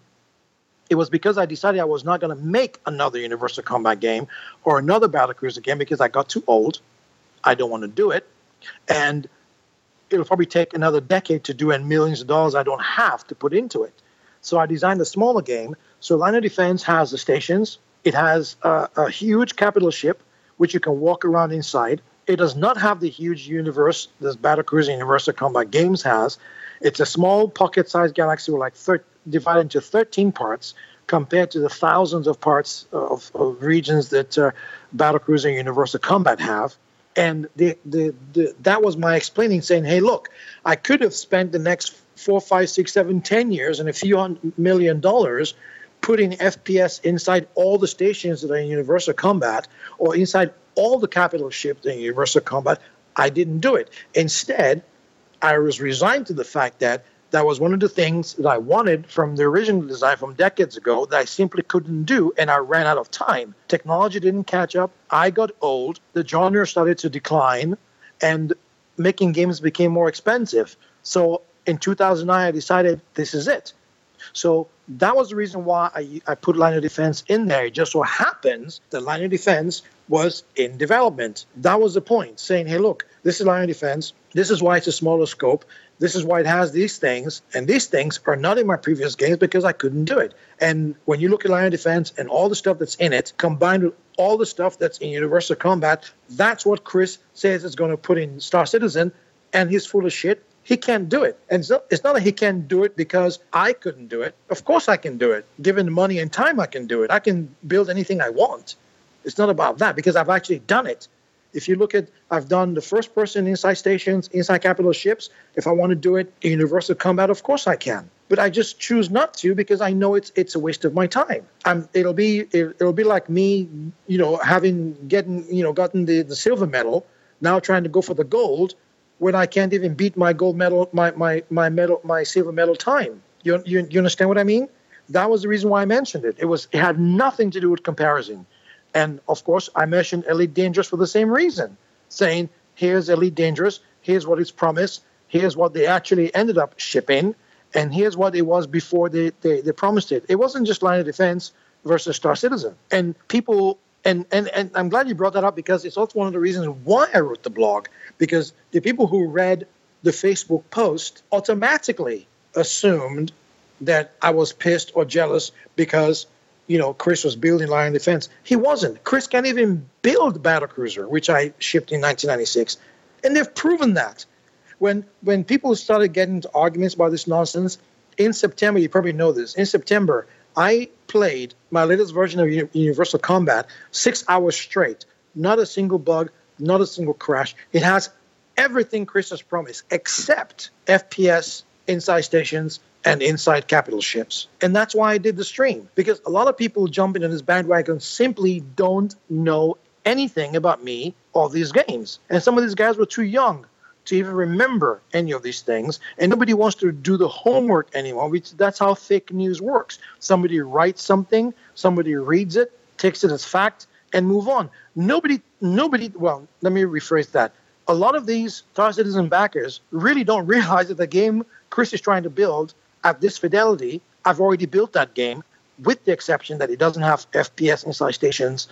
it was because I decided I was not going to make another Universal Combat game or another Battlecruiser game because I got too old. I don't want to do it. And it'll probably take another decade to do, and millions of dollars I don't have to put into it. So I designed a smaller game. So Line of Defense has the stations. It has a, a huge capital ship, which you can walk around inside. It does not have the huge universe that Battlecruiser and Universal Combat Games has. It's a small pocket-sized galaxy with like thir- divided into thirteen parts compared to the thousands of parts of, of regions that uh, Battlecruiser and Universal Combat have. And the, the, the, that was my explaining, saying, hey, look, I could have spent the next four, five, six, seven, ten years and a few hundred million dollars putting F P S inside all the stations that are in Universal Combat or inside all the capital ships in Universal Combat. I didn't do it. Instead, I was resigned to the fact that that was one of the things that I wanted from the original design from decades ago that I simply couldn't do, and I ran out of time. Technology didn't catch up. I got old. The genre started to decline, and making games became more expensive. So in two thousand nine, I decided this is it. So that was the reason why I, I put Line of Defense in there. It just so happens that Line of Defense was in development. That was the point, saying, hey, look, this is Line of Defense. This is why it's a smaller scope. This is why it has these things. And these things are not in my previous games because I couldn't do it. And when you look at Line of Defense and all the stuff that's in it, combined with all the stuff that's in Universal Combat, that's what Chris says is going to put in Star Citizen, and he's full of shit. He can't do it. And so it's not that he can't do it because I couldn't do it. Of course I can do it. Given the money and time, I can do it. I can build anything I want. It's not about that because I've actually done it. If you look at, I've done the first person inside stations, inside capital ships. If I want to do it in Universal Combat, of course I can. But I just choose not to because I know it's it's a waste of my time. I'm, it'll be it, it'll be like me, you know, having getting you know gotten the, the silver medal, now trying to go for the gold, when I can't even beat my gold medal, my my my medal, my silver medal time. You you you understand what I mean? That was the reason why I mentioned it. It was it had nothing to do with comparison. And, of course, I mentioned Elite Dangerous for the same reason, saying, here's Elite Dangerous, here's what it's promised, here's what they actually ended up shipping, and here's what it was before they, they, they promised it. It wasn't just Line of Defense versus Star Citizen. And people, and, and, and I'm glad you brought that up because it's also one of the reasons why I wrote the blog, because the people who read the Facebook post automatically assumed that I was pissed or jealous because you know, Chris was building Line of Defense. He wasn't. Chris can't even build Battlecruiser, which I shipped in nineteen ninety-six. And they've proven that. When when people started getting into arguments about this nonsense, in September, you probably know this, in September, I played my latest version of Universal Combat six hours straight. Not a single bug, not a single crash. It has everything Chris has promised, except F P S, inside stations, and inside capital ships. And that's why I did the stream, because a lot of people jumping on this bandwagon simply don't know anything about me or these games. And some of these guys were too young to even remember any of these things. And nobody wants to do the homework anymore, which that's how fake news works. Somebody writes something, somebody reads it, takes it as fact, and move on. Nobody, nobody, well, let me rephrase that. A lot of these Star Citizen backers really don't realize that the game Chris is trying to build at this fidelity, I've already built that game, with the exception that it doesn't have F P S inside stations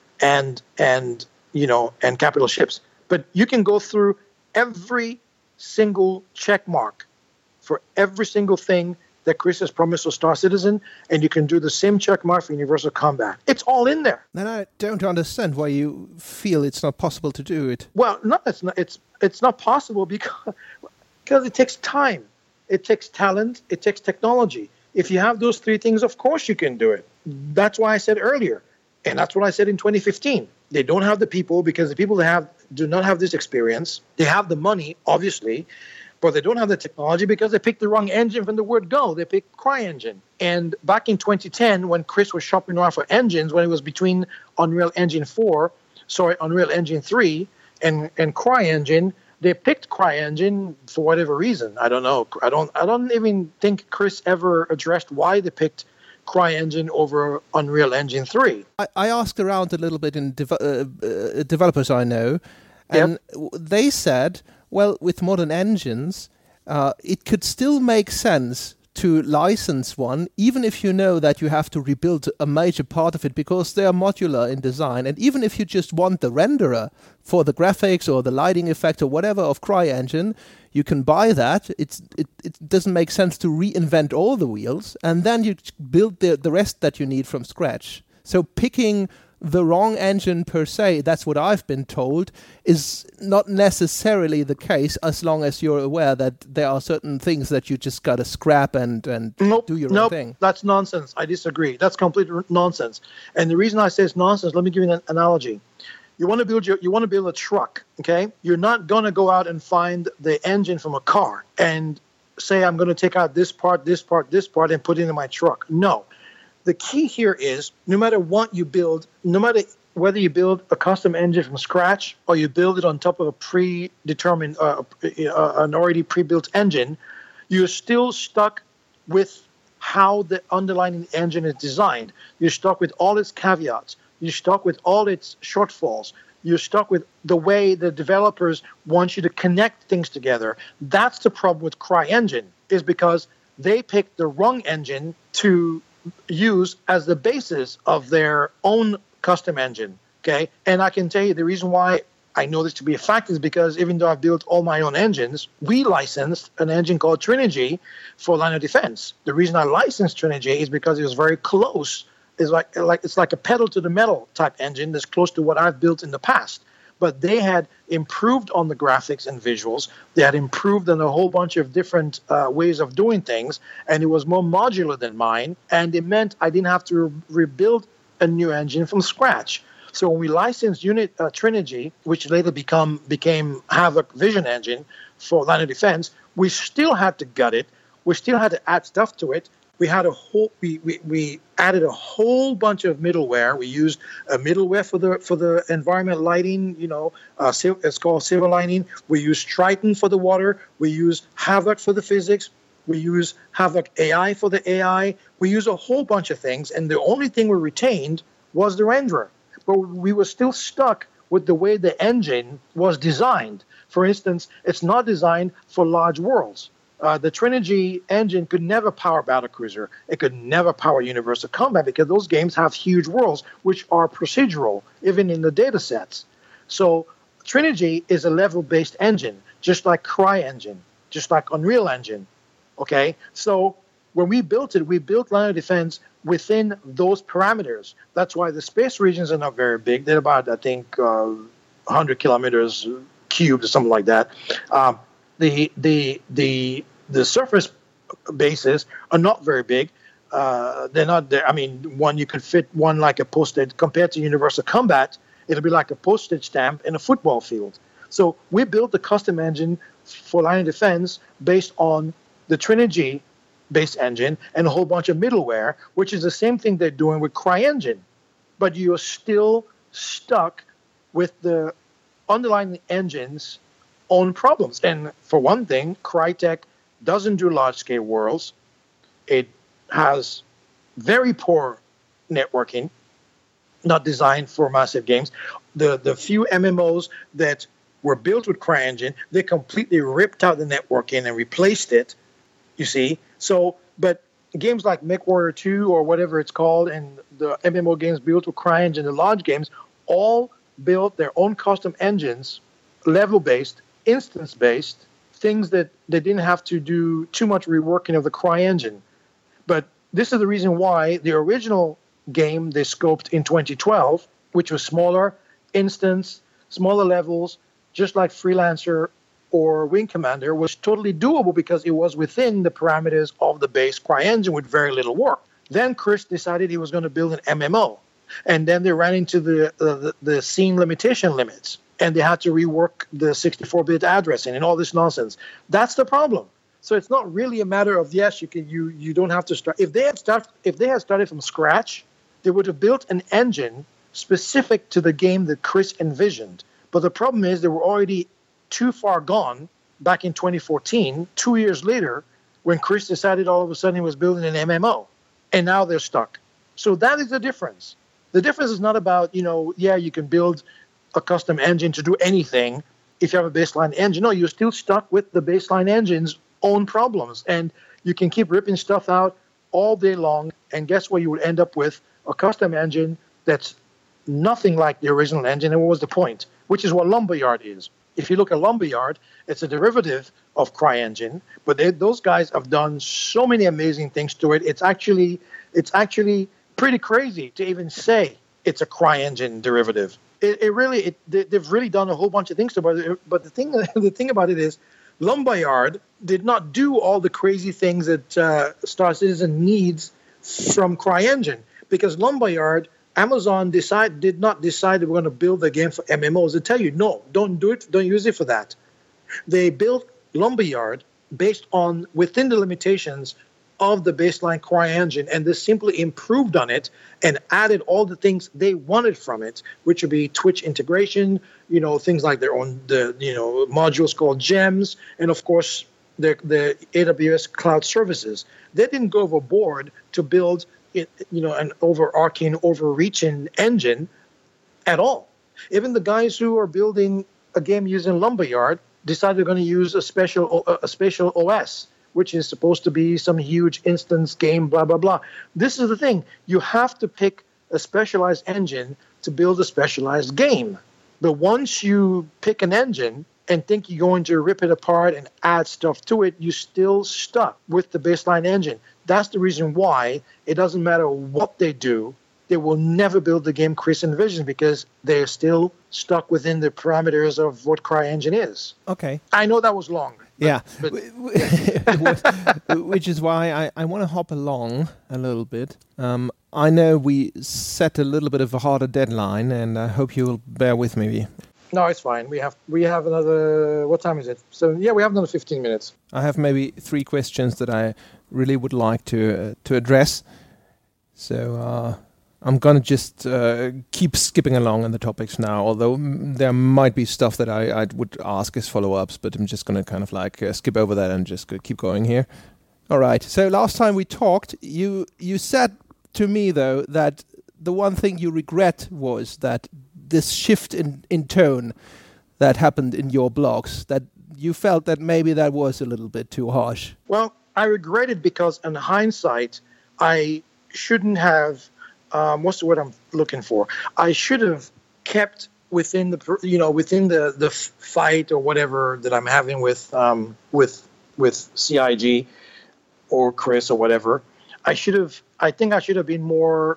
and and you know and capital ships. But you can go through every single check mark for every single thing that Chris has promised for Star Citizen, and you can do the same check mark for Universal Combat. It's all in there. And I don't understand why you feel it's not possible to do it. Well, no, it's not. It's it's not possible because because it takes time, it takes talent, it takes technology. If you have those three things, of course you can do it. That's why I said earlier, and that's what I said in twenty fifteen. They don't have the people because the people that have do not have this experience. They have the money, obviously, but they don't have the technology because they picked the wrong engine from the word go. They picked CryEngine. And back in twenty ten, when Chris was shopping around for engines, when it was between Unreal Engine four, sorry, Unreal Engine three and, and CryEngine, they picked CryEngine for whatever reason. I don't know. I don't I don't even think Chris ever addressed why they picked CryEngine over Unreal Engine three. I, I asked around a little bit in dev- uh, uh, developers I know, and yep. they said, well, with modern engines, uh, it could still make sense to license one, even if you know that you have to rebuild a major part of it because they are modular in design. And even if you just want the renderer for the graphics or the lighting effect or whatever of CryEngine, you can buy that. It's, it, it doesn't make sense to reinvent all the wheels. And then you build the, the rest that you need from scratch. So picking the wrong engine per se, that's what I've been told, is not necessarily the case as long as you're aware that there are certain things that you just got to scrap and, and nope, do your nope, own thing. That's nonsense. I disagree. That's complete nonsense. And the reason I say it's nonsense, let me give you an analogy. You want to build your, you want to build a truck, okay? You're not going to go out and find the engine from a car and say, I'm going to take out this part, this part, this part, and put it in my truck. No. The key here is no matter what you build, no matter whether you build a custom engine from scratch or you build it on top of a predetermined, uh, uh, an already pre-built engine, you're still stuck with how the underlying engine is designed. You're stuck with all its caveats. You're stuck with all its shortfalls. You're stuck with the way the developers want you to connect things together. That's the problem with CryEngine, is because they picked the wrong engine to use as the basis of their own custom engine, okay? And I can tell you the reason why I know this to be a fact is because even though I've built all my own engines, we licensed an engine called Trinergy for Line of Defense. The reason I licensed Trinergy is because it was very close. It's like, like, it's like a pedal to the metal type engine that's close to what I've built in the past. But they had improved on the graphics and visuals. They had improved on a whole bunch of different uh, ways of doing things, and it was more modular than mine, and it meant I didn't have to re- rebuild a new engine from scratch. So when we licensed Unit uh, Trinergy, which later become became Havoc Vision Engine for Line of Defense, we still had to gut it. We still had to add stuff to it. We had a whole. We, we, we added a whole bunch of middleware. We used a middleware for the for the environment lighting. You know, uh, it's called Silver Lining. We use Triton for the water. We use Havoc for the physics. We use Havoc A I for the A I. We use a whole bunch of things, and the only thing we retained was the renderer. But we were still stuck with the way the engine was designed. For instance, it's not designed for large worlds. Uh, the Trinergy engine could never power Battlecruiser. It could never power Universal Combat because those games have huge worlds, which are procedural, even in the data sets. So Trinergy is a level-based engine, just like CryEngine, just like Unreal Engine. Okay? So when we built it, we built Line of Defense within those parameters. That's why the space regions are not very big. They're about, I think, uh, one hundred kilometers cubed or something like that. Um, the the the the surface bases are not very big. Uh, they're not there. I mean, one you could fit one like a postage compared to Universal Combat. It'll be like a postage stamp in a football field. So we built the custom engine for Line of Defense based on the Trinergy-based engine and a whole bunch of middleware, which is the same thing they're doing with CryEngine. But you're still stuck with the underlying engine's own problems. And for one thing, Crytek doesn't do large-scale worlds. It has very poor networking, not designed for massive games. The the few M M Os that were built with CryEngine, they completely ripped out the networking and replaced it, you see. So, but games like MechWarrior two or whatever it's called, and the M M O games built with CryEngine, the large games, all built their own custom engines, level-based, instance-based, things that they didn't have to do too much reworking of the CryEngine. But this is the reason why the original game they scoped in twenty twelve, which was smaller, instance, smaller levels, just like Freelancer or Wing Commander, was totally doable because it was within the parameters of the base CryEngine with very little work. Then Chris decided he was going to build an M M O. And then they ran into the, uh, the, the scene limitation limits. And they had to rework the sixty-four bit addressing and all this nonsense. That's the problem. So it's not really a matter of, yes, you can you you don't have to start. If they had start, if they had started from scratch, they would have built an engine specific to the game that Chris envisioned. But the problem is they were already too far gone back in twenty fourteen, two years later, when Chris decided all of a sudden he was building an M M O. And now they're stuck. So that is the difference. The difference is not about, you know, yeah, you can build a custom engine to do anything if you have a baseline engine. No, you're still stuck with the baseline engine's own problems. And you can keep ripping stuff out all day long. And guess what? You would end up with a custom engine that's nothing like the original engine. And what was the point? Which is what Lumberyard is. If you look at Lumberyard, it's a derivative of CryEngine, but they, those guys have done so many amazing things to it. It's actually, it's actually pretty crazy to even say it's a CryEngine derivative. It, it really, it, they, they've really done a whole bunch of things to it. But the thing, the thing about it is, Lumberyard did not do all the crazy things that uh, Star Citizen needs from CryEngine, because Lumberyard, Amazon decide did not decide they were going to build a game for M M Os. They tell you, no, don't do it, don't use it for that. They built Lumberyard based on within the limitations of the baseline CryEngine, and they simply improved on it and added all the things they wanted from it, which would be Twitch integration, you know, things like their own the you know modules called gems, and of course the the A W S cloud services. They didn't go overboard to build It, you know, an overarching, overreaching engine at all. Even the guys who are building a game using Lumberyard decided they're going to use a special a special O S, which is supposed to be some huge instance game, blah, blah, blah. This is the thing. You have to pick a specialized engine to build a specialized game. But once you pick an engine and think you're going to rip it apart and add stuff to it, you're still stuck with the baseline engine. That's the reason why it doesn't matter what they do, they will never build the game Chris envisioned, because they're still stuck within the parameters of what CryEngine is. Okay. I know that was long. But, yeah. But, Which is why I, I want to hop along a little bit. Um, I know we set a little bit of a harder deadline, and I hope you'll bear with me. No, it's fine. We have we have another, what time is it? So, yeah, we have another fifteen minutes. I have maybe three questions that I really would like to uh, to address. So uh, I'm going to just uh, keep skipping along on the topics now, although m- there might be stuff that I, I would ask as follow-ups, but I'm just going to kind of like uh, skip over that and just go keep going here. All right. So last time we talked, you you said to me, though, that the one thing you regret was that this shift in, in tone that happened in your blogs, that you felt that maybe that was a little bit too harsh. Well, I regret it because in hindsight, I shouldn't have, um, what's the word I'm looking for? I should have kept within the, you know, within the, the fight or whatever that I'm having with, um, with, with C I G or Chris or whatever. I should have, I think I should have been more,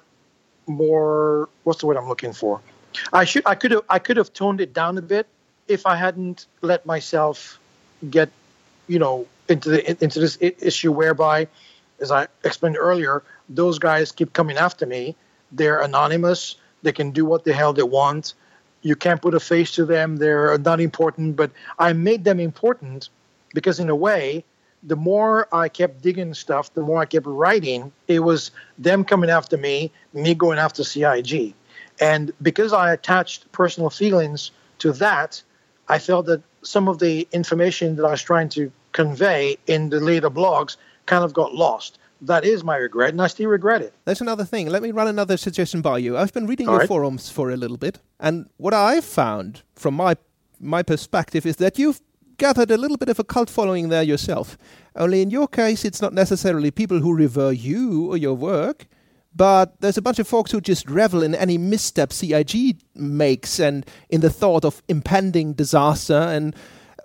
more, what's the word I'm looking for? I should, I could have, I could have toned it down a bit if I hadn't let myself get, you know, into the into this issue whereby, as I explained earlier, those guys keep coming after me. They're anonymous. They can do what the hell they want. You can't put a face to them. They're not important. But I made them important because, in a way, the more I kept digging stuff, the more I kept writing, it was them coming after me, me going after C I G. And because I attached personal feelings to that, I felt that some of the information that I was trying to convey in the later blogs kind of got lost. That is my regret, and I still regret it. There's another thing. Let me run another suggestion by you. I've been reading All your right. forums for a little bit, and what I've found from my my perspective is that you've gathered a little bit of a cult following there yourself. Only in your case, it's not necessarily people who revere you or your work, but there's a bunch of folks who just revel in any misstep C I G makes and in the thought of impending disaster. And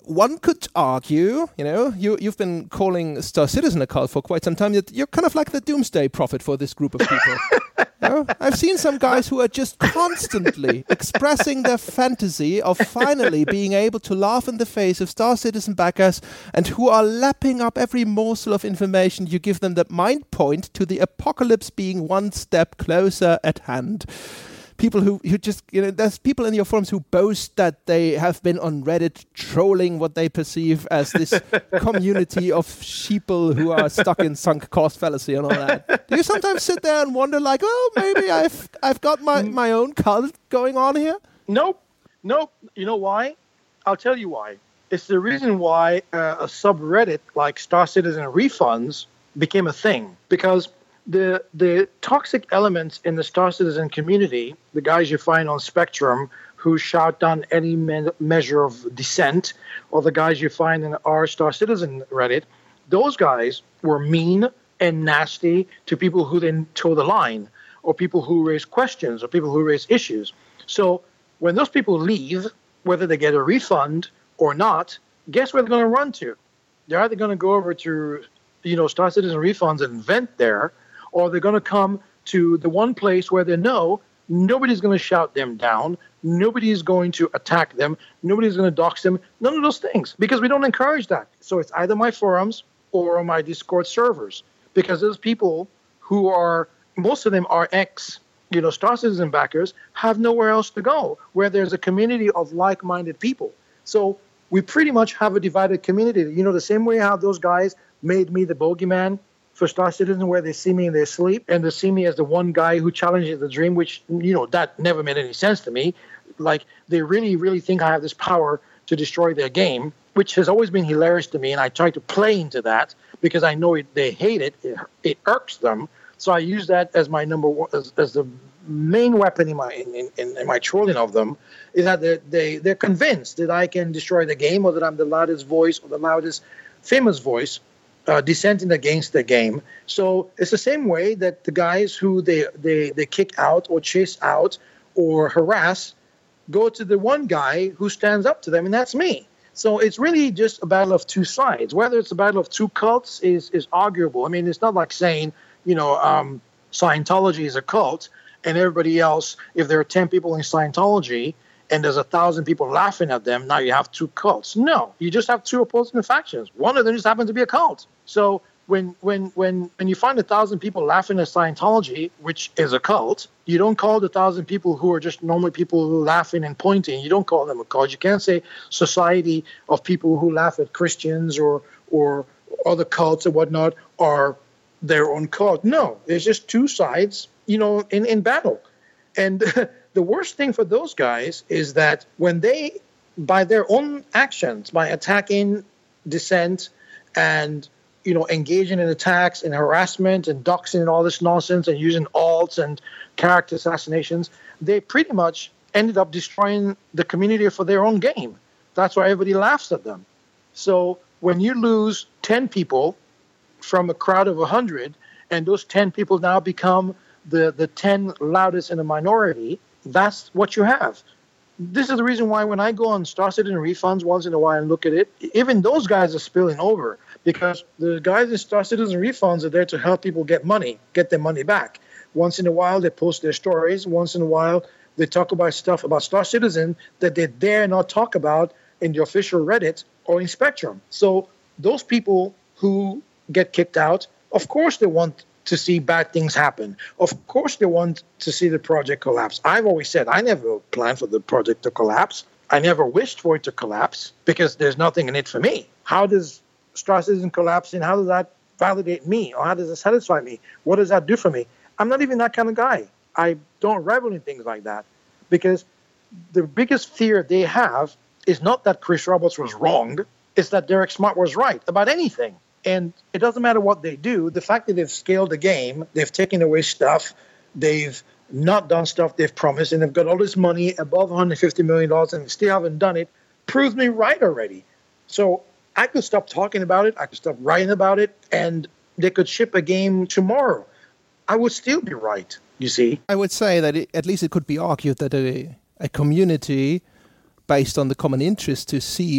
one could argue, you know, you, you've been calling Star Citizen a cult for quite some time, that you're kind of like the doomsday prophet for this group of people. You know? I've seen some guys who are just constantly expressing their fantasy of finally being able to laugh in the face of Star Citizen backers, and who are lapping up every morsel of information you give them that might point to the apocalypse being one step closer at hand. People who, who just, you know, there's people in your forums who boast that they have been on Reddit trolling what they perceive as this community of sheeple who are stuck in sunk cost fallacy and all that. Do you sometimes sit there and wonder, like, oh, maybe I've I've got my, my own cult going on here? Nope. Nope. You know why? I'll tell you why. It's the reason why uh, a subreddit like Star Citizen Refunds became a thing. Because The the toxic elements in the Star Citizen community, the guys you find on Spectrum who shout down any me- measure of dissent, or the guys you find in our Star Citizen Reddit, those guys were mean and nasty to people who then toe the line, or people who raise questions, or people who raise issues. So when those people leave, whether they get a refund or not, guess where they're going to run to? They're either going to go over to, you know, Star Citizen Refunds and vent there, or they're going to come to the one place where they know nobody's going to shout them down, nobody's going to attack them, nobody's going to dox them, none of those things, because we don't encourage that. So it's either my forums or on my Discord servers, because those people who are, most of them are ex, you know, Star Citizen backers, have nowhere else to go, where there's a community of like-minded people. So we pretty much have a divided community. You know, the same way how those guys made me the bogeyman for Star Citizen, where they see me in their sleep, and they see me as the one guy who challenges the dream, which, you know, that never made any sense to me. Like, they really, really think I have this power to destroy their game, which has always been hilarious to me, and I try to play into that because I know it, they hate it. it. It irks them. So I use that as my number one, as, as the main weapon in my in, in, in my trolling of them, is that they, they, they're convinced that I can destroy the game, or that I'm the loudest voice or the loudest famous voice Uh, dissenting against the game. So it's the same way that the guys who they, they, they kick out or chase out or harass go to the one guy who stands up to them, and that's me. So it's really just a battle of two sides. Whether it's a battle of two cults is, is arguable. I mean, it's not like saying, you know, um, Scientology is a cult, and everybody else, if there are ten people in Scientology and there's a thousand people laughing at them, now you have two cults. No, you just have two opposing factions. One of them just happens to be a cult. So when when when when you find a thousand people laughing at Scientology, which is a cult, you don't call the thousand people who are just normally people who are laughing and pointing, you don't call them a cult. You can't say society of people who laugh at Christians or or other cults or whatnot are their own cult. No, it's just two sides, you know, in, in battle. And the worst thing for those guys is that when they, by their own actions, by attacking dissent and, you know, engaging in attacks and harassment and doxing and all this nonsense and using alts and character assassinations, they pretty much ended up destroying the community for their own game. That's why everybody laughs at them. So when you lose ten people from a crowd of one hundred, and those ten people now become the, the ten loudest in the minority, that's what you have. This is the reason why when I go on Star Citizen Refunds once in a while and look at it, even those guys are spilling over, because the guys in Star Citizen Refunds are there to help people get money, get their money back. Once in a while, they post their stories. Once in a while, they talk about stuff about Star Citizen that they dare not talk about in the official Reddit or in Spectrum. So those people who get kicked out, of course they want to see bad things happen. Of course they want to see the project collapse. I've always said I never planned for the project to collapse. I never wished for it to collapse because there's nothing in it for me. How does Star Citizen collapse, and how does that validate me, or how does it satisfy me? What does that do for me? I'm not even that kind of guy. I don't revel in things like that, because the biggest fear they have is not that Chris Roberts was wrong, it's that Derek Smart was right about anything. And it doesn't matter what they do. The fact that they've scaled the game, they've taken away stuff, they've not done stuff they've promised, and they've got all this money above one hundred fifty million dollars and still haven't done it, proves me right already. So I could stop talking about it, I could stop writing about it, and they could ship a game tomorrow. I would still be right, you see. I would say that it, at least it could be argued that a, a community based on the common interest to see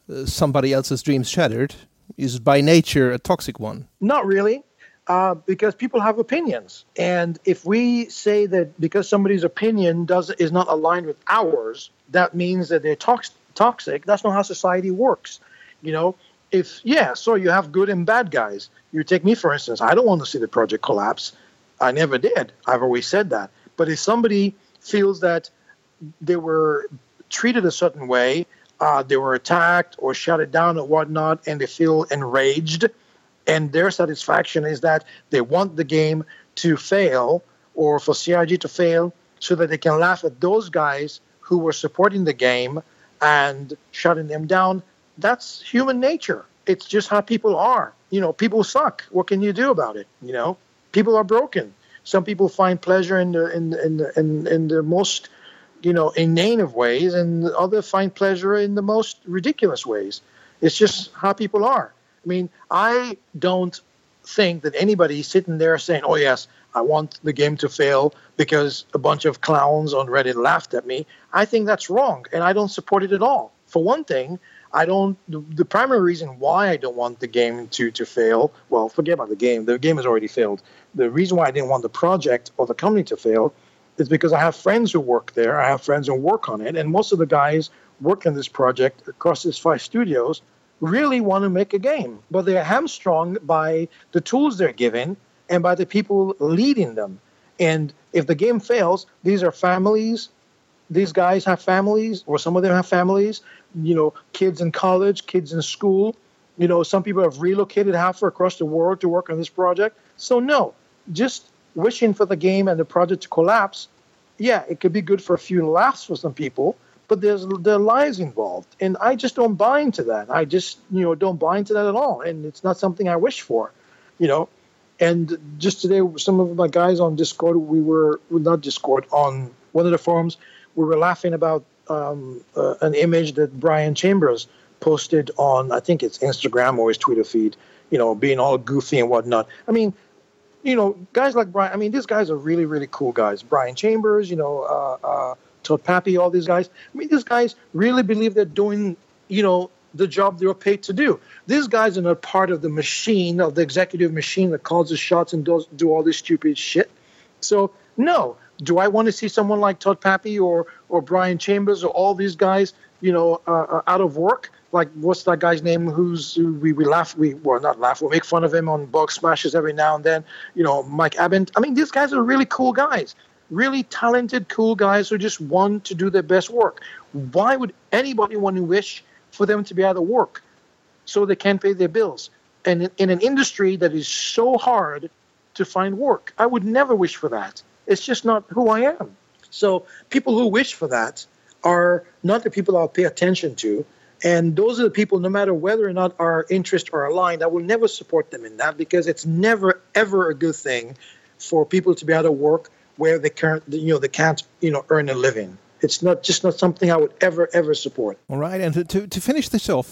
uh, somebody else's dreams shattered is by nature a toxic one. Not really, uh, because people have opinions. And if we say that because somebody's opinion does is not aligned with ours, that means that they're tox- toxic. That's not how society works. You know, if, yeah, so you have good and bad guys. You take me, for instance. I don't want to see the project collapse. I never did. I've always said that. But if somebody feels that they were treated a certain way, uh, they were attacked or shut it down or whatnot, and they feel enraged, and their satisfaction is that they want the game to fail or for C I G to fail so that they can laugh at those guys who were supporting the game and shutting them down, that's human nature. It's just how people are. You know, people suck. What can you do about it? You know, people are broken. Some people find pleasure in the in in the, in, in the most, you know, inane of ways, and others find pleasure in the most ridiculous ways. It's just how people are. I mean, I don't think that anybody sitting there saying, "Oh yes, I want the game to fail because a bunch of clowns on Reddit laughed at me." I think that's wrong, and I don't support it at all. For one thing, I don't. The, the primary reason why I don't want the game to to fail, well, forget about the game. The game has already failed. The reason why I didn't want the project or the company to fail is because I have friends who work there. I have friends who work on it, and most of the guys working this project across these five studios really want to make a game, but they're hamstrung by the tools they're given and by the people leading them. And if the game fails, these are families. These guys have families, or some of them have families, you know, kids in college, kids in school. You know, some people have relocated halfway across the world to work on this project. So no, just wishing for the game and the project to collapse, yeah, it could be good for a few laughs for some people, but there's there are lives involved. And I just don't buy into that. I just, you know, don't buy into that at all. And it's not something I wish for, you know. And just today, some of my guys on Discord, we were, not Discord, on one of the forums, we were laughing about um, uh, an image that Brian Chambers posted on, I think it's Instagram or his Twitter feed, you know, being all goofy and whatnot. I mean, you know, guys like Brian, I mean, these guys are really, really cool guys. Brian Chambers, you know, uh, uh, Todd Pappy, all these guys. I mean, these guys really believe they're doing, you know, the job they're paid to do. These guys are not part of the machine, of the executive machine that calls the shots and does do all this stupid shit. So, no. Do I want to see someone like Todd Pappy or or Brian Chambers or all these guys, you know, uh, out of work? Like, what's that guy's name? Who's who we we laugh, we well not laugh, we make fun of him on Bug Smashes every now and then. You know, Mike Abent. I mean, these guys are really cool guys, really talented, cool guys who just want to do their best work. Why would anybody want to wish for them to be out of work so they can't pay their bills? And in, in an industry that is so hard to find work, I would never wish for that. It's just not who I am. So people who wish for that are not the people I'll pay attention to. And those are the people, no matter whether or not our interests are aligned, I will never support them in that, because it's never, ever a good thing for people to be out of work where they can't, you know, they can't, you know, earn a living. It's not just not something I would ever, ever support. All right. And to, to, to finish this off,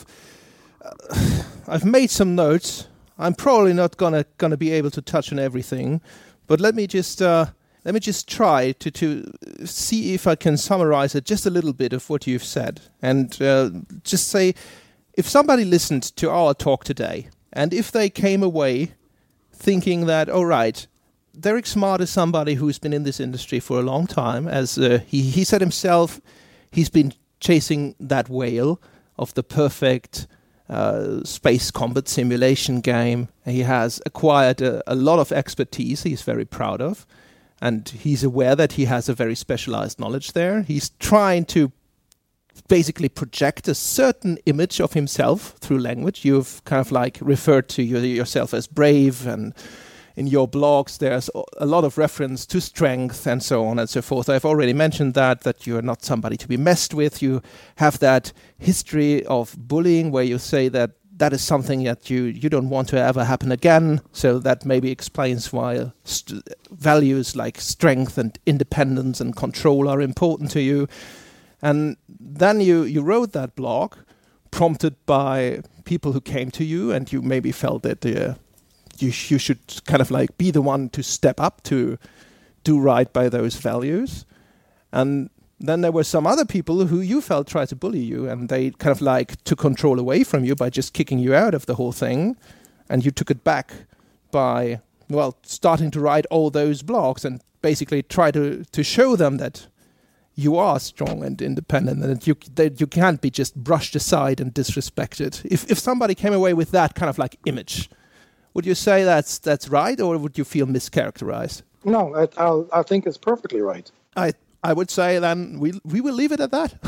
uh, I've made some notes. I'm probably not gonna gonna be able to touch on everything, but let me just uh, let me just try to, to see if I can summarize it just a little bit of what you've said, and uh, just say, if somebody listened to our talk today, and if they came away thinking that, all right, Derek Smart is somebody who's been in this industry for a long time, as uh, he he said himself, he's been chasing that whale of the perfect Uh, space combat simulation game. He has acquired a, a lot of expertise he's very proud of, and he's aware that he has a very specialized knowledge there. He's trying to basically project a certain image of himself through language. You've kind of like referred to your, yourself as brave, and in your blogs there's a lot of reference to strength and so on and so forth. I've already mentioned that, that you're not somebody to be messed with. You have that history of bullying where you say that that is something that you, you don't want to ever happen again. So that maybe explains why st- values like strength and independence and control are important to you. And then you, you wrote that blog prompted by people who came to you, and you maybe felt that uh, You, you should kind of like be the one to step up to do right by those values. And Then there were some other people who you felt tried to bully you, and they kind of like took control away from you by just kicking you out of the whole thing, and you took it back by, well, starting to write all those blogs and basically try to, to show them that you are strong and independent, and that you that you can't be just brushed aside and disrespected. If if somebody came away with that kind of like image, would you say that's that's right, or would you feel mischaracterized? No, I, I'll, I think it's perfectly right. I I would say then we we will leave it at that.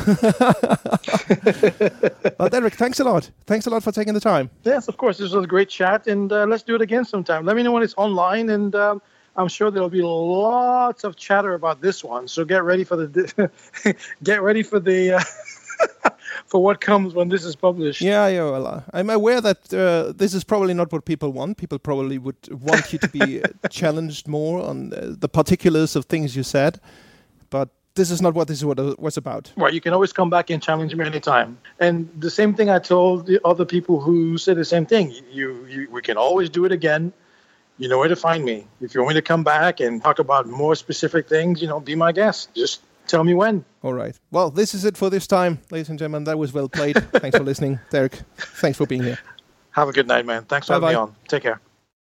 Well, Derek, thanks a lot. Thanks a lot for taking the time. Yes, of course. This was a great chat, and uh, let's do it again sometime. Let me know when it's online, and um, I'm sure there'll be lots of chatter about this one. So get ready for the get ready for the uh, for what comes when this is published. Yeah, yeah. Well, uh, I'm aware that uh, this is probably not what people want. People probably would want you to be challenged more on uh, the particulars of things you said. But this is not what this is what it was about. Well, you can always come back and challenge me anytime. And the same thing I told the other people who said the same thing. You, you, we can always do it again. You know where to find me. If you want me to come back and talk about more specific things, you know, be my guest. Just tell me when. All right. Well, this is it for this time, ladies and gentlemen. That was well played. Thanks for listening. Derek, thanks for being here. Have a good night, man. Thanks for having me on. Take care.